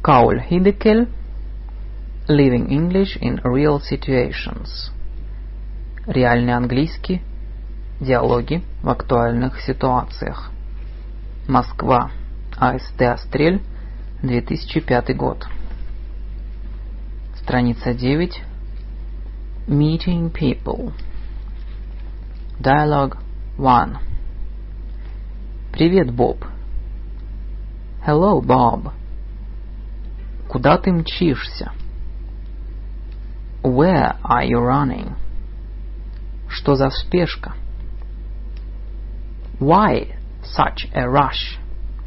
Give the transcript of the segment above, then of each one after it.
Kaul Hidekel. Living English in Real Situations. Реальный английский. Диалоги в актуальных ситуациях. Москва. АСТ «Астрель», 2005 год. Страница 9. Meeting people. Dialogue 1. Привет, Боб. Hello, Bob. Куда ты мчишься? Where are you running? Что за спешка? Why such a rush?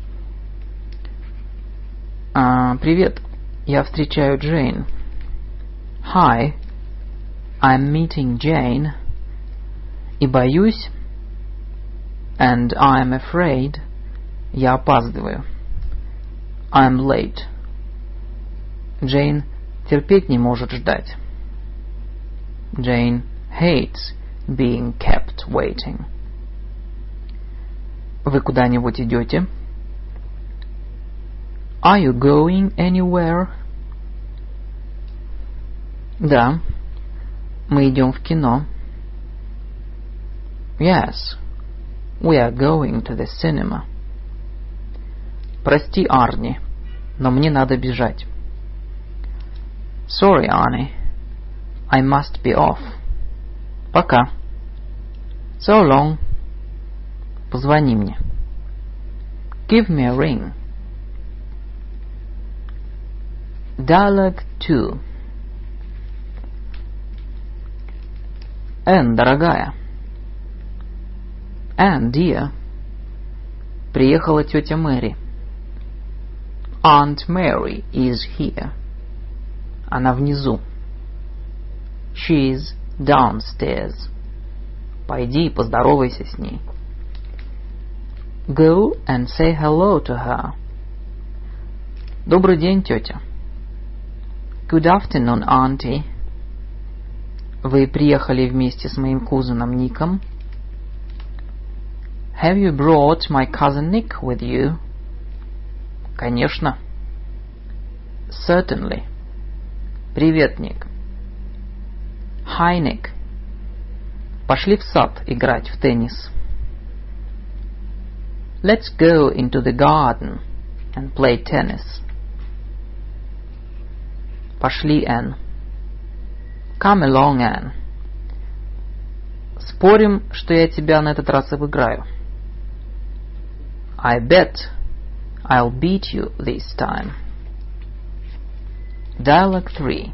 Привет, я встречаю Джейн. Hi, I'm meeting Jane. И боюсь, and I'm afraid, я опаздываю. I'm late. Джейн терпеть не может ждать. Jane hates being kept waiting. Вы куда-нибудь идете? Are you going anywhere? Да, мы идем в кино. Yes, we are going to the cinema. Прости, Арни, но мне надо бежать. Sorry, Arnie, I must be off. Пока. So long. Позвони мне. Give me a ring. Dialogue 2. Энн, дорогая. Энн, dear. Приехала тетя Мэри. Aunt Mary is here. Она внизу. She's downstairs. Пойди и поздоровайся с ней. Go and say hello to her. Добрый день, тетя. Good afternoon, auntie. Вы приехали вместе с моим кузеном Ником? Have you brought my cousin Nick with you? Конечно. Certainly. Привет, Ник. Hi, Nick. Пошли в сад играть в теннис. Let's go into the garden and play tennis. Пошли, Энн. Come along, Anne. Спорим, что я тебя на этот раз обыграю. I bet I'll beat you this time. Dialogue 3.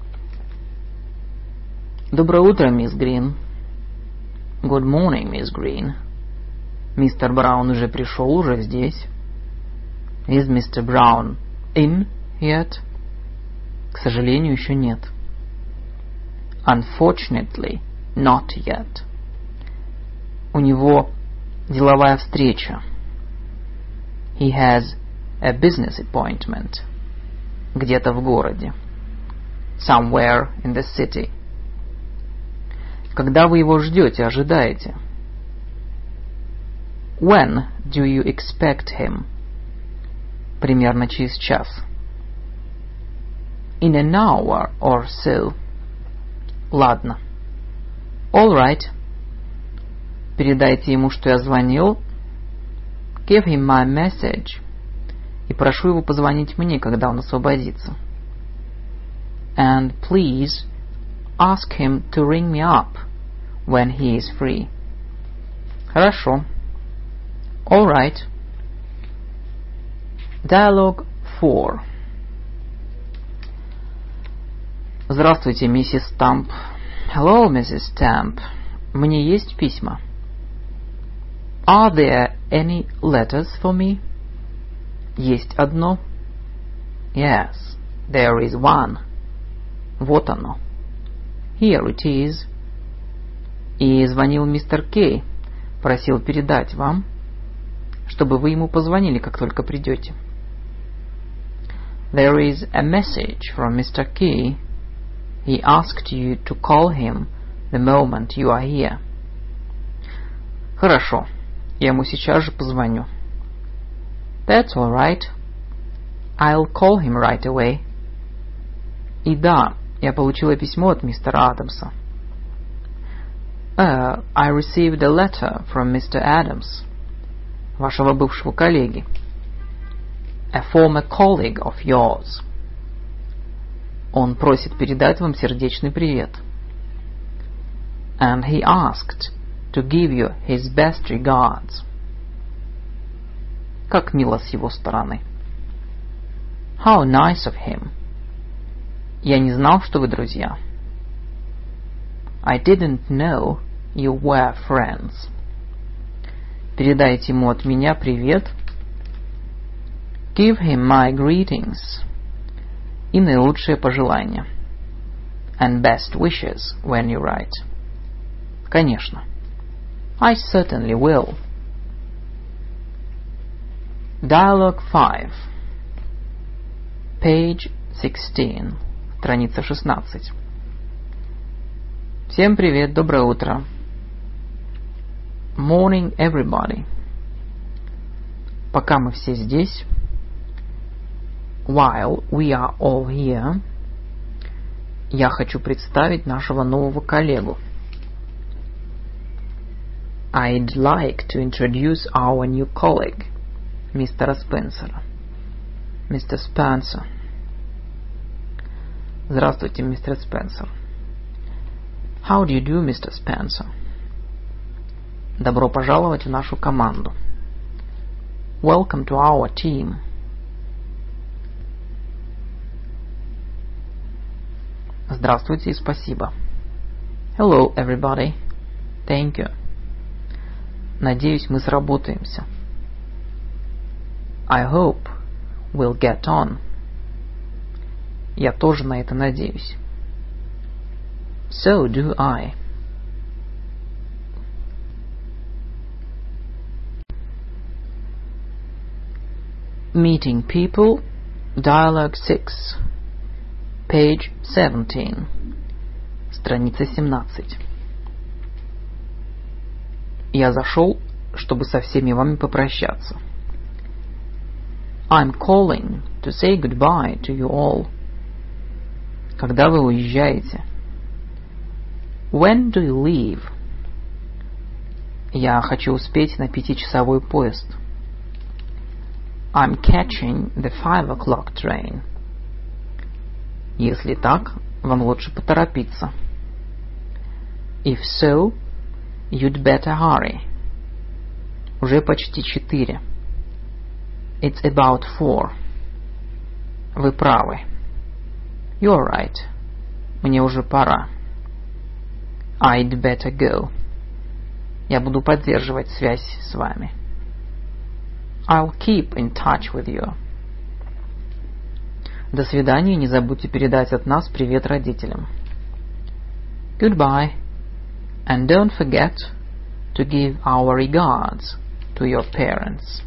Доброе утро, мисс Грин. Good morning, Miss Green. Мистер Браун уже пришел, уже здесь. Is Mr. Brown in yet? К сожалению, еще нет. Unfortunately, not yet. У него деловая встреча. He has a business appointment. Где-то в городе. Somewhere in the city. Когда вы его ждете, ожидаете? When do you expect him? Примерно через час. In an hour or so. Ладно. All right. Передайте ему, что я звонил. Give him my message. И прошу его позвонить мне, когда он освободится. And please ask him to ring me up when he is free. Хорошо. All right. Dialogue 4. Здравствуйте, миссис Стамп. Hello, Mrs. Stamp. Мне есть письма? Are there any letters for me? Есть одно. Yes, there is one. Вот оно. Here it is. И звонил мистер Кей. Просил передать вам, чтобы вы ему позвонили, как только придете. There is a message from Mr. Key. He asked you to call him the moment you are here. Хорошо. Я ему сейчас же позвоню. That's all right. I'll call him right away. И да, я получила письмо от мистера Адамса. I received a letter from Mr. Adams, вашего бывшего коллеги. A former colleague of yours. Он просит передать вам сердечный привет. And he asked to give you his best regards. Как мило с его стороны. How nice of him. Я не знал, что вы друзья. I didn't know you were friends. Передайте ему от меня привет. Give him my greetings. И наилучшие пожелания. And best wishes when you write. Конечно. I certainly will. Dialogue 5. Page 16. Страница 16. Всем привет, доброе утро. Morning, everybody. Пока мы все здесь. While we are all here. Я хочу представить нашего нового коллегу. I'd like to introduce our new colleague, мистера Спенсера. Мистер Спенсер. Здравствуйте, мистер Спенсер. How do you do, Mr. Spencer? Добро пожаловать в нашу команду. Welcome to our team. Здравствуйте и спасибо. Hello, everybody. Thank you. Надеюсь, мы сработаемся. I hope we'll get on. Я тоже на это надеюсь. So do I. Meeting people, Dialogue 6, Page 17, страница 17. Я зашел, чтобы со всеми вами попрощаться. I'm calling to say goodbye to you all. Когда вы уезжаете? When do you leave? Я хочу успеть на 5-часовой поезд. I'm catching the 5 o'clock train. Если так, вам лучше поторопиться. If so, you'd better hurry. Уже почти 4. It's about 4. Вы правы. You're right. Мне уже пора. I'd better go. Я буду поддерживать связь с вами. I'll keep in touch with you. До свидания, не забудьте передать от нас привет родителям. Goodbye, and don't forget to give our regards to your parents.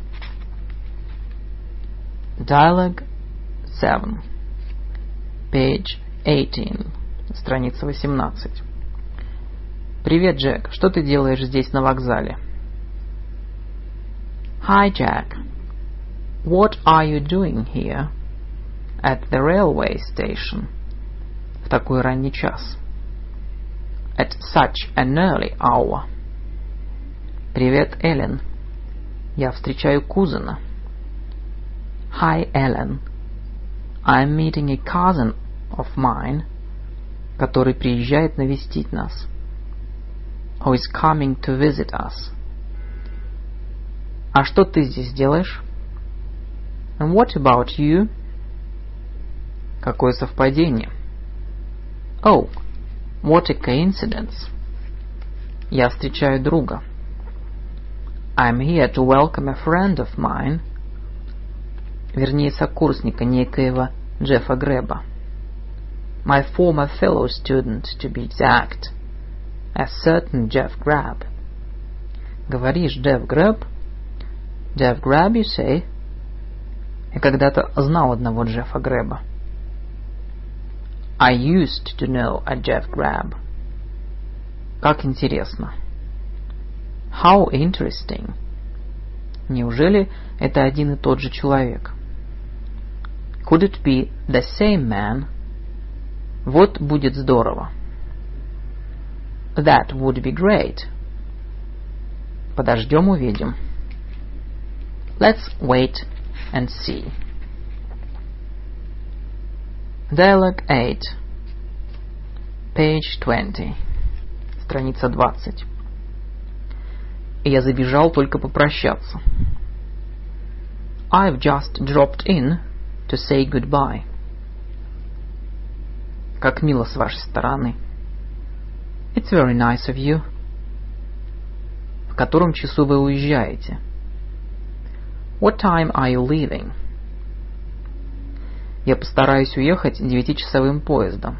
Dialogue 7. Page 18. Страница 18. Привет, Джек. Что ты делаешь здесь на вокзале? Hi, Jack. What are you doing here at the railway station? В такой ранний час. At such an early hour. Привет, Эллен. Я встречаю кузена. Hi, Ellen. I'm meeting a cousin of mine, который приезжает навестить нас. Who is coming to visit us. А что ты здесь делаешь? And what about you? Какое совпадение? Oh, what a coincidence. Я встречаю друга. I'm here to welcome a friend of mine. Вернее, сокурсника некоего Джеффа Грэба. My former fellow student, to be exact. A certain Jeff Grab. Говоришь, Jeff Grab? Jeff Grab, you say? Я когда-то знал одного Джеффа Грэба. I used to know a Jeff Grab. Как интересно. How interesting. Неужели это один и тот же человек? Could it be the same man? Вот будет здорово. That would be great. Подождем, увидим. Let's wait and see. Dialogue 8. Page 20. Страница 20. Я забежал только попрощаться. I've just dropped in to say goodbye. Как мило с вашей стороны. It's very nice of you. В котором часу вы уезжаете? What time are you leaving? Я постараюсь уехать 9-часовым поездом.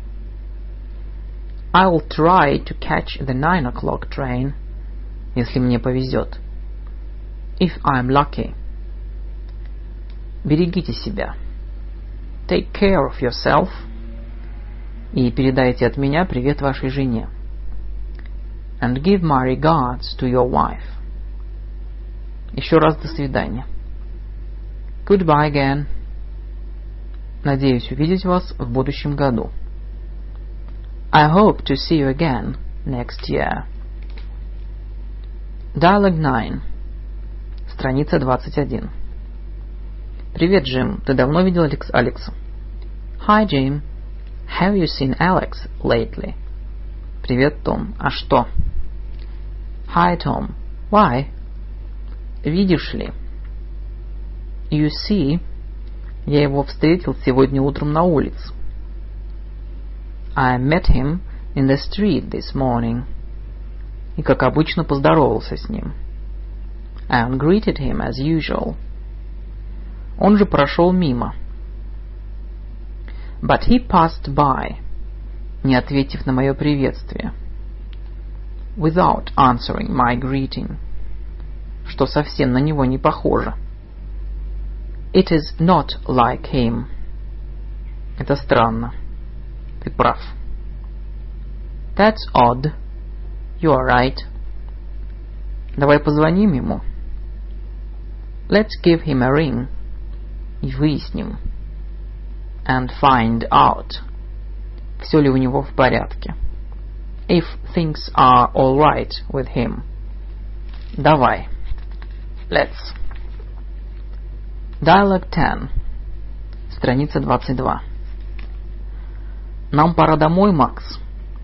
I'll try to catch the 9 o'clock train, если мне повезет. If I'm lucky. Берегите себя. Take care of yourself. И передайте от меня привет вашей жене. And give my regards to your wife. Еще раз до свидания. Goodbye again. Надеюсь увидеть вас в будущем году. I hope to see you again next year. Dialogue 9. Страница 21. Привет, Джим. Ты давно видел Алекса? Hi, Jim. Have you seen Alex lately? Привет, Том. А что? Hi, Tom. Why? Видишь ли? You see, я его встретил сегодня утром на улице. I met him in the street this morning. И, как обычно, поздоровался с ним. And greeted him as usual. Он же прошел мимо. But he passed by, не ответив на мое приветствие. Without answering my greeting. Что совсем на него не похоже. It is not like him. Это странно. Ты прав. That's odd. You are right. Давай позвоним ему. Let's give him a ring. И выясним. And find out. Все ли у него в порядке. If things are all right with him. Давай. Let's. Dialogue 10. Страница 22. Нам пора домой, Макс.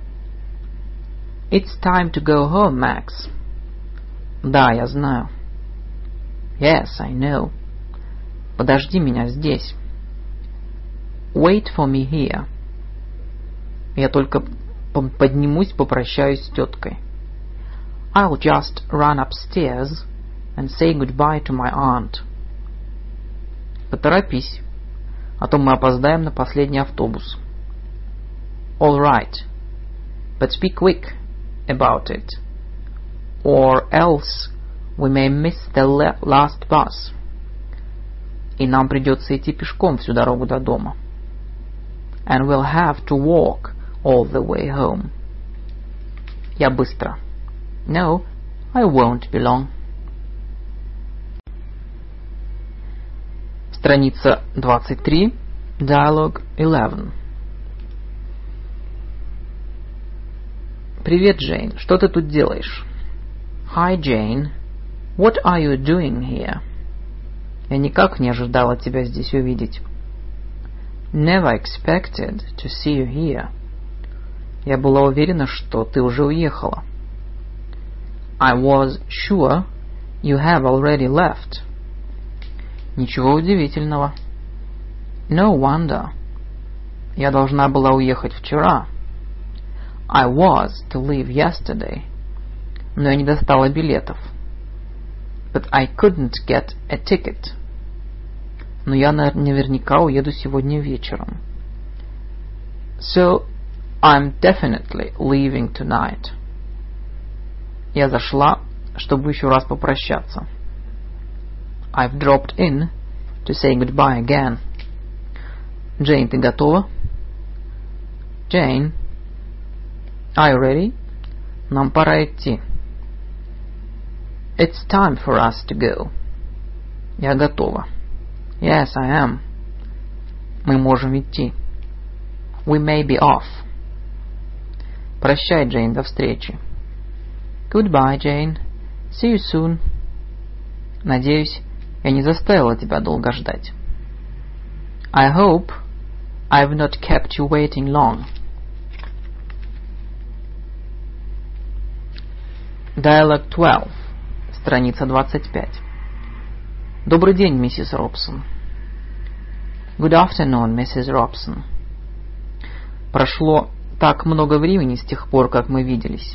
It's time to go home, Max. Да, я знаю. Yes, I know. Подожди меня здесь. Wait for me here. Я только поднимусь, попрощаюсь с теткой. I'll just run upstairs and say goodbye to my aunt. Поторопись, а то мы опоздаем на последний автобус. All right, but be quick about it, or else we may miss the last bus. И нам придется идти пешком всю дорогу до дома. And we'll have to walk all the way home. Я быстро. No, I won't be long. Страница 23. Dialogue 11. Привет, Джейн. Что ты тут делаешь? Hi, Jane. What are you doing here? Я никак не ожидала тебя здесь увидеть. Never expected to see you here. Я была уверена, что ты уже уехала. I was sure you have already left. Ничего удивительного. No wonder. Я должна была уехать вчера. I was to leave yesterday. Но я не достала билетов. But I couldn't get a ticket. Но я наверняка уеду сегодня вечером. So, I'm definitely leaving tonight. Я зашла, чтобы еще раз попрощаться. I've dropped in to say goodbye again. Джейн, ты готова? Jane, are you ready? Нам пора идти. It's time for us to go. Я готова. Yes, I am. Мы можем идти. We may be off. Прощай, Джейн, до встречи. Goodbye, Jane. See you soon. Надеюсь, я не заставила тебя долго ждать. I hope I've not kept you waiting long. Dialogue 12. Страница 25. Добрый день, миссис Робсон. Good afternoon, Mrs. Robson. Прошло так много времени с тех пор, как мы виделись.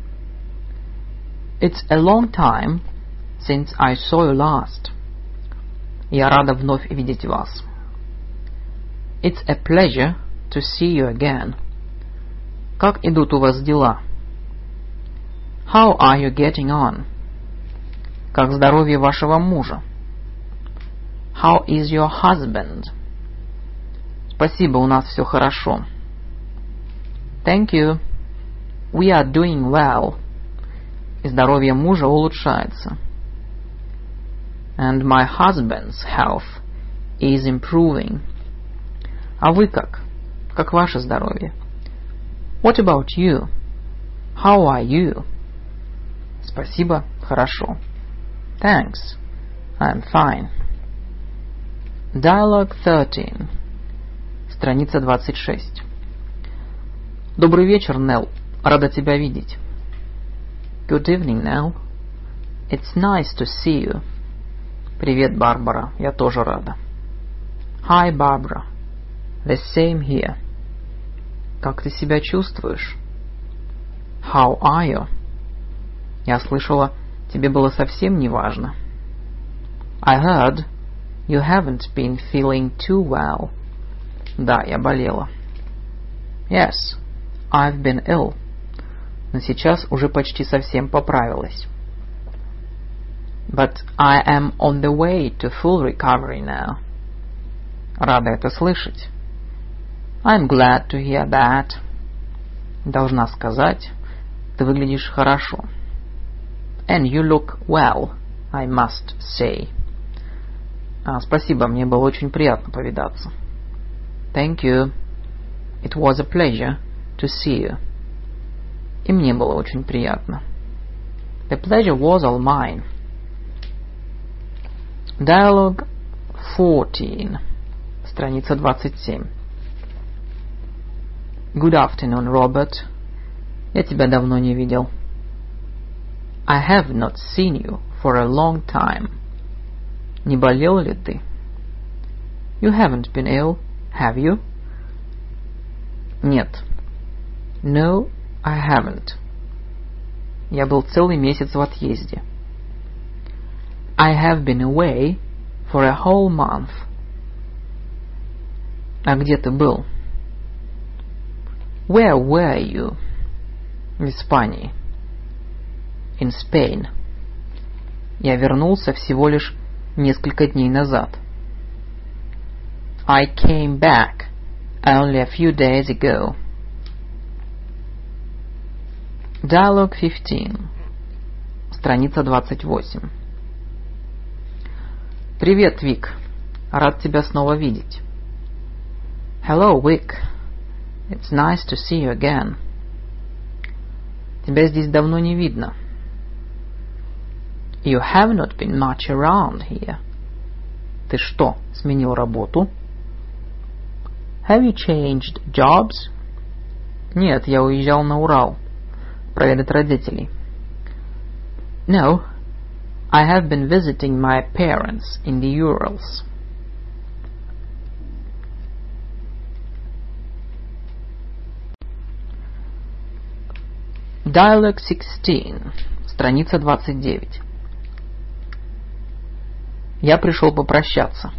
It's a long time since I saw you last. Я рада вновь видеть вас. It's a pleasure to see you again. Как идут у вас дела? How are you getting on? Как здоровье вашего мужа? How is your husband? Спасибо, у нас все хорошо. Thank you. We are doing well. И здоровье мужа улучшается. And my husband's health is improving. А вы как? Как ваше здоровье? What about you? How are you? Спасибо, хорошо. Thanks, I'm fine. Dialogue 13. Страница 26. Добрый вечер, Нелл. Рада тебя видеть. Good evening, Nell. It's nice to see you. Привет, Барбара. Я тоже рада. Hi, Barbara. The same here. Как ты себя чувствуешь? How are you? Я слышала, тебе было совсем не важно. I heard you haven't been feeling too well. Да, я болела. Yes, I've been ill. Но сейчас уже почти совсем поправилась. But I am on the way to full recovery now. Рада это слышать. I'm glad to hear that. Должна сказать, ты выглядишь хорошо. And you look well, I must say. Спасибо, мне было очень приятно повидаться. Thank you. It was a pleasure to see you. И мне было очень приятно. The pleasure was all mine. Dialogue 14. Страница 27. Good afternoon, Robert. Я тебя давно не видел. I have not seen you for a long time. Не болел ли ты? You haven't been ill, have you? Нет. No, I haven't. Я был целый месяц в отъезде. I have been away for a whole month. А где ты был? Where were you? В Испании. In Spain. Я вернулся всего лишь несколько дней назад. I came back only a few days ago. Dialogue 15. Страница 28. Привет, Вик. Рад тебя снова видеть. Hello, Vic. It's nice to see you again. Тебя здесь давно не видно. You have not been much around here. Ты что, сменил работу? Have you changed jobs? Нет, я уезжал на Урал проведать родителей. No, I have been visiting my parents in the Urals. Dialogue 16. Страница 29. Я пришел попрощаться.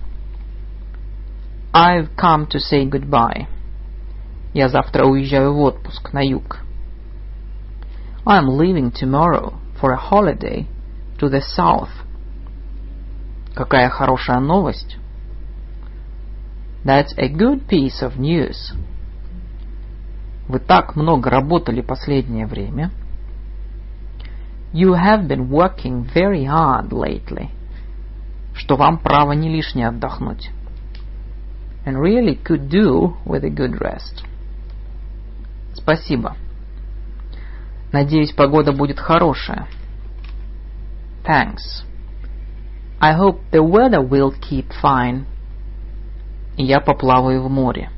I've come to say goodbye. Я завтра уезжаю в отпуск на юг. I'm leaving tomorrow for a holiday to the south. Какая хорошая новость. That's a good piece of news. Вы так много работали последнее время. You have been working very hard lately. Что вам право не лишне отдохнуть. and really could do with a good rest. Спасибо. Надеюсь, погода будет хорошая. Thanks. I hope the weather will keep fine. И я поплаваю в море.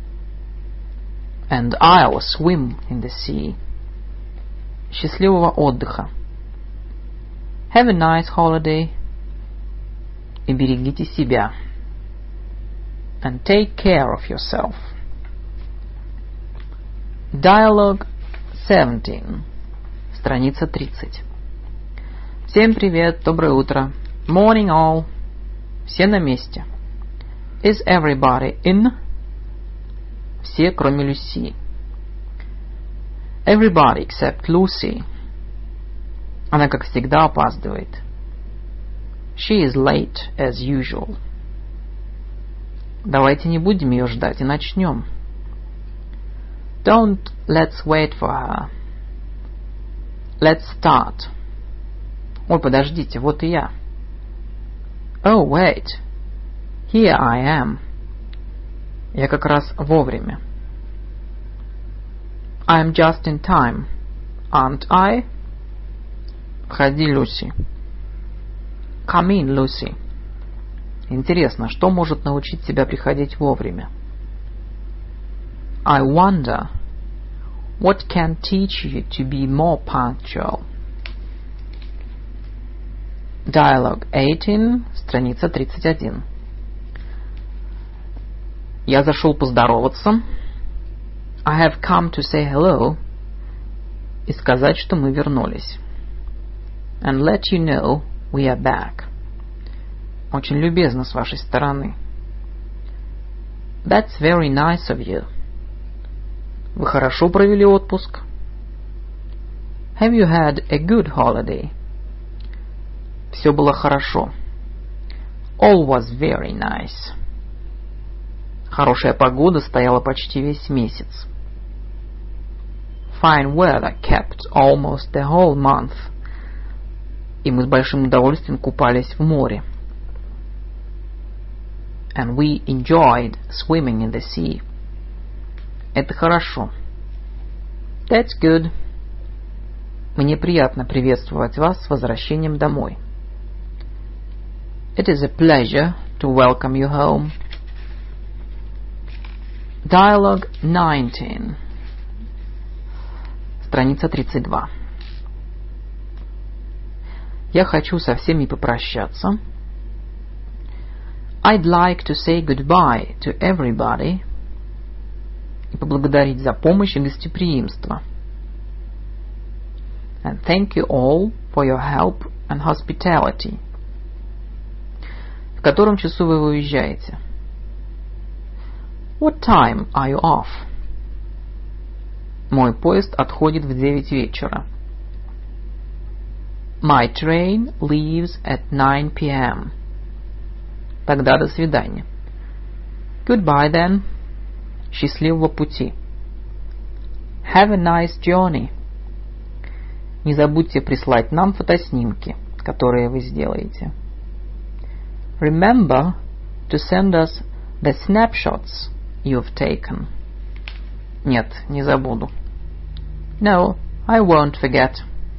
And I'll swim in the sea. Счастливого отдыха. Have a nice holiday. И берегите себя. And take care of yourself. Dialogue 17. Страница 30. Всем привет, доброе утро. Morning all. Все на месте. Is everybody in? Все, кроме Люси. Everybody except Lucy. Она, как всегда, опаздывает. She is late as usual. Давайте не будем ее ждать и начнем. Don't let's wait for her. Let's start. Ой, подождите, вот и я. Oh, wait. Here I am. Я как раз вовремя. I'm just in time. Aren't I? Входи, Люси. Come in, Lucy. Интересно, что может научить тебя приходить вовремя? I wonder what can teach you to be more punctual. Dialogue 18, страница 31. Я зашел поздороваться. I have come to say hello. И сказать, что мы вернулись. And let you know we are back. Очень любезно с вашей стороны. That's very nice of you. Вы хорошо провели отпуск? Have you had a good holiday? Все было хорошо. All was very nice. Хорошая погода стояла почти весь месяц. Fine weather kept almost the whole month. И мы с большим удовольствием купались в море. And we enjoyed swimming in the sea. Это хорошо. That's good. Мне приятно приветствовать вас с возвращением домой. It is a pleasure to welcome you home. Dialogue 19. Страница 32. Я хочу со всеми попрощаться. I'd like to say goodbye to everybody. И поблагодарить за помощь и гостеприимство. And thank you all for your help and hospitality. В котором часу вы уезжаете? What time are you off? Мой поезд отходит в 9 вечера. My train leaves at 9 p.m. Тогда до свидания. Goodbye then. Счастливого пути. Have a nice journey. Не забудьте прислать нам фотоснимки, которые вы сделаете. Remember to send us the snapshots you've taken. Нет, не забуду. No, I won't forget.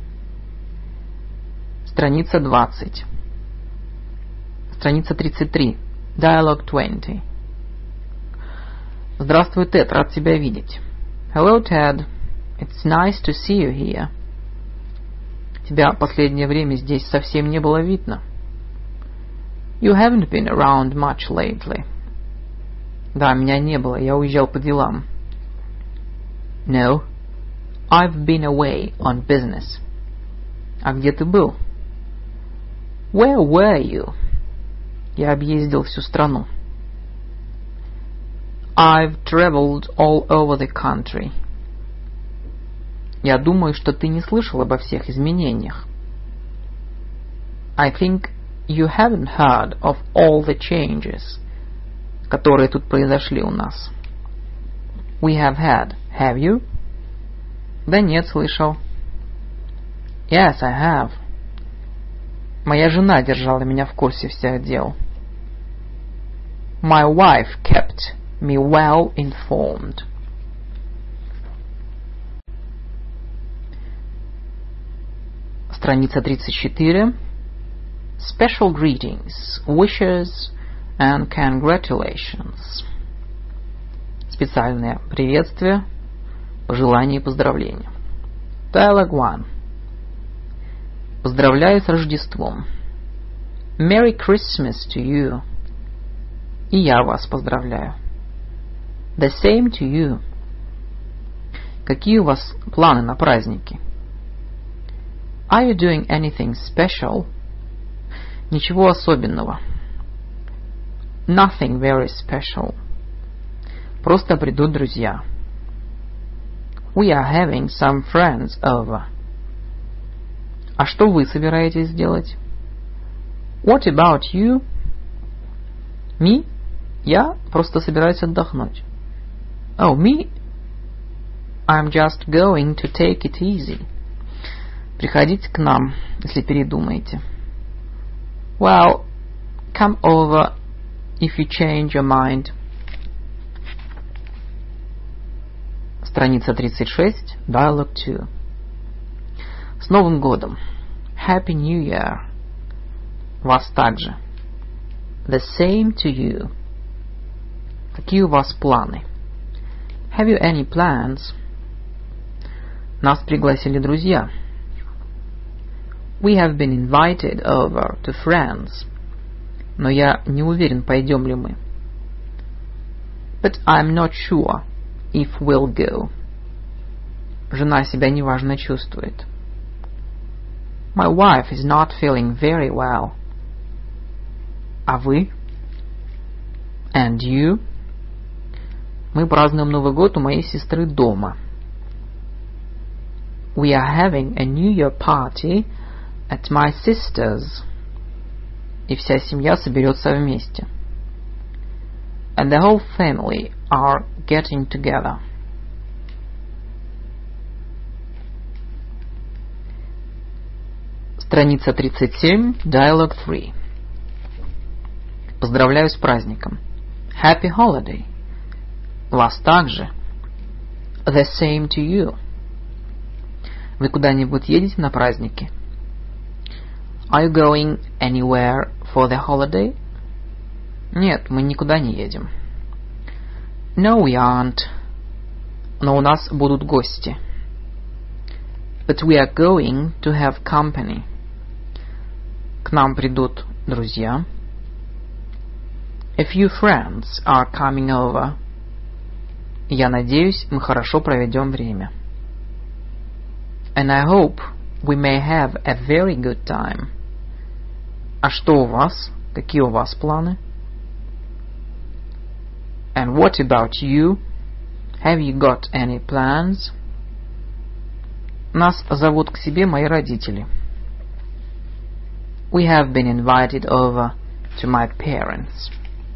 Страница 20. Страница 33. Dialogue 20. Здравствуй, Тед, рад тебя видеть. Hello, Ted. It's nice to see you here. Тебя последнее время здесь совсем не было видно. You haven't been around much lately. Да, меня не было, я уезжал по делам. No, I've been away on business. А где ты был? Where were you? Я объездил всю страну. I've traveled all over the country. Я думаю, что ты не слышал обо всех изменениях. I think you haven't heard of all the changes, которые тут произошли у нас. We have had. Have you? Да нет, слышал. Yes, I have. Моя жена держала меня в курсе всех дел. My wife kept me well informed. Страница 34. Special greetings, wishes and congratulations. Специальное приветствие, пожелания и поздравления. Dialogue 1. Поздравляю с Рождеством. Merry Christmas to you. И я вас поздравляю. The same to you. Какие у вас планы на праздники? Are you doing anything special? Ничего особенного. Nothing very special. Просто придут друзья. We are having some friends over. А что вы собираетесь сделать? What about you? Me? Я просто собираюсь отдохнуть. Oh, me? I'm just going to take it easy. Приходите к нам, если передумаете. Well, come over if you change your mind. Страница 36, Dialogue 2. С Новым годом! Happy New Year. Вас также. The same to you. Какие у вас планы? Have you any plans? Нас пригласили друзья. We have been invited over to friends. Но я не уверен, пойдем ли мы. But I'm not sure if we'll go. Жена себя неважно чувствует. My wife is not feeling very well. А вы? And you? Мы празднуем Новый год у моей сестры дома. We are having a New Year party at my sister's. И вся семья соберется вместе. And the whole family are getting together. Страница 37, Dialogue 3. Поздравляю с праздником. Happy holiday. Вас также. The same to you. Вы куда-нибудь едете на праздники? Are you going anywhere for the holiday? Нет, мы никуда не едем. No, we aren't. Но у нас будут гости. But we are going to have company. К нам придут друзья. A few friends are coming over. Я надеюсь, мы хорошо проведем время. And I hope we may have a very good time. А что у вас? Какие у вас планы? And what about you? Have you got any plans? Нас зовут к себе мои родители. We have been invited over to my parents.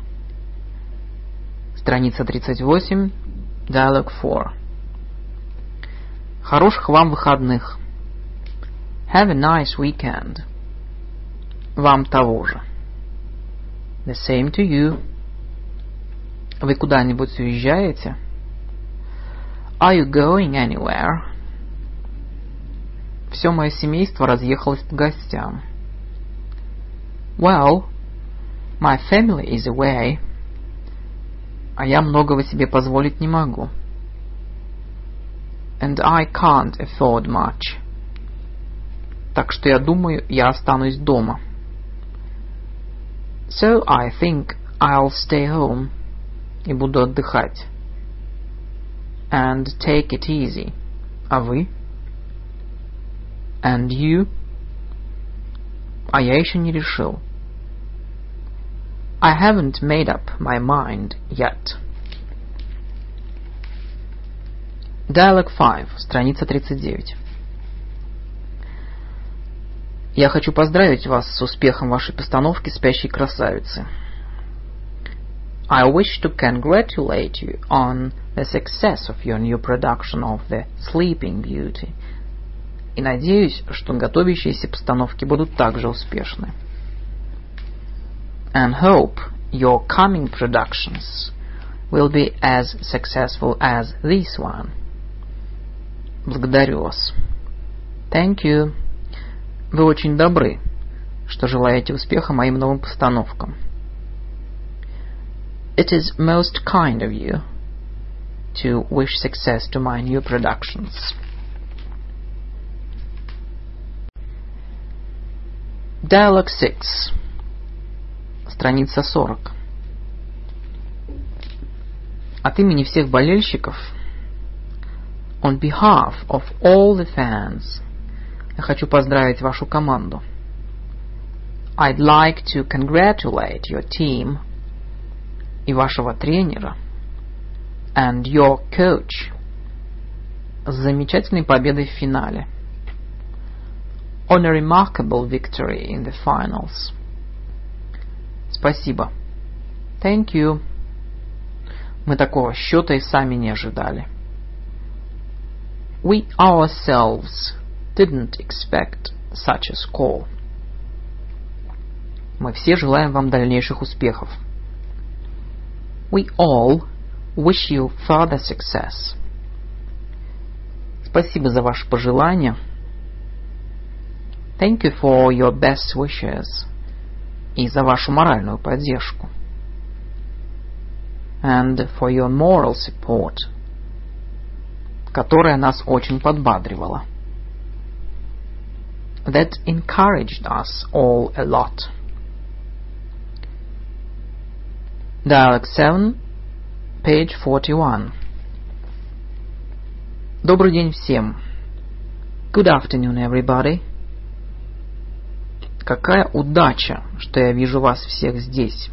Страница 38, Dialogue 4. Хороших вам выходных. Have a nice weekend. Вам того же. The same to you. Вы куда-нибудь уезжаете? Are you going anywhere? Все мое семейство разъехалось по гостям. Well, my family is away. А я многого себе позволить не могу. And I can't afford much. Так что я думаю, я останусь дома. So I think I'll stay home. И буду отдыхать. And take it easy. А вы? And you? А я еще не решил. I haven't made up my mind yet. Dialogue 5, страница 39. Я хочу поздравить вас с успехом вашей постановки «Спящей красавицы». I wish to congratulate you on the success of your new production of The Sleeping Beauty. И надеюсь, что готовящиеся постановки будут также успешны. And hope your coming productions will be as successful as this one. Благодарю вас. Thank you. Вы очень добры, что желаете успеха моим новым постановкам. It is most kind of you to wish success to my new productions. Dialogue 6. Страница 40. От имени всех болельщиков, on behalf of all the fans, я хочу поздравить вашу команду. I'd like to congratulate your team и вашего тренера and your coach с замечательной победой в финале. On a remarkable victory in the finals. Спасибо. Thank you. Мы такого счета и сами не ожидали. We ourselves didn't expect such a score. Мы все желаем вам дальнейших успехов. We all wish you further success. Спасибо за ваши пожелания. Thank you for your best wishes. И за вашу моральную поддержку. And for your moral support, которая нас очень подбадривала. That encouraged us all a lot. Dialogue 7, page 41. Добрый день всем. Good afternoon, everybody. Какая удача, что я вижу вас всех здесь.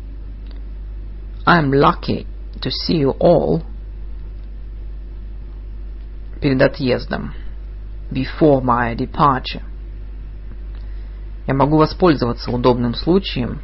I'm lucky to see you all перед отъездом. Before my departure. Я могу воспользоваться удобным случаем.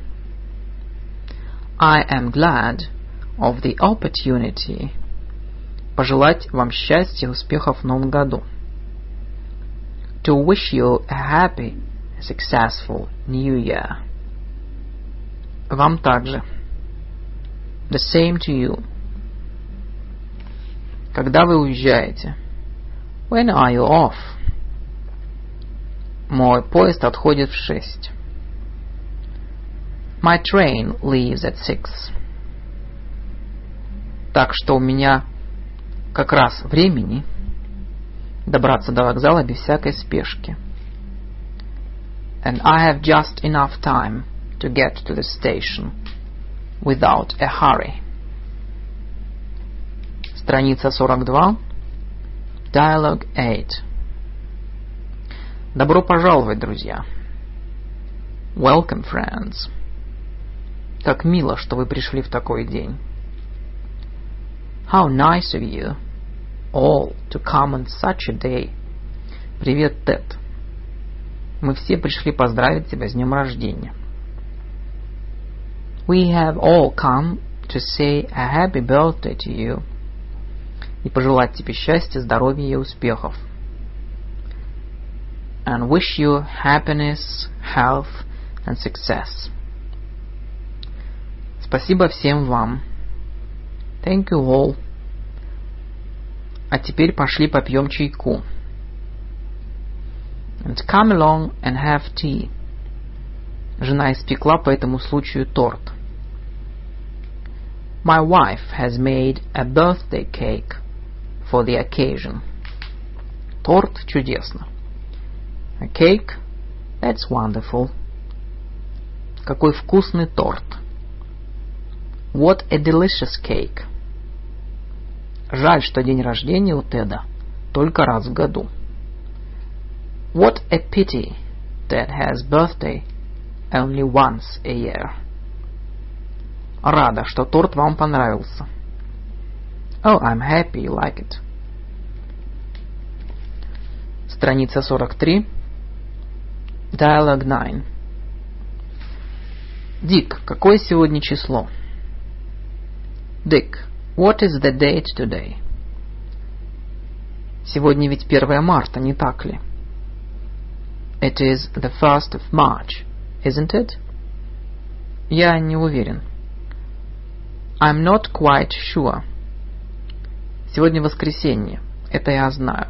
I am glad of the opportunity пожелать вам счастья и успехов в новом году. To wish you a happy, successful New Year. Вам также. The same to you. Когда вы уезжаете? When are you off? Мой поезд отходит в 6. My train leaves at 6. Так что у меня как раз времени добраться до вокзала без всякой спешки. And I have just enough time to get to the station without a hurry. Страница 42. Dialogue 8. Добро пожаловать, друзья. Welcome, friends. Как мило, что вы пришли в такой день. How nice of you all to come on such a day. Привет, Тед. Мы все пришли поздравить тебя с днем рождения. We have all come to say a happy birthday to you. И пожелать тебе счастья, здоровья и успехов. And wish you happiness, health and success. Спасибо всем вам. Thank you all. А теперь пошли попьем чайку. And come along and have tea. Жена испекла по этому случаю торт. My wife has made a birthday cake for the occasion. Торт чудесно. A cake? That's wonderful. Какой вкусный торт. What a delicious cake. Жаль, что день рождения у Теда только раз в году. What a pity Ted has birthday only once a year. Рада, что торт вам понравился. Oh, I'm happy you like it. Страница 43. Dialogue 9. Дик, какое сегодня число? Dick, what is the date today? Сегодня ведь 1 марта, не так ли? It is the 1st of March, isn't it? Я не уверен. I'm not quite sure. Сегодня воскресенье. Это я знаю.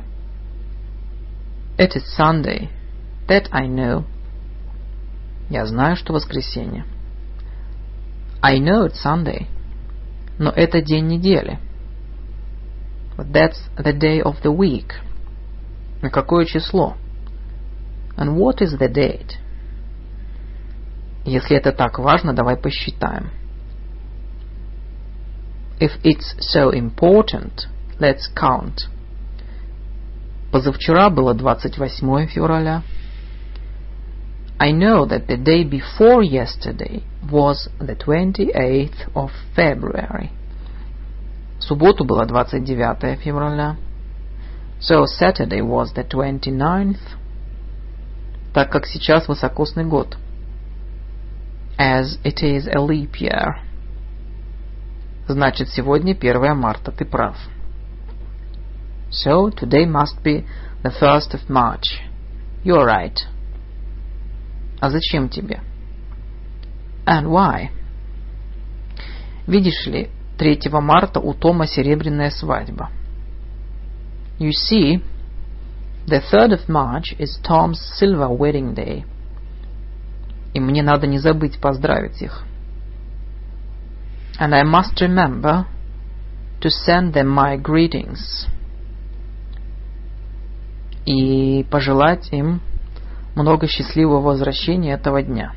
It is Sunday. That I know. Я знаю, что воскресенье. I know it's Sunday. Но это день недели. But that's the day of the week. На какое число? And what is the date? Если это так важно, давай посчитаем. If it's so important, let's count. Позавчера было 28 февраля. I know that the day before yesterday was the 28th of February. В субботу было 29 февраля. So Saturday was the 29th. Так как сейчас високосный год. As it is a leap year. Значит, сегодня 1 марта, ты прав. So today must be the 1st of March. You're right. А зачем тебе? And why? Видишь ли, 3 марта у Тома серебряная свадьба. You see, the 3rd of March is Tom's silver wedding day. И мне надо не забыть поздравить их. And I must remember to send them my greetings. И пожелать им много счастливого возвращения этого дня.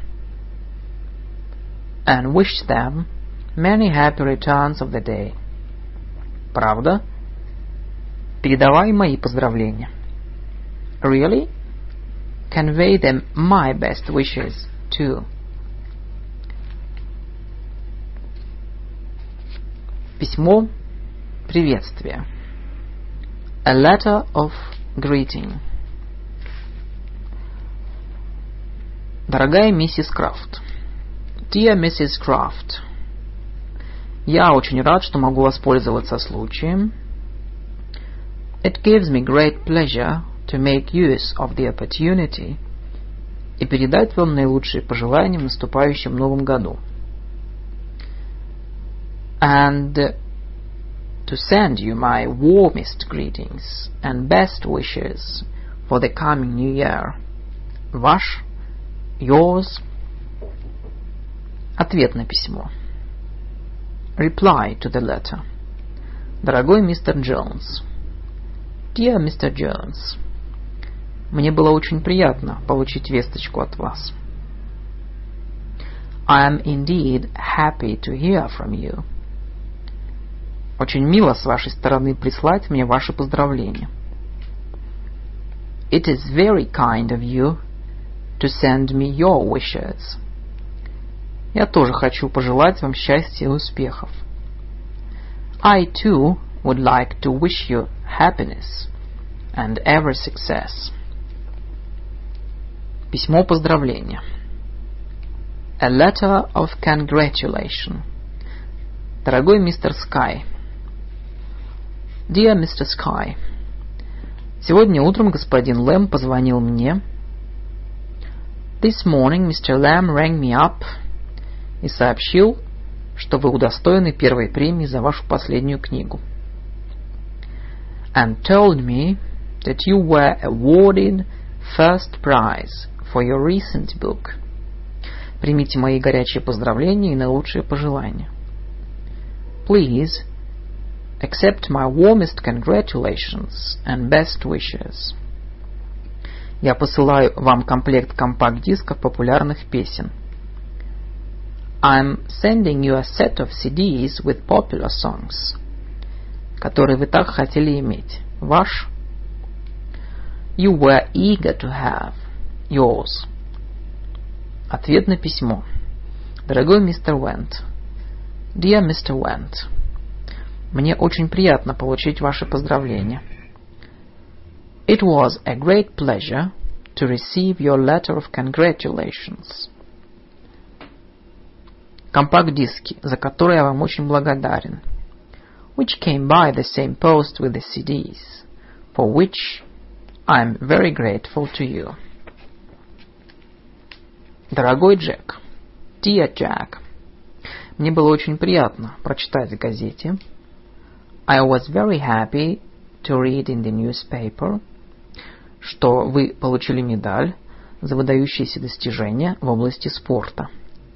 And wish them many happy returns of the day. Правда? Передавай мои поздравления. Really? Convey them my best wishes too. Письмо приветствия. A letter of greeting. Дорогая миссис Крафт. Dear Mrs. Craft. Я очень рад, что могу воспользоваться случаем. It gives me great pleasure to make use of the opportunity и передать вам наилучшие пожелания в наступающем новом году. And to send you my warmest greetings and best wishes for the coming new year. Ваш, yours. Ответ на письмо. Reply to the letter. Дорогой мистер Джонс. Dear Mr. Jones. Мне было очень приятно получить весточку от вас. I am indeed happy to hear from you. Очень мило с вашей стороны прислать мне ваши поздравления. It is very kind of you to send me your wishes. Я тоже хочу пожелать вам счастья и успехов. I too would like to wish you happiness and every success. Письмо поздравления. A letter of congratulation. Дорогой мистер Скай. Dear Mr. Sky. Сегодня утром господин Лэм позвонил мне. This morning Mr. Lamb rang me up и сообщил, что вы удостоены первой премии за вашу последнюю книгу. And told me that you were awarded first prize for your recent book. Примите мои горячие поздравления и наилучшие пожелания. Please accept my warmest congratulations and best wishes. Я посылаю вам комплект компакт-дисков популярных песен. I'm sending you a set of CDs with popular songs, которые вы так хотели иметь. Ваш. You were eager to have. Yours. Ответ на письмо. Дорогой мистер Уэнт. Dear Mr. Went. Мне очень приятно получить ваши поздравления. It was a great pleasure to receive your letter of congratulations. Компакт-диски, за которые я вам очень благодарен. Which came by the same post with the CDs, for which I am very grateful to you. Дорогой Джек. Dear Jack. Мне было очень приятно прочитать в газете. I was very happy to read in the newspaper, что вы получили медаль за выдающиеся достижения в области спорта.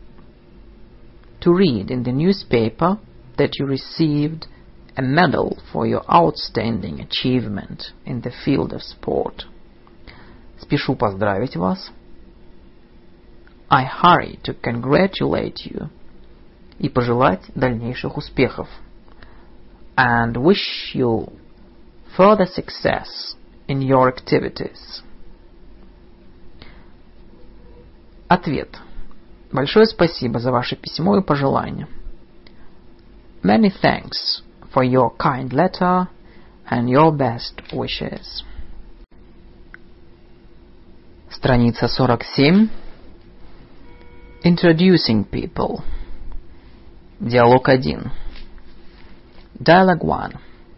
To read in the newspaper that you received a medal for your outstanding achievement in the field of sport. Спешу поздравить вас. I hurry to congratulate you. И пожелать дальнейших успехов. And wish you further success in your activities. Ответ. Большое спасибо за ваше письмо и пожелания. Many thanks for your kind letter and your best wishes. Страница 47. Introducing people. Диалог 1. Dialogue 1.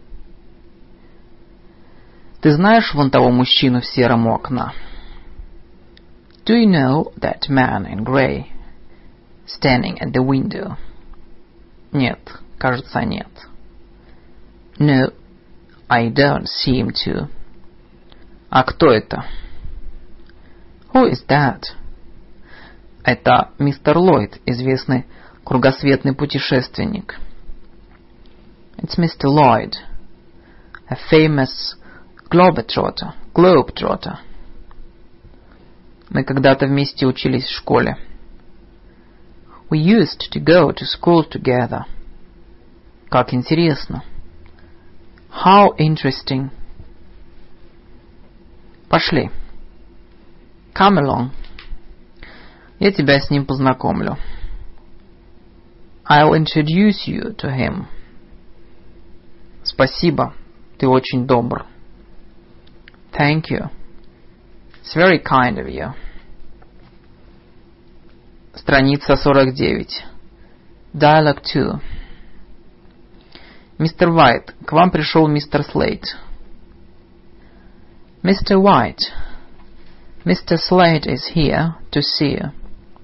Ты знаешь вон того мужчину в сером у окна? Do you know that man in grey standing at the window? Нет, кажется, нет. No, I don't seem to. А кто это? Who is that? Это мистер Ллойд, известный кругосветный путешественник. It's Mr. Lloyd, a famous globetrotter. Мы когда-то вместе учились в школе. We used to go to school together. Как интересно. How interesting. Пошли. Come along. Я тебя с ним познакомлю. I'll introduce you to him. Спасибо, ты очень добр. Thank you. It's very kind of you. Страница 49. Dialogue 2. Мистер Уайт, к вам пришел мистер Слейд. Mr. White, Mr. Slade is here to see you.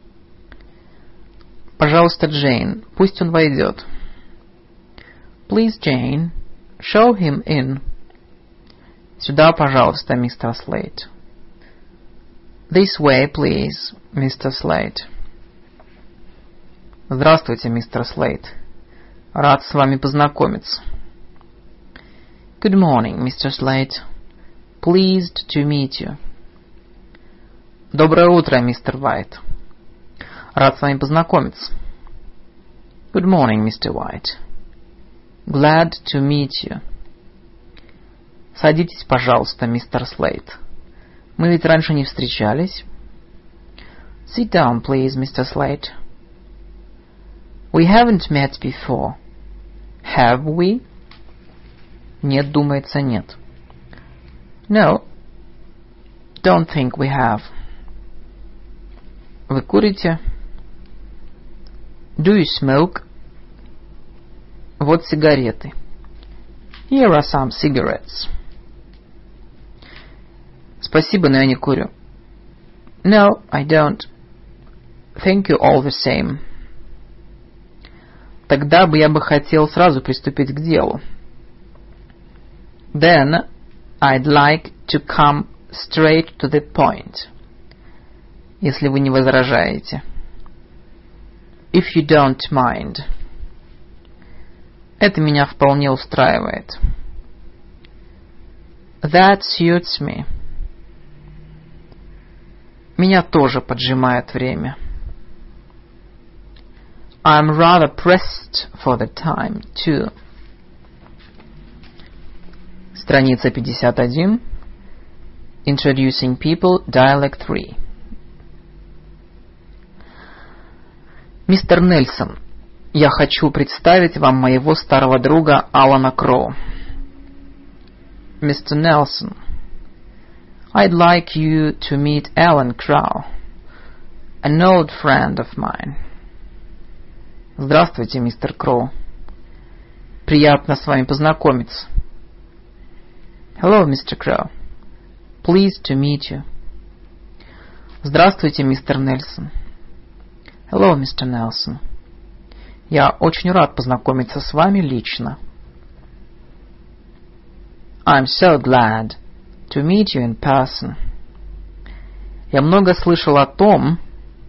Пожалуйста, Джейн, пусть он войдет. Please, Jane, show him in. Сюда, пожалуйста, мистер Слейд. This way, please, Mr. Slade. Здравствуйте, мистер Слейд. Рад с вами познакомиться. Good morning, Mr. Slade. Pleased to meet you. Доброе утро, мистер Уайт. Рад с вами познакомиться. Good morning, Mr. White. Glad to meet you. Садитесь, пожалуйста, мистер Слейд. Мы ведь раньше не встречались. Sit down, please, Mr. Slade. We haven't met before. Have we? Нет, думается, нет. No, don't think we have. Вы курите? Do you smoke? Вот сигареты. Here are some cigarettes. Спасибо, но я не курю. No, I don't. Thank you all the same. Тогда бы я бы хотел сразу приступить к делу. Then I'd like to come straight to the point. Если вы не возражаете. If you don't mind. Это меня вполне устраивает. That suits me. Меня тоже поджимает время. I'm rather pressed for the time, too. Страница 51. Introducing people, Dialogue 3. Мистер Нельсон, я хочу представить вам моего старого друга Алана Кроу. Mr. Nelson, I'd like you to meet Alan Crow, an old friend of mine. Здравствуйте, мистер Кроу. Приятно с вами познакомиться. Hello, Mr. Crow. Pleased to meet you. Здравствуйте, мистер Нельсон. Hello, Mr. Nelson. Я очень рад познакомиться с вами лично. I'm so glad to meet you in person. Я много слышал о том,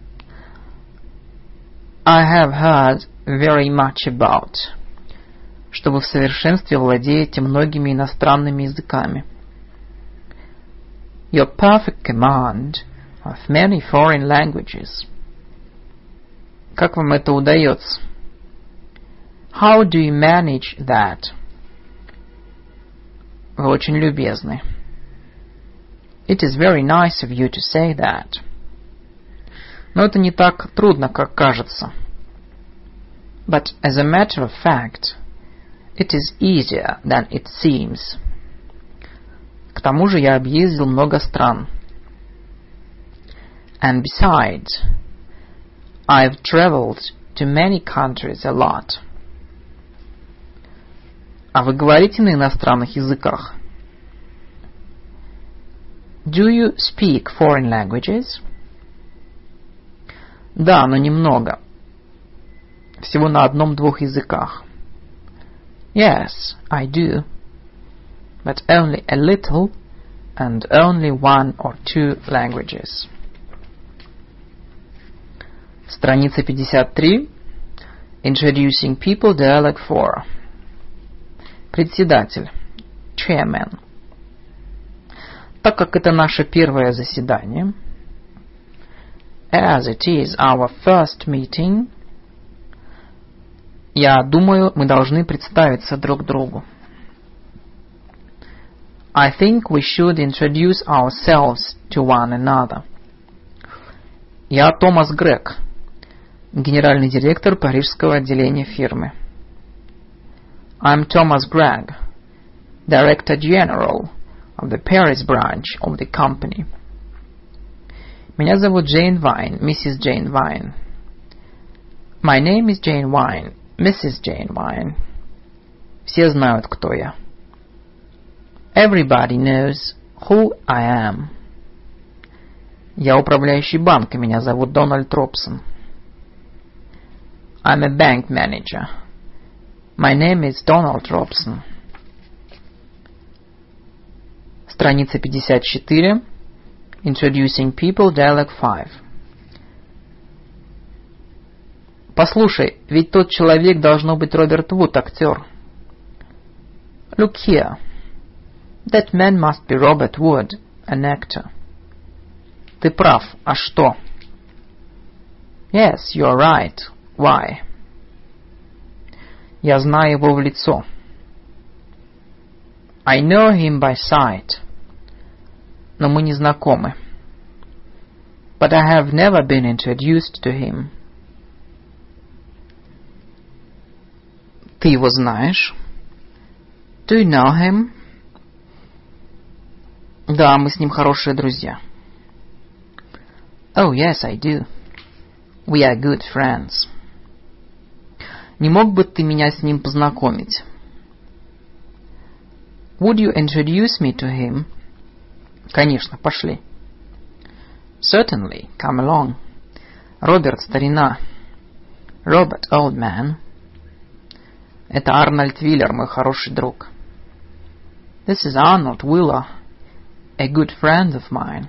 I have heard very much about, что вы в совершенстве владеете многими иностранными языками. Your perfect command of many foreign languages. Как вам это удается? How do you manage that? Вы очень любезны. It is very nice of you to say that. Но это не так трудно, как кажется. But as a matter of fact, it is easier than it seems. К тому же я объездил много стран. And besides, I've traveled to many countries a lot. А вы говорите на иностранных языках? Do you speak foreign languages? Да, но немного. Всего на 1-2 языках. Yes, I do. But only a little and only 1 or 2 languages. Страница 53. Introducing People, Dialogue 4. Председатель. Chairman. Так как это наше первое заседание, as it is our first meeting, я думаю, мы должны представиться друг другу. I think we should introduce ourselves to one another. Я Томас Грег, генеральный директор парижского отделения фирмы. I'm Thomas Gregg, Director General of the Paris branch of the company. Меня зовут Джейн Вайн, миссис Джейн Вайн. My name is Jane Wine, Mrs. Jane Wine. Все знают, кто я. Everybody knows who I am. Я управляющий банка, меня зовут Дональд Тропсон. I'm a bank manager. My name is Donald Robson. Страница 54. Introducing People, Dialogue 5. Послушай, ведь тот человек должно быть Роберт Вуд, актер. Look here. That man must be Robert Wood, an actor. Ты прав. А что? Yes, you're right. Why? Я знаю его в лицо. I know him by sight. Но мы не знакомы. But I have never been introduced to him. Ты его знаешь? Do you know him? Да, мы с ним хорошие друзья. Oh, yes, I do. We are good friends. Не мог бы ты меня с ним познакомить? Would you introduce me to him? Конечно, пошли. Certainly, come along. Роберт, старина. Robert, old man. Это Арнольд Виллер, мой хороший друг. This is Arnold Wheeler, a good friend of mine.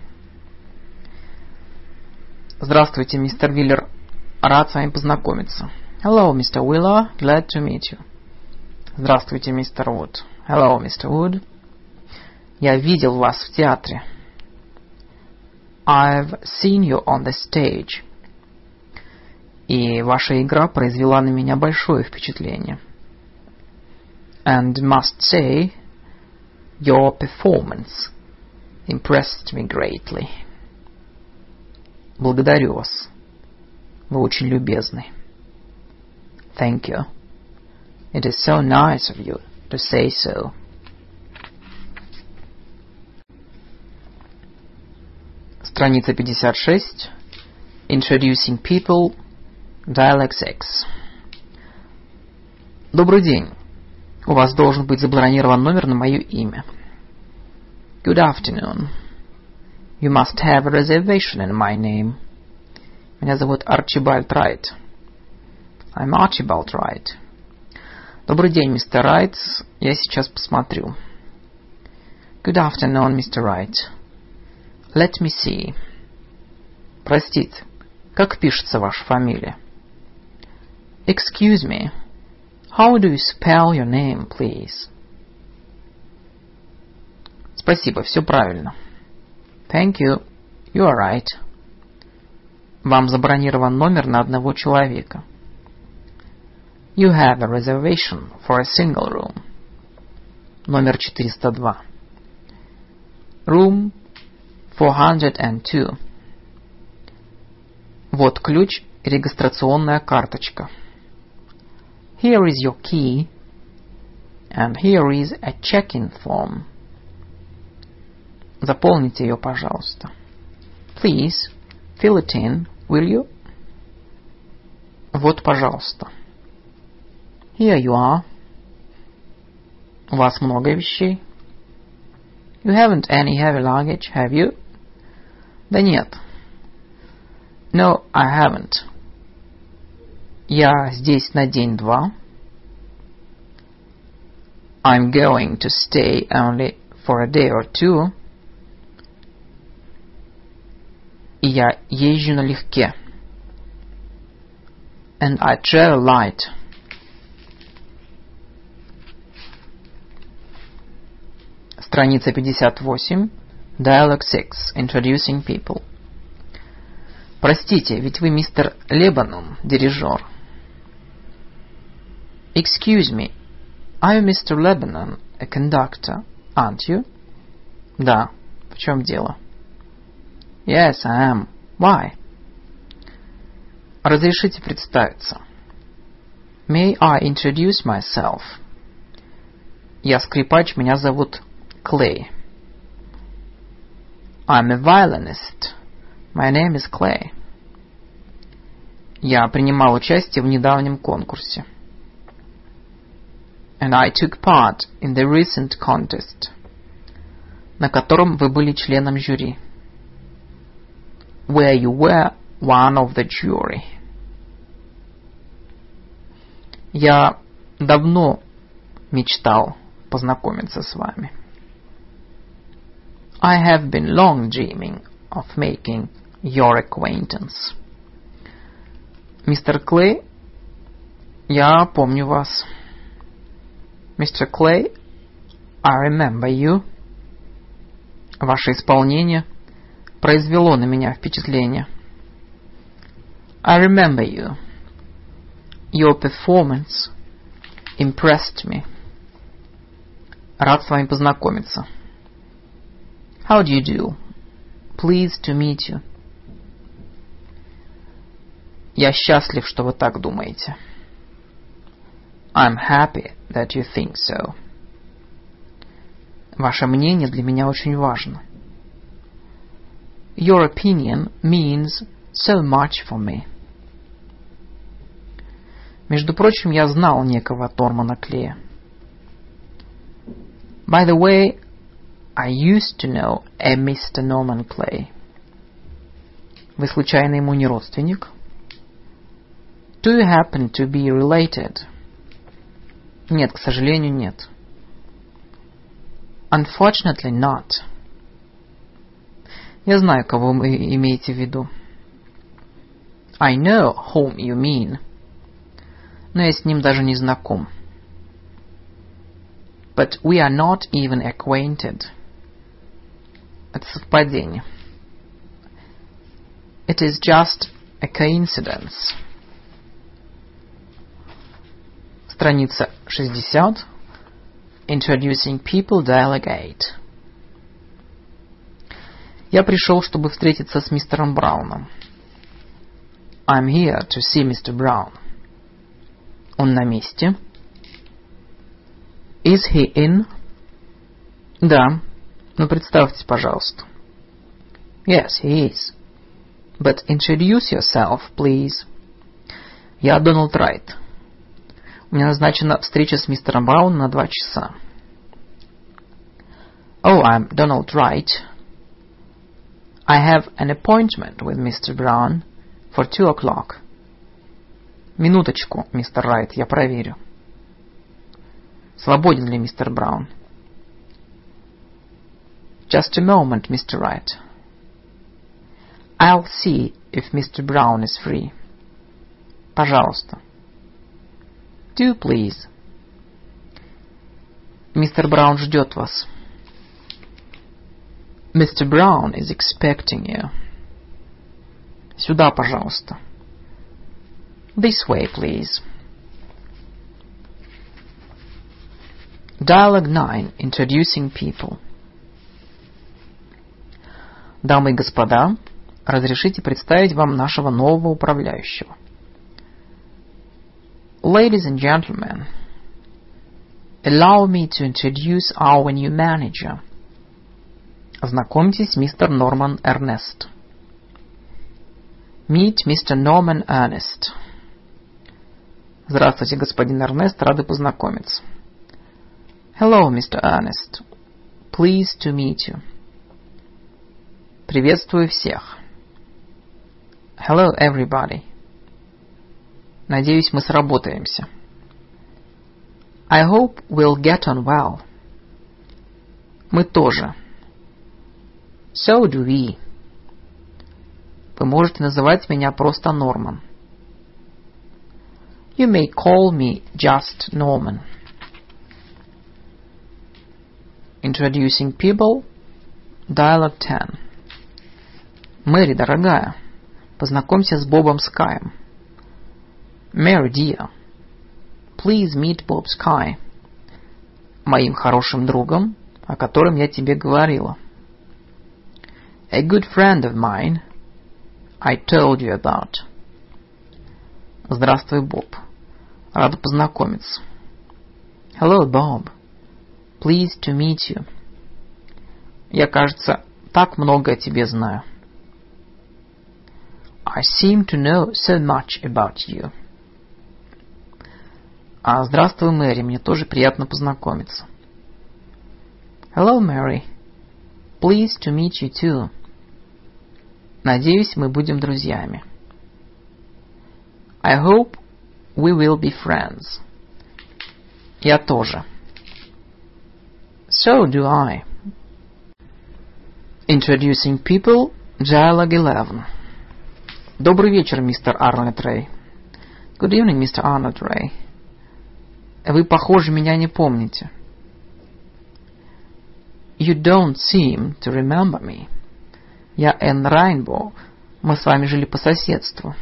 Здравствуйте, мистер Виллер. Рад с вами познакомиться. Hello, Mr. Wheeler. Glad to meet you. Здравствуйте, мистер Вуд. Hello, Mr. Wood. Я видел вас в театре. I've seen you on the stage. И ваша игра произвела на меня большое впечатление. And must say, your performance impressed me greatly. Благодарю вас. Вы очень любезны. Thank you. It is so nice of you to say so. Страница 56. Introducing People, Dialogue 6. Добрый день. У вас должен быть забронирован номер на мое имя. Good afternoon. You must have a reservation in my name. Меня зовут Арчибальд Райт. I'm Archibald Wright. Добрый день, мистер Райт. Я сейчас посмотрю. Good afternoon, Mr. Wright. Let me see. Простите, как пишется ваша фамилия? Excuse me. How do you spell your name, please? Спасибо, все правильно. Thank you. You are right. Вам забронирован номер на одного человека. You have a reservation for a single room. Номер 402. Room 402. Вот ключ и регистрационная карточка. Here is your key, and here is a check-in form. Заполните ее, пожалуйста. Please, fill it in, will you? Вот, пожалуйста. Here you are. У вас много вещей? You haven't any heavy luggage, have you? Да нет. No, I haven't. Я здесь на день-два. I'm going to stay only for a day or two. И я езжу налегке. And I travel light. Страница 58. Dialogue 6. Introducing people. Простите, ведь вы мистер Лебанон, дирижер. Excuse me, are you Mr. Lebanon, a conductor, aren't you? Да. В чем дело? Yes, I am. Why? Разрешите представиться. May I introduce myself? Я скрипач, меня зовут Клей. I'm a violinist. My name is Clay. Я принимал участие в недавнем конкурсе. And I took part in the recent contest, на котором вы были членом жюри. Where you were one of the jury. Я давно мечтал познакомиться с вами. I have been long dreaming of making your acquaintance. Мистер Клей, я помню вас. Mr. Clay, I remember you. Ваше исполнение произвело на меня впечатление. I remember you. Your performance impressed me. Рад с вами познакомиться. How do you do? Pleased to meet you. Я счастлив, что вы так думаете. I'm happy that you think so. Ваше мнение для меня очень важно. Your opinion means so much for me. Между прочим, я знал некого Нормана Клея. By the way, I used to know a Mr. Norman Clay. Вы случайно ему не родственник? Do you happen to be related? Нет, к сожалению, нет. Unfortunately not. Я знаю, кого вы имеете в виду. I know whom you mean. Но я с ним даже не знаком. But we are not even acquainted. Это совпадение. It is just a coincidence. Страница 60. Introducing people, dialogue 8. Я пришел, чтобы встретиться с мистером Брауном. I'm here to see Mr. Brown. Он на месте? Is he in? Да. Ну, представьтесь, пожалуйста. Yes, he is. But introduce yourself, please. Я Дональд Райт. У меня назначена встреча с мистером Брауном на 2 часа. Oh, I'm Donald Wright. I have an appointment with Mr. Brown for 2 o'clock. Минуточку, мистер Райт, я проверю. Свободен ли мистер Браун? Just a moment, Mr. Wright. I'll see if Mr. Brown is free. Пожалуйста. Do please. Мистер Браун ждет вас. Mr. Brown is expecting you. Сюда, пожалуйста. This way, please. Dialogue 9. Introducing people. Дамы и господа, разрешите представить вам нашего нового управляющего. Ladies and gentlemen, allow me to introduce our new manager. Знакомьтесь, мистер Норман Эрнест. Meet Mr. Norman Ernest. Здравствуйте, господин Эрнест, рады познакомиться. Hello, Mr. Ernest. Pleased to meet you. Приветствую всех. Hello, everybody. Надеюсь, мы сработаемся. I hope we'll get on well. Мы тоже. So do we. Вы можете называть меня просто Норман. You may call me just Norman. Introducing people. Dialogue 10. Мэри, дорогая, познакомься с Бобом Скайем. Mary, dear, please meet Bob Sky. Моим хорошим другом, о котором я тебе говорила. A good friend of mine I told you about. Здравствуй, Боб. Рада познакомиться. Hello, Bob. Pleased to meet you. Я, кажется, так много о тебе знаю. I seem to know so much about you. Здравствуй, Мэри, мне тоже приятно познакомиться. Hello, Mary. Pleased to meet you too. Надеюсь, мы будем друзьями. I hope we will be friends. Я тоже. So do I. Introducing people. Dialogue 11. Добрый вечер, мистер Арнольд Рэй. Good evening, Mr. Arnold Ray. Вы, похоже, меня не помните. You don't seem to remember me. Я Энн Райнбоу. Мы с вами жили по соседству.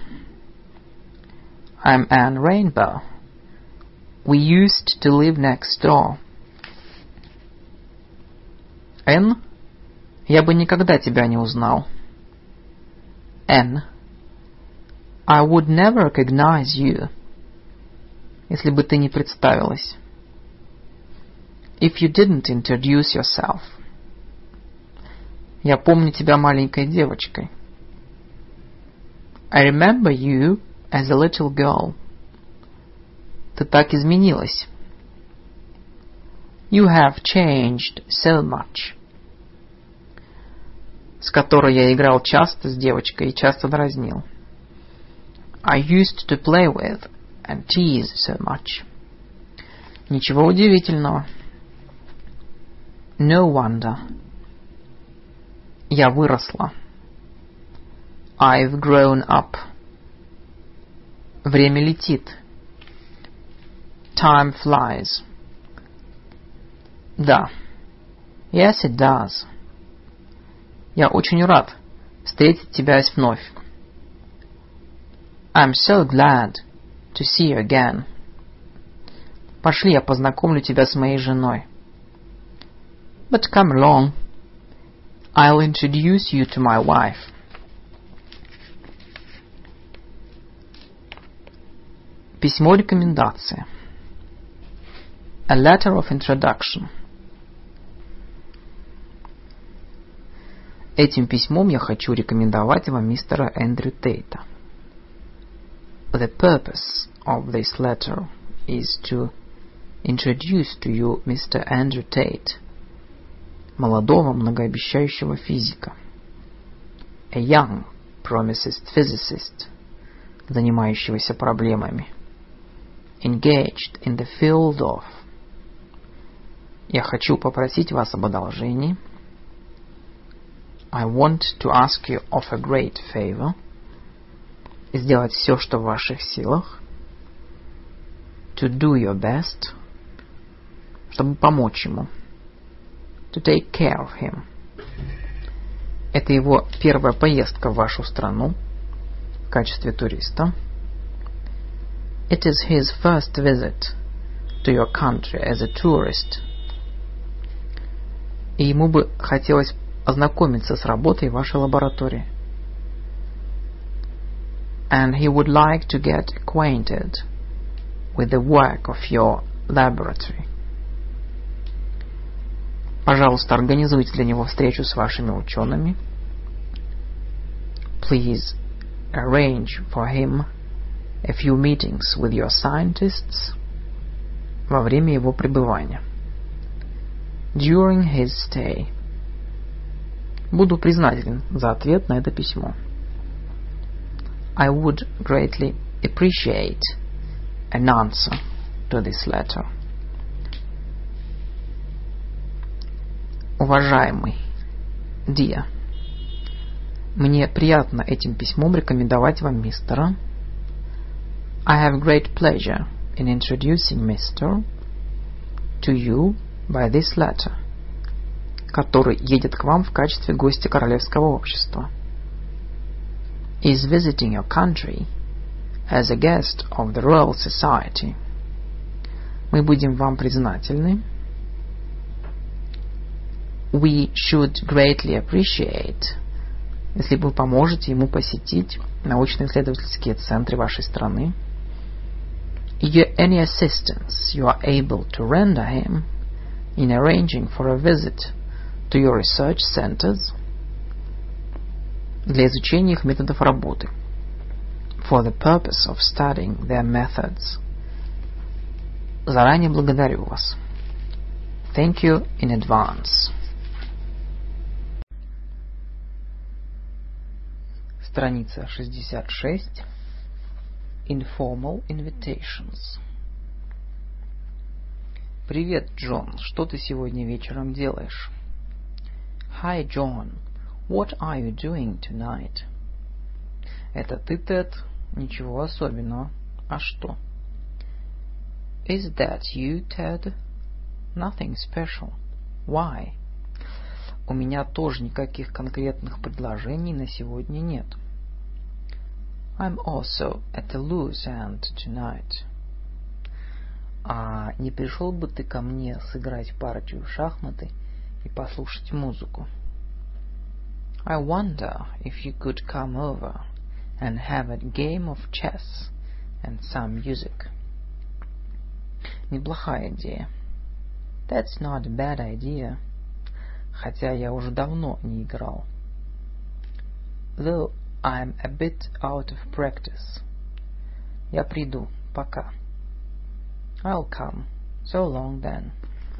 I'm Anne Rainbow. We used to live next door. Энн, я бы никогда тебя не узнал. Anne, I would never recognize you. Если бы ты не представилась. If you didn't introduce yourself. Я помню тебя маленькой девочкой. I remember you as a little girl. Ты так изменилась. You have changed so much. С которой я играл часто с девочкой и часто дразнил. I used to play with and tease so much. Ничего удивительного. No wonder. Я выросла. I've grown up. Время летит. Time flies. Да. Yes, it does. Я очень рад встретить тебя вновь. I'm so glad to see you again. Пошли, я познакомлю тебя с моей женой. But come along. I'll introduce you to my wife. Письмо рекомендации. A letter of introduction. Этим письмом я хочу рекомендовать вам мистера Эндрю Тейта. The purpose of this letter is to introduce to you Mr. Andrew Tate, молодого многообещающего физика. A young, promising physicist, занимающегося проблемами. Engaged in the field of. Я хочу попросить вас об одолжении. I want to ask you of a great favor. Сделать все, что в ваших силах. To do your best. Чтобы помочь ему. To take care of him. Это его первая поездка в вашу страну в качестве туриста. It is his first visit to your country as a tourist. И ему бы хотелось ознакомиться с работой вашей лаборатории. And he would like to get acquainted with the work of your laboratory. Пожалуйста, организуйте для него встречу с вашими учеными. Please arrange for him a few meetings with your scientists во время его пребывания. During his stay. Буду признателен за ответ на это письмо. I would greatly appreciate an answer to this letter. Уважаемый, dear, мне приятно этим письмом рекомендовать вам мистера. I have great pleasure in introducing Mr. to you by this letter, который едет к вам в качестве гостя Королевского общества. Is visiting your country as a guest of the Royal Society. Мы будем вам признательны. We should greatly appreciate, если вы поможете ему посетить научно-исследовательские центры вашей страны. Any assistance you are able to render him in arranging for a visit to your research centers для изучения их методов работы. For the purpose of studying their methods. Заранее благодарю вас. Thank you in advance. Страница 66. Informal invitations. Привет, Джон. Что ты сегодня вечером делаешь? Hi, John. What are you doing tonight? Это ты, Тед? Ничего особенного. А что? Is that you, Ted? Nothing special. Why? У меня тоже никаких конкретных предложений на сегодня нет. I'm also at a loose end tonight. А не пришел бы ты ко мне сыграть партию в шахматы и послушать музыку? I wonder if you could come over and have a game of chess and some music. Неплохая идея. That's not a bad idea. Хотя я уже давно не играл. Though I'm a bit out of practice. Я приду. Пока. I'll come. So long then.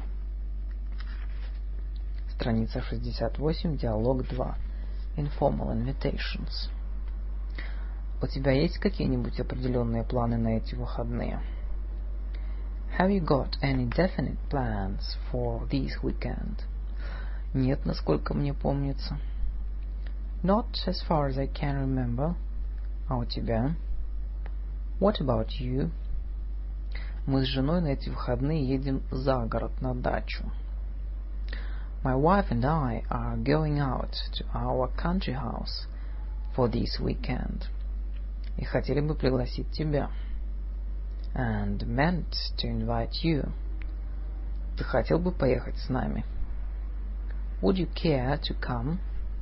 Страница 68, диалог 2. Informal invitations. У тебя есть какие-нибудь определенные планы на эти выходные? Have you got any definite plans for this weekend? Нет, насколько мне помнится. Not as far as I can remember. А у тебя? What about you? Мы с женой на эти выходные едем за город на дачу. My wife and I are going out to our country house for this weekend. И хотели бы пригласить тебя. And meant to invite you. Ты хотел бы поехать с нами? Would you care to come?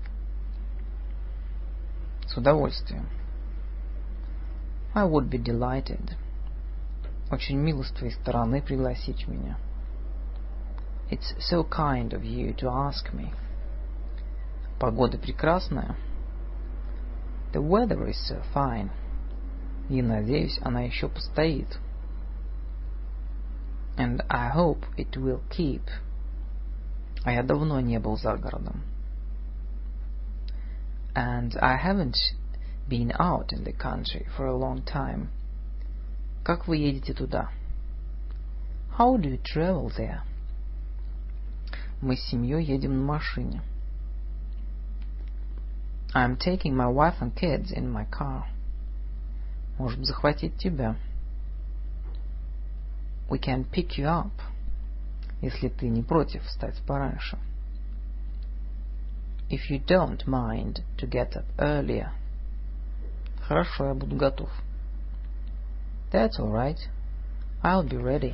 С удовольствием. I would be delighted. Очень мило с твоей стороны пригласить меня. It's so kind of you to ask me. Погода прекрасная. The weather is so fine. И, надеюсь, она еще постоит. And I hope it will keep. А я давно не был за городом. And I haven't been out in the country for a long time. Как вы едете туда? How do you travel there? Мы с семьей едем на машине. I'm taking my wife and kids in my car. Можем захватить тебя. We can pick you up, если ты не против встать пораньше. If you don't mind to get up earlier. Хорошо, я буду готов. That's all right. I'll be ready.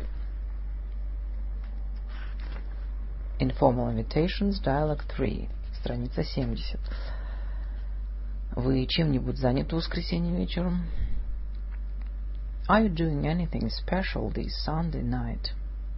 Informal Invitations, Dialogue 3, страница 70. Вы чем-нибудь заняты в воскресенье вечером? Are you doing anything special this Sunday night?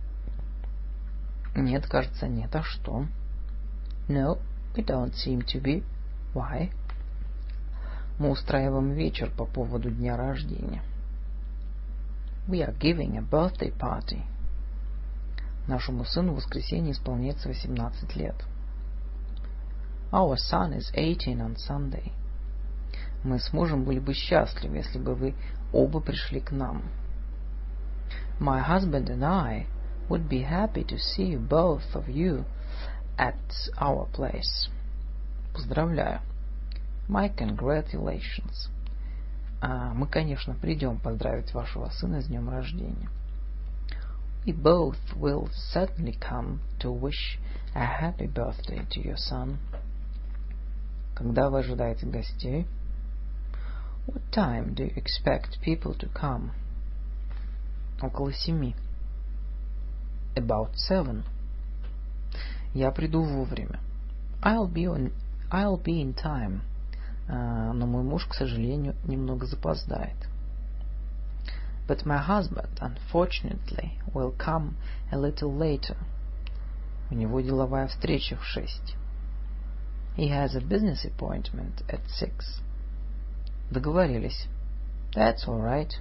Нет, кажется, нет. А что? No, we don't seem to be. Why? Мы устраиваем вечер по поводу дня рождения. We are giving a birthday party. Нашему сыну в воскресенье исполняется 18 лет. Our son is 18 on Sunday. Мы с мужем были бы счастливы, если бы вы оба пришли к нам. My husband and I would be happy to see both of you at our place. Поздравляю. My congratulations. Мы, конечно, придем поздравить вашего сына с днем рождения. We both will certainly come to wish a happy birthday to your son. Когда вы ожидаете гостей? What time do you expect people to come? Около 7. About 7. Я приду вовремя. I'll be in time. Но мой муж, к сожалению, немного запоздает. But my husband, unfortunately, will come a little later. У него деловая встреча в 6. He has a business appointment at 6. Договорились. That's all right.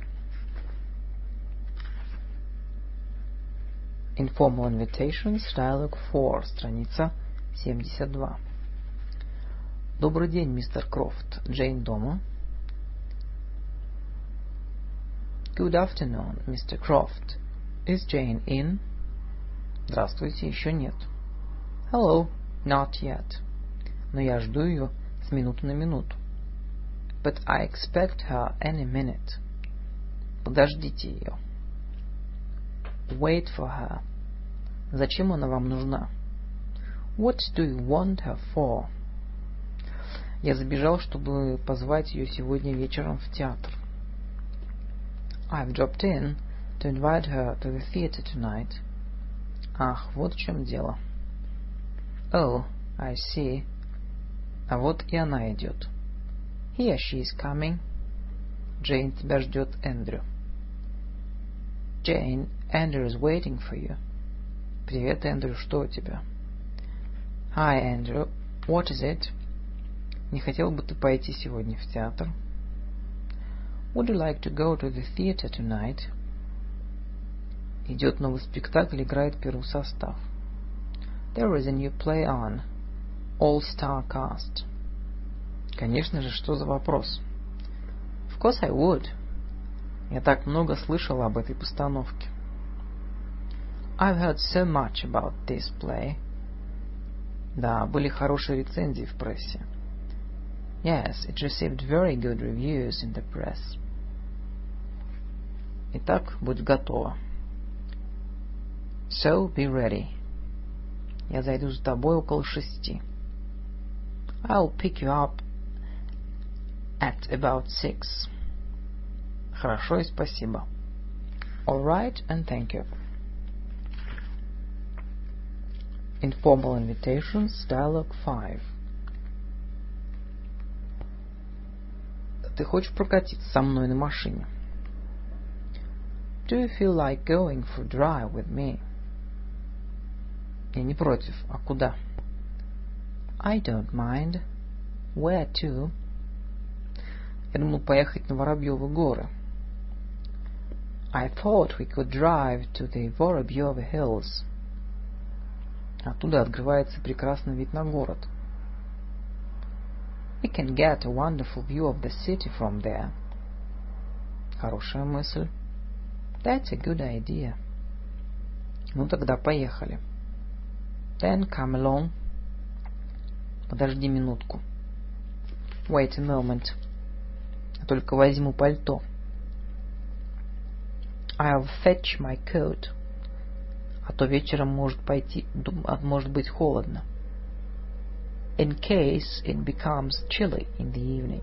Informal Invitations, Dialogue 4, страница 72. Добрый день, мистер Крофт. Джейн дома? Good afternoon, Mr. Croft. Is Jane in? Здравствуйте, еще нет. Hello, not yet. Но я жду ее с минуты на минуту. But I expect her any minute. Подождите ее. Wait for her. Зачем она вам нужна? What do you want her for? Я забежал, чтобы позвать ее сегодня вечером в театр. I've dropped in to invite her to the theater tonight. Ах, вот в чем дело. Oh, I see. А вот и она идет. Here she is coming. Джейн, тебя ждет Эндрю. Jane, Andrew is waiting for you. Привет, Эндрю, что у тебя? Hi, Andrew. What is it? Не хотел бы ты пойти сегодня в театр? Would you like to go to the theater tonight? Идет новый спектакль, играет первый состав. There is a new play on. All-star cast. Конечно же, что за вопрос? Of course I would. Я так много слышал об этой постановке. I've heard so much about this play. Да, были хорошие рецензии в прессе. Yes, it received very good reviews in the press. Итак, будь готова. So, be ready. Я зайду за тобой около 6. I'll pick you up at about 6. Хорошо и спасибо. All right and thank you. Informal Invitations, Dialogue 5. Ты хочешь прокатиться со мной на машине? Do you feel like going for a drive with me? Я не против. А куда? I don't mind. Where to? Я думал поехать на Воробьевы горы. I thought we could drive to the Воробьевы Hills. Оттуда открывается прекрасный вид на город. We can get a wonderful view of the city from there. Хорошая мысль. That's a good idea. Ну тогда поехали. Then come along. Подожди минутку. Wait a moment. Я только возьму пальто. I'll fetch my coat. А то вечером может быть холодно. In case it becomes chilly in the evening.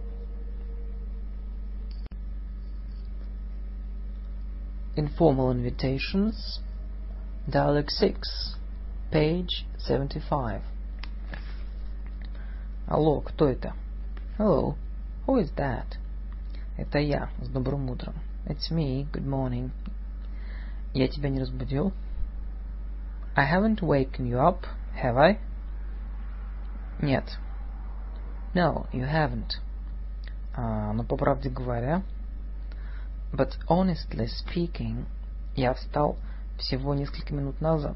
Informal invitations. Dialogue 6. Page 75. Алло, кто это? Hello, who is that? Это я, с добрым утром. It's me, good morning. Я тебя не разбудил? I haven't waken you up, have I? Нет. No, you haven't. Но по правде говоря, but honestly speaking, я встал всего несколько минут назад.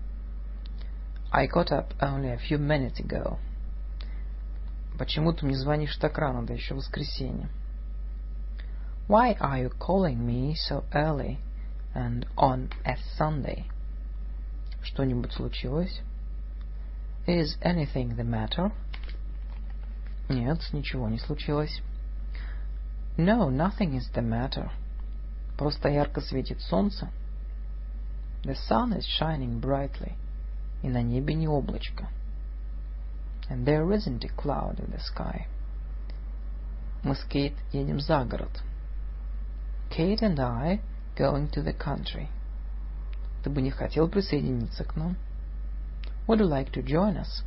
I got up only a few minutes ago. Почему ты мне звонишь так рано, да еще воскресенье? Why are you calling me so early and on a Sunday? Что-нибудь случилось? Is anything the matter? Нет, ничего не случилось. No, nothing is the matter. Просто ярко светит солнце. The sun is shining brightly. И на небе не облачко. And there isn't a cloud in the sky. Мы с Кейт едем за город. Kate and I going to the country. Ты бы не хотел присоединиться к нам? Would you like to join us?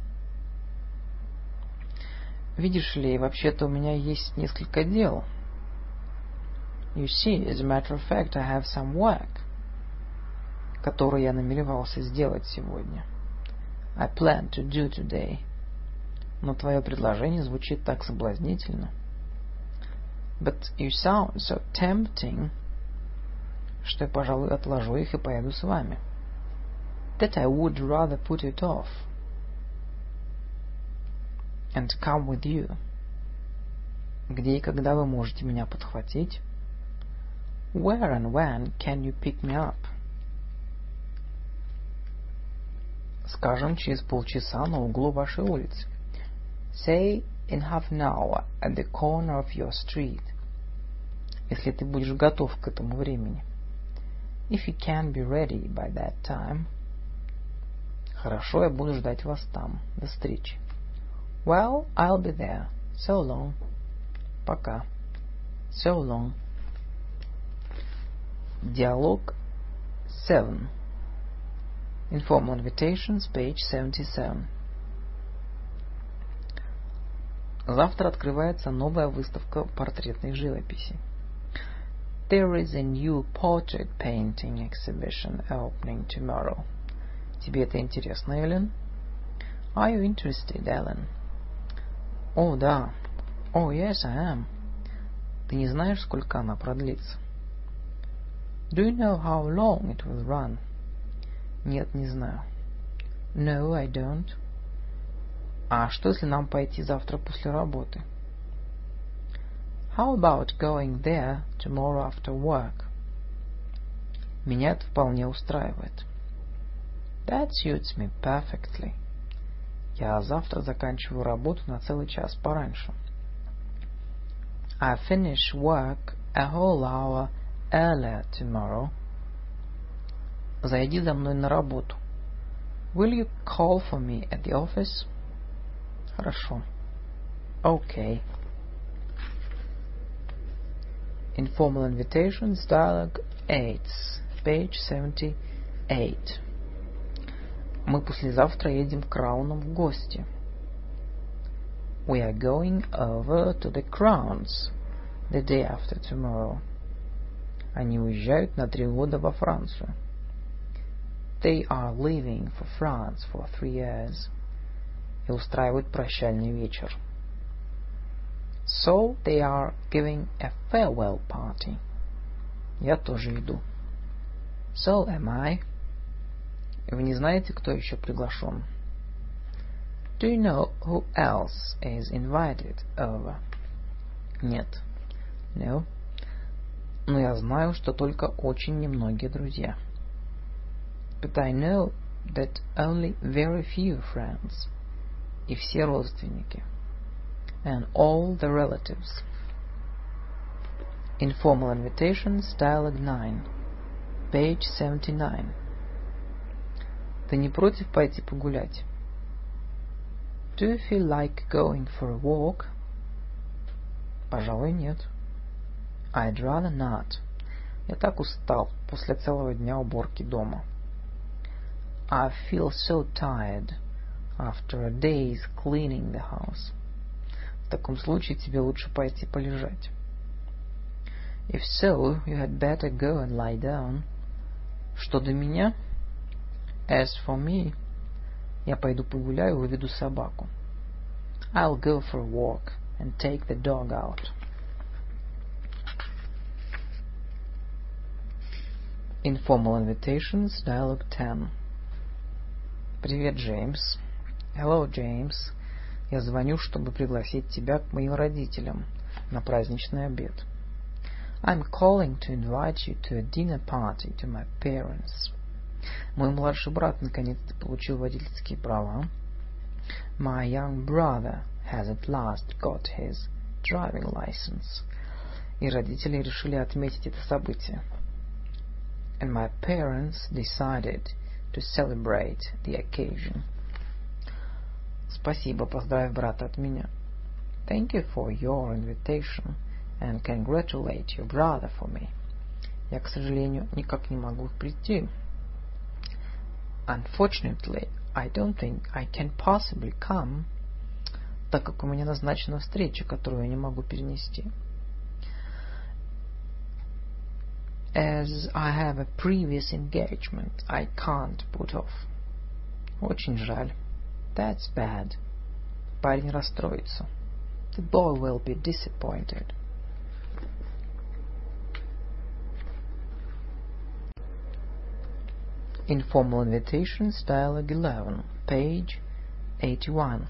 Видишь ли, вообще-то у меня есть несколько дел. You see, as a matter of fact, I have some work, который я намеревался сделать сегодня. I plan to do today. Но твое предложение звучит так соблазнительно. But you sound so tempting, что я, пожалуй, отложу их и поеду с вами. That I would rather put it off and come with you. Где и когда вы можете меня подхватить? Where and when can you pick me up? Скажем, через полчаса на углу вашей улицы. Say in half an hour at the corner of your street. Если ты будешь готов к этому времени. If you can be ready by that time. Хорошо, я буду ждать вас там. До встречи. Well, I'll be there. So long. Пока. So long. Диалог 7. Informal invitations, page 77. Завтра открывается новая выставка портретной живописи. There is a new portrait painting exhibition opening tomorrow. Тебе это интересно, Эллен? Are you interested, Ellen? О, да. Oh, yes, I am. Ты не знаешь, сколько она продлится? Do you know how long it will run? Нет, не знаю. No, I don't. А что, если нам пойти завтра после работы? How about going there tomorrow after work? Меня это вполне устраивает. That suits me perfectly. Я завтра заканчиваю работу на целый час пораньше. I finish work a whole hour earlier tomorrow. Зайди за мной на работу. Will you call for me at the office? Хорошо. Okay. Informal invitations, dialogue 8, page 78. Мы послезавтра едем к Краунам в гости. We are going over to the Crowns the day after tomorrow. Они уезжают на 3 года во Францию. They are leaving for France for 3 years. И устраивают прощальный вечер. So they are giving a farewell party. Я тоже иду. So am I. Вы не знаете, кто еще приглашен? Do you know who else is invited over? Нет. No. Но я знаю, что только очень немногие друзья. But I know that only very few friends. И все родственники. And all the relatives. Informal invitations, dialogue 9. Page 79. Ты не против пойти погулять? Do you feel like going for a walk? Пожалуй, нет. I'd rather not. Я так устал после целого дня уборки дома. I feel so tired after a day's cleaning the house. В таком случае тебе лучше пойти полежать. If so, you had better go and lie down. Что до меня? As for me, я пойду погуляю и выведу собаку. I'll go for a walk and take the dog out. Informal invitations, dialogue 10. Привет, Джеймс. Hello, James. Я звоню, чтобы пригласить тебя к моим родителям на праздничный обед. I'm calling to invite you to a dinner party to my parents. Мой младший брат наконец-то получил водительские права. My young brother has at last got his driving license. И родители решили отметить это событие. And my parents decided to celebrate the occasion. Спасибо, поздравь брата от меня. Thank you for your invitation and congratulate your brother for me. Я, к сожалению, никак не могу прийти. Unfortunately, I don't think I can possibly come, так как у меня назначена встреча, которую я не могу перенести. As I have a previous engagement, I can't put off. Очень жаль. That's bad. Парень расстроится. The boy will be disappointed. Informal invitations, dialogue 11, page 81.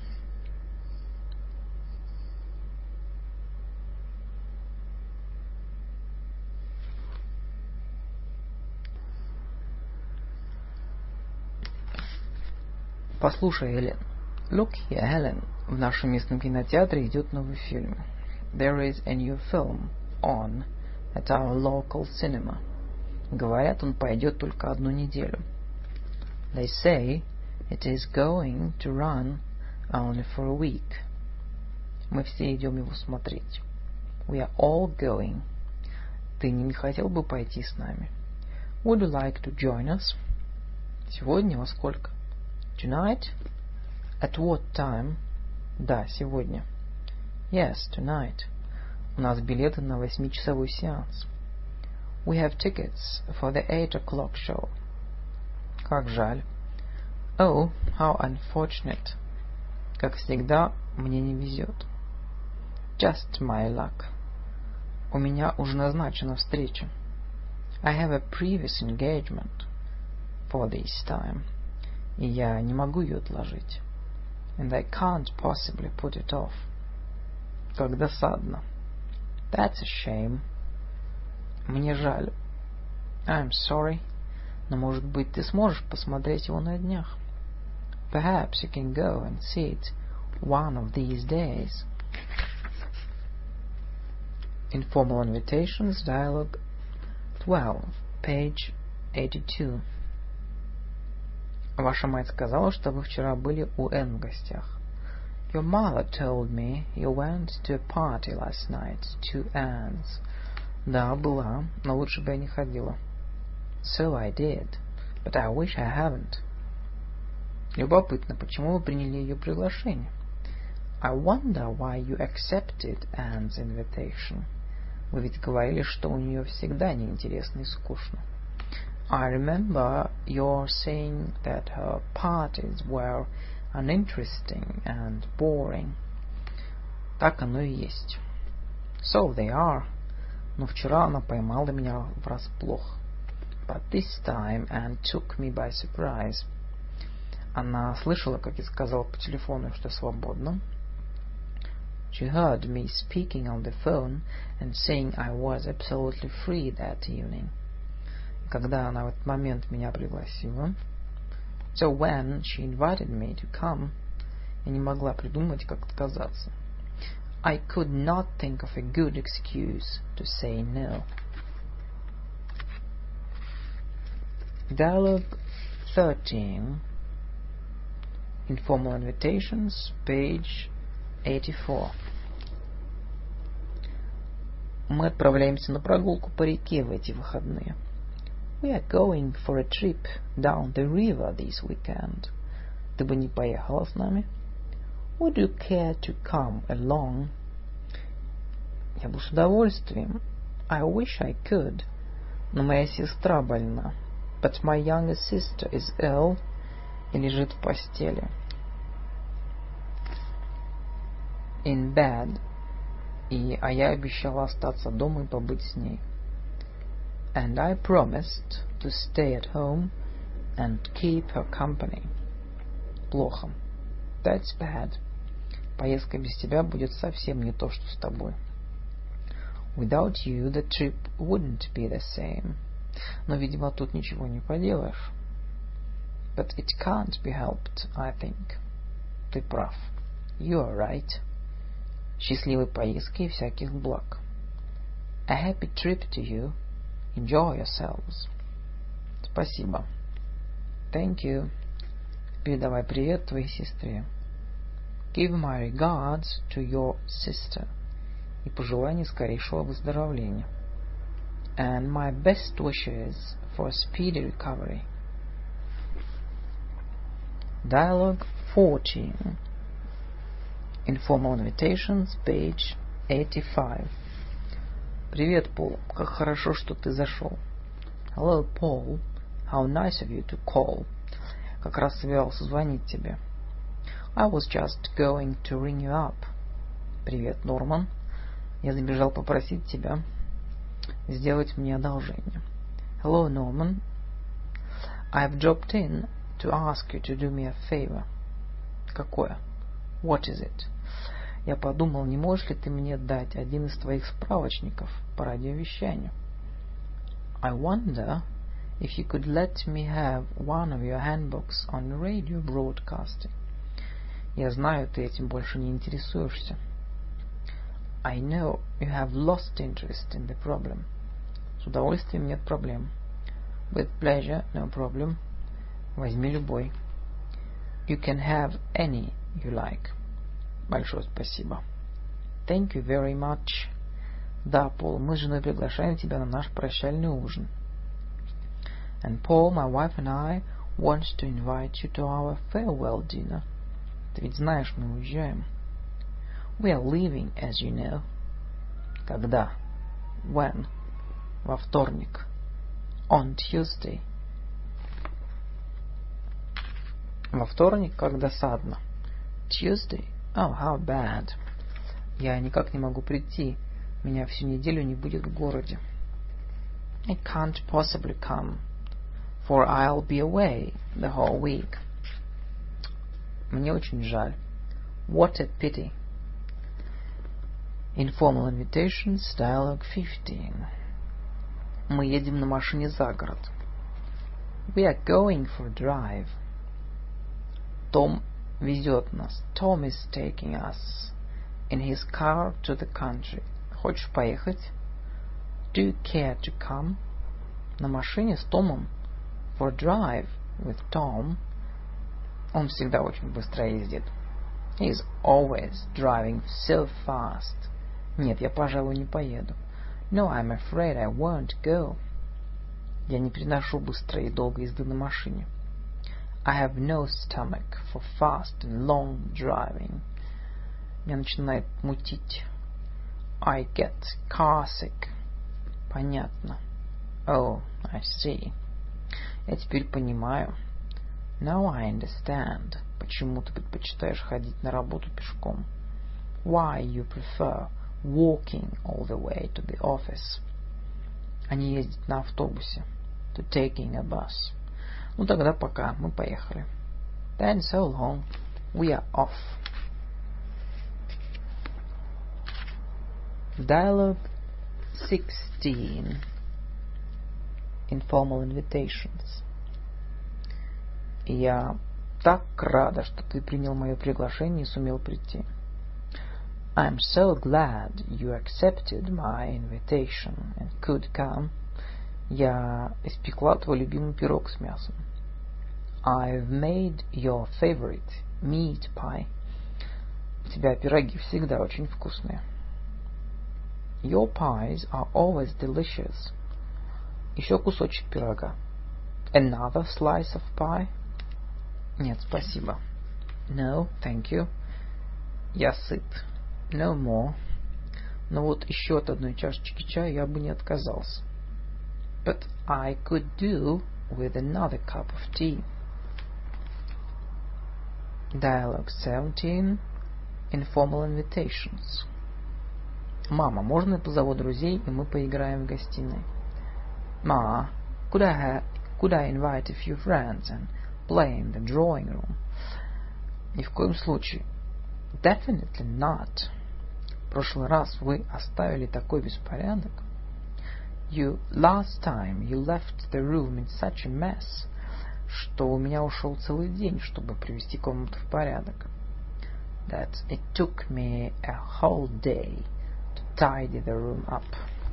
Послушай, Эллен. Look here, Helen. В нашем местном кинотеатре идет новый фильм. There is a new film on at our local cinema. Говорят, он пойдет только одну неделю. They say it is going to run only for a week. Мы все идем его смотреть. We are all going. Ты не хотел бы пойти с нами? Would you like to join us? Сегодня во сколько? Tonight? At what time? Да, сегодня. Yes, tonight. У нас билеты на 8-часовой сеанс. We have tickets for the 8 o'clock show. Как жаль. Oh, how unfortunate. Как всегда, мне не везет. Just my luck. У меня уже назначена встреча. I have a previous engagement for this time. И я не могу ее отложить. And I can't possibly put it off. Как досадно. That's a shame. Мне жаль. I'm sorry. Но, может быть, ты сможешь посмотреть его на днях. Perhaps you can go and see it one of these days. Informal invitations, dialogue 12, page 82. Ваша мать сказала, что вы вчера были у Энн в гостях. Your mother told me you went to a party last night to Anne's. Да, была, но лучше бы я не ходила. So I did, but I wish I haven't. Любопытно, почему вы приняли ее приглашение? I wonder why you accepted Anne's invitation. Вы ведь говорили, что у нее всегда неинтересно и скучно. I remember your saying that her parties were uninteresting and boring. Так оно и есть. So they are. Но вчера она поймала меня врасплох. But this time Anne took me by surprise. Она слышала, как я сказал по телефону, что свободна. She heard me speaking on the phone and saying I was absolutely free that evening. Когда она в этот момент меня пригласила, so when she invited me to come, я не могла придумать, как отказаться. I could not think of a good excuse to say no. Dialogue 13. Informal invitations, page 84. Мы отправляемся на прогулку по реке в эти выходные. We are going for a trip down the river this weekend. Ты бы не поехала с нами? Would you care to come along? Я бы с удовольствием. I wish I could. Но моя сестра больна. But my younger sister is ill и лежит в постели. In bed. А я обещала остаться дома и побыть с ней. And I promised to stay at home and keep her company. Плохо. That's bad. Поездка без тебя будет совсем не то, что с тобой. Without you, the trip wouldn't be the same. Но, видимо, тут ничего не поделаешь. But it can't be helped, I think. Ты прав. You're right. Счастливой поездки и всяких благ. A happy trip to you. Enjoy yourselves. Спасибо. Thank you. Передавай привет твоей сестре. Give my regards to your sister. И пожелай скорейшего выздоровления. And my best wishes for speedy recovery. Dialogue 14. Informal invitations, page 85. Привет, Пол. Как хорошо, что ты зашел. Hello, Paul. How nice of you to call. Как раз собирался звонить тебе. I was just going to ring you up. Привет, Норман. Я забежал попросить тебя сделать мне одолжение. Hello, Norman. I've dropped in to ask you to do me a favor. Какое? What is it? Я подумал, не можешь ли ты мне дать один из твоих справочников по радиовещанию? I wonder if you could let me have one of your handbooks on radio broadcasting. Я знаю, ты этим больше не интересуешься. I know you have lost interest in the problem. С удовольствием, нет проблем. With pleasure, no problem. Возьми любой. You can have any you like. Большое спасибо. Thank you very much. Да, Пол, мы с женой приглашаем тебя на наш прощальный ужин. And Paul, my wife and I want to invite you to our farewell dinner. Ты ведь знаешь, мы уезжаем. We are leaving, as you know. Когда? When? Во вторник. On Tuesday. Во вторник, как досадно. Tuesday? Oh, how bad. Я никак не могу прийти. Меня всю неделю не будет в городе. I can't possibly come, for I'll be away the whole week. Мне очень жаль. What a pity. Informal invitations, dialogue 15. Мы едем на машине за город. We are going for a drive. Том везет нас. Tom is taking us in his car to the country. Хочешь поехать? Do you care to come? На машине с Томом. For a drive with Tom. Он всегда очень быстро ездит. He is always driving so fast. Нет, я, пожалуй, не поеду. No, I'm afraid I won't go. Я не переношу быстрой и долгой езды на машине. I have no stomach for fast and long driving. Меня начинает мутить. I get car sick. Понятно. Oh, I see. Я теперь понимаю. Now I understand. Почему ты предпочитаешь ходить на работу пешком? Why you prefer walking all the way to the office. А не ездить на автобусе. To taking a bus. Ну тогда пока, мы поехали. Then so long. We are off. Dialogue 16. Informal invitations. Я так рада, что ты принял мое приглашение и сумел прийти. I'm so glad you accepted my invitation and could come. Я испекла твой любимый пирог с мясом. I've made your favorite meat pie. У тебя пироги всегда очень вкусные. Your pies are always delicious. Еще кусочек пирога. Another slice of pie? Нет, спасибо. No, thank you. Я сыт. No more. Но вот еще от одной чашечки чая я бы не отказался. But I could do with another cup of tea. Dialogue 17. Informal invitations. Мама, можно я позову друзей, и мы поиграем в гостиной? Ma, could I invite a few friends and play in the drawing room? Ни в коем случае. Definitely not. В прошлый раз вы оставили такой беспорядок. Last time you left the room in such a mess, что у меня ушел целый день, чтобы привести комнату в порядок. That it took me a whole day to tidy the room up.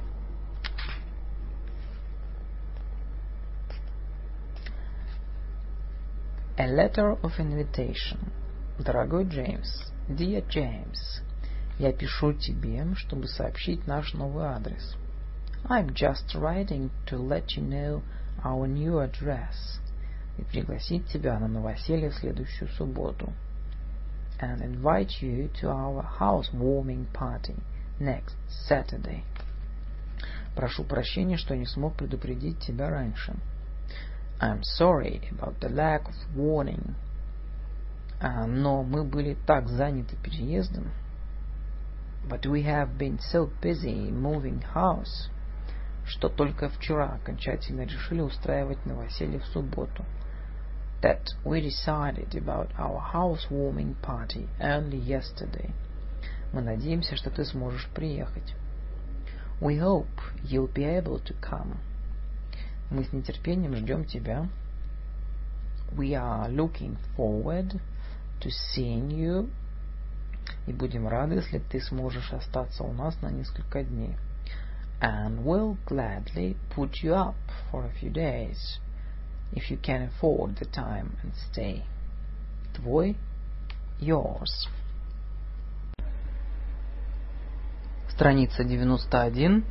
A letter of invitation. Дорогой Джеймс, Dear James, я пишу тебе, чтобы сообщить наш новый адрес. I'm just writing to let you know our new address. И пригласить тебя на новоселье в следующую субботу. And invite you to our housewarming party next Saturday. Прошу прощения, что не смог предупредить тебя раньше. I'm sorry about the lack of warning. Но мы были так заняты переездом. But we have been so busy moving house, что только вчера окончательно решили устраивать новоселье в субботу. That we decided about our housewarming party only yesterday. Мы надеемся, что ты сможешь приехать. We hope you'll be able to come. Мы с нетерпением ждем тебя. We are looking forward to seeing you. И будем рады, если ты сможешь остаться у нас на несколько дней. And we'll gladly put you up for a few days, if you can afford the time and stay. Твой, yours. Страница 91.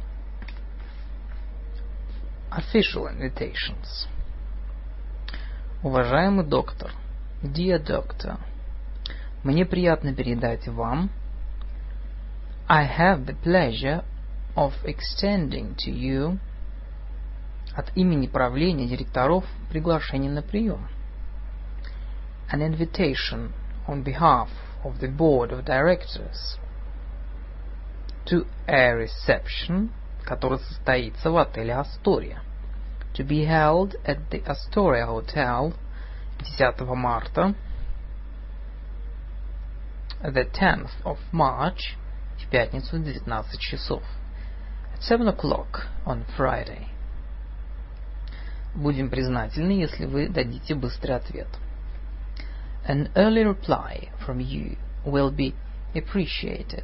Official invitations. Уважаемый доктор, Dear Doctor, мне приятно передать вам. I have the pleasure of extending to you от имени правления директоров приглашение на прием. An invitation on behalf of the board of directors to a reception, который состоится в отеле Astoria, to be held at the Astoria Hotel 10 марта, the 10th of March, в пятницу в 19 часов, at 7 o'clock on Friday. Будем признательны, если вы дадите быстрый ответ. An early reply from you will be appreciated.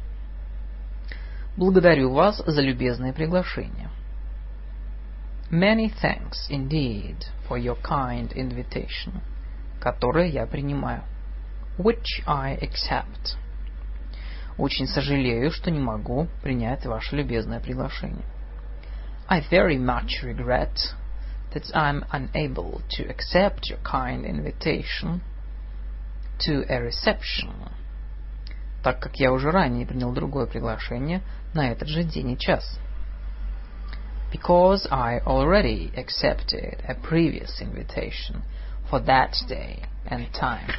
Благодарю вас за любезное приглашение. Many thanks indeed for your kind invitation, которое я принимаю, which I accept. Очень сожалею, что не могу принять ваше любезное приглашение. I very much regret that I'm unable to accept your kind invitation to a reception, так как я уже ранее принял другое приглашение на этот же день и час. Because I already accepted a previous invitation for that day and time.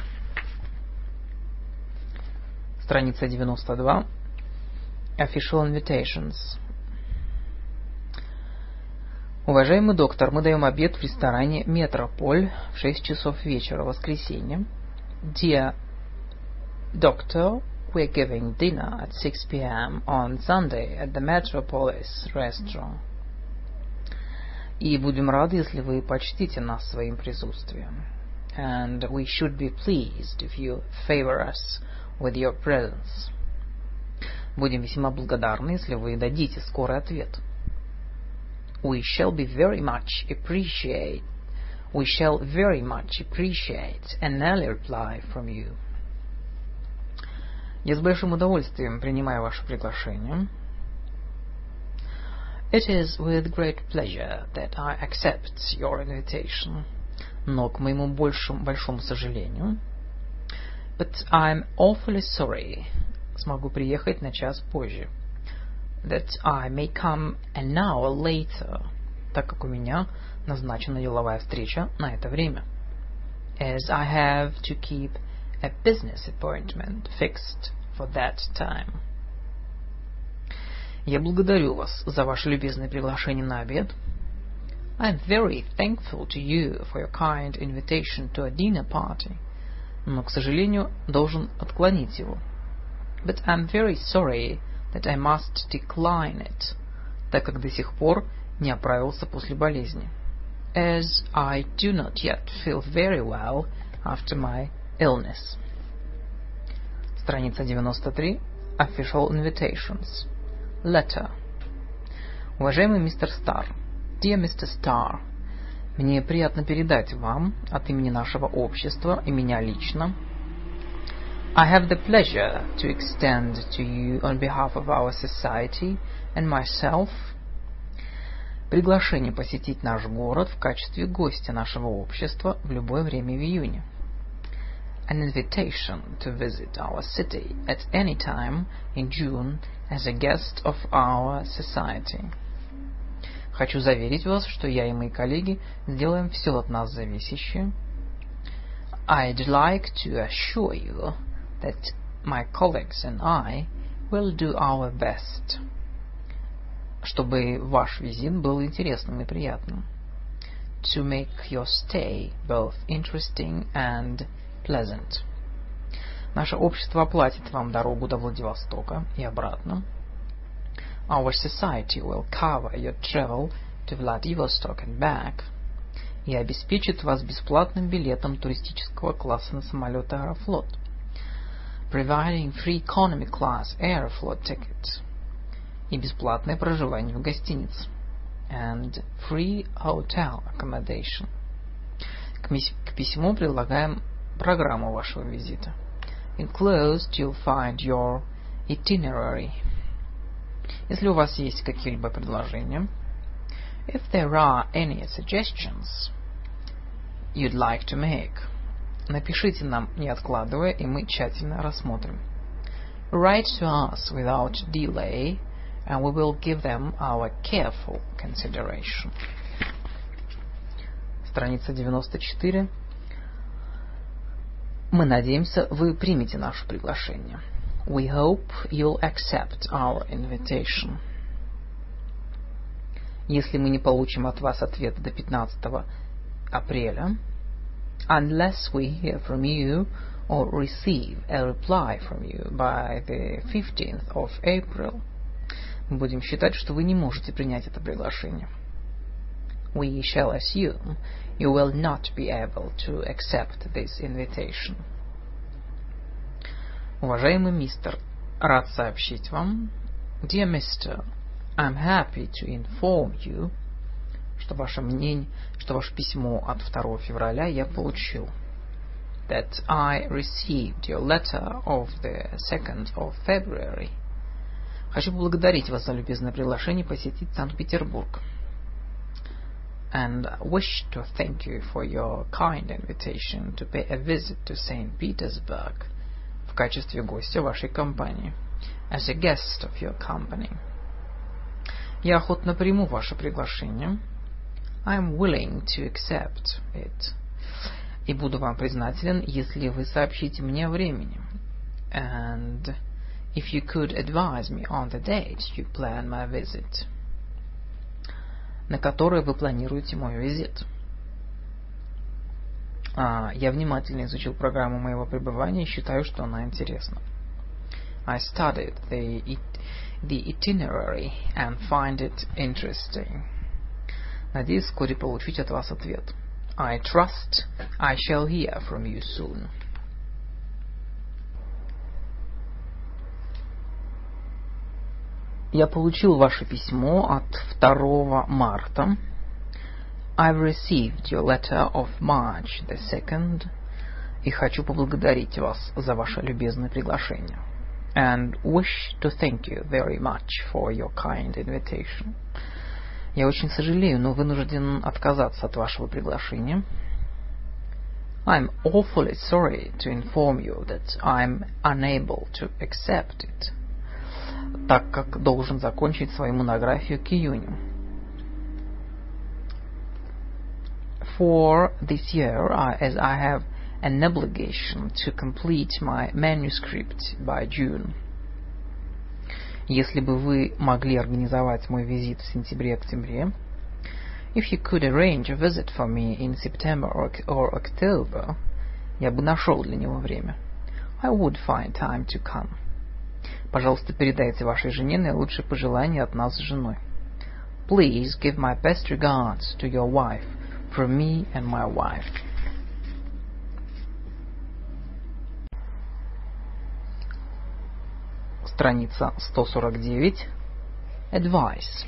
Страница 92. Official invitations. Уважаемый доктор, мы даем обед в ресторане Метрополь в 6 часов вечера в воскресенье. Dear doctor, we're giving dinner at 6 p.m. on Sunday at the Metropolis restaurant. И будем рады, если вы почтите нас своим присутствием. And we should be pleased if you favor us with your presence. Будем весьма благодарны, если вы дадите скорый ответ. We shall very much appreciate an early reply from you. Я с большим удовольствием принимаю ваше приглашение. It is with great pleasure that I accept your invitation. Но к моему большому сожалению, but I'm awfully sorry, смогу приехать на час позже, that I may come an hour later, так как у меня назначена деловая встреча на это время, as I have to keep a business appointment fixed for that time. Я благодарю вас за ваше любезное приглашение на обед. I'm very thankful to you for your kind invitation to a dinner party. Но, к сожалению, должен отклонить его. But I'm very sorry that I must decline it, так как до сих пор не оправился после болезни. As I do not yet feel very well after my illness. Страница 93. Official invitations. Letter. Уважаемый мистер Старр, Dear Mr. Starr, мне приятно передать вам от имени нашего общества и меня лично I have the pleasure to extend to you on behalf of our society and myself приглашение посетить наш город в качестве гостя нашего общества в любое время в июне. An invitation to visit our city at any time in June as a guest of our society. Хочу заверить вас, что я и мои коллеги сделаем все от нас зависящее. I'd like to assure you that my colleagues and I will do our best, чтобы ваш визит был интересным и приятным. To make your stay both interesting and pleasant. Наше общество оплатит вам дорогу до Владивостока и обратно. Our society will cover your travel to Vladivostok and back. И обеспечит вас бесплатным билетом туристического класса на самолет Аэрофлот. Providing free economy class Aeroflot ticket. И бесплатное проживание в гостинице. And free hotel accommodation. К письму прилагаем программу вашего визита. Enclosed you'll find your itinerary. Если у вас есть какие-либо предложения, if there are any suggestions you'd like to make, напишите нам, не откладывая, и мы тщательно рассмотрим. Write to us without delay, and we will give them our careful consideration. Страница 94. Мы надеемся, вы примете наше приглашение. We hope you'll accept our invitation. Если мы не получим от вас ответа до 15 апреля, unless we hear from you or receive a reply from you by the 15th of April, мы будем считать, что вы не можете принять это приглашение. We shall assume you will not be able to accept this invitation. Уважаемый мистер, рад сообщить вам, Dear Mr., I'm happy to inform you, что ваше письмо от 2 февраля я получил. That I received your letter of the 2nd of February. Хочу поблагодарить вас за любезное приглашение посетить Санкт-Петербург. And wish to thank you for your kind invitation to pay a visit to St. Petersburg в качестве гостя вашей компании. As a guest of your company. Я охотно приму ваше приглашение. I'm willing to accept it. И буду вам признателен, если вы сообщите мне о времени. And if you could advise me on the date you plan my visit. на которые вы планируете мой визит. Я внимательно изучил программу моего пребывания и считаю, что она интересна. I studied the itinerary and find it interesting. Надеюсь вскоре получить от вас ответ. I trust I shall hear from you soon. Я получил ваше письмо от 2 марта. I've received your letter of March the 2nd и хочу поблагодарить вас за ваше любезное приглашение. And wish to thank you very much for your kind invitation. Я очень сожалею, но вынужден отказаться от вашего приглашения. I'm awfully sorry to inform you that I'm unable to accept it, так как должен закончить свою монографию к июню. For this year, as I have an obligation to complete my manuscript by June. Если бы вы могли организовать мой визит в сентябре-октябре, if you could arrange a visit for me in September or October, я бы нашел для него время. I would find time to come. Пожалуйста, передайте вашей жене наилучшие пожелания от нас с женой. Please give my best regards to your wife from me and my wife. Страница 149. Advice.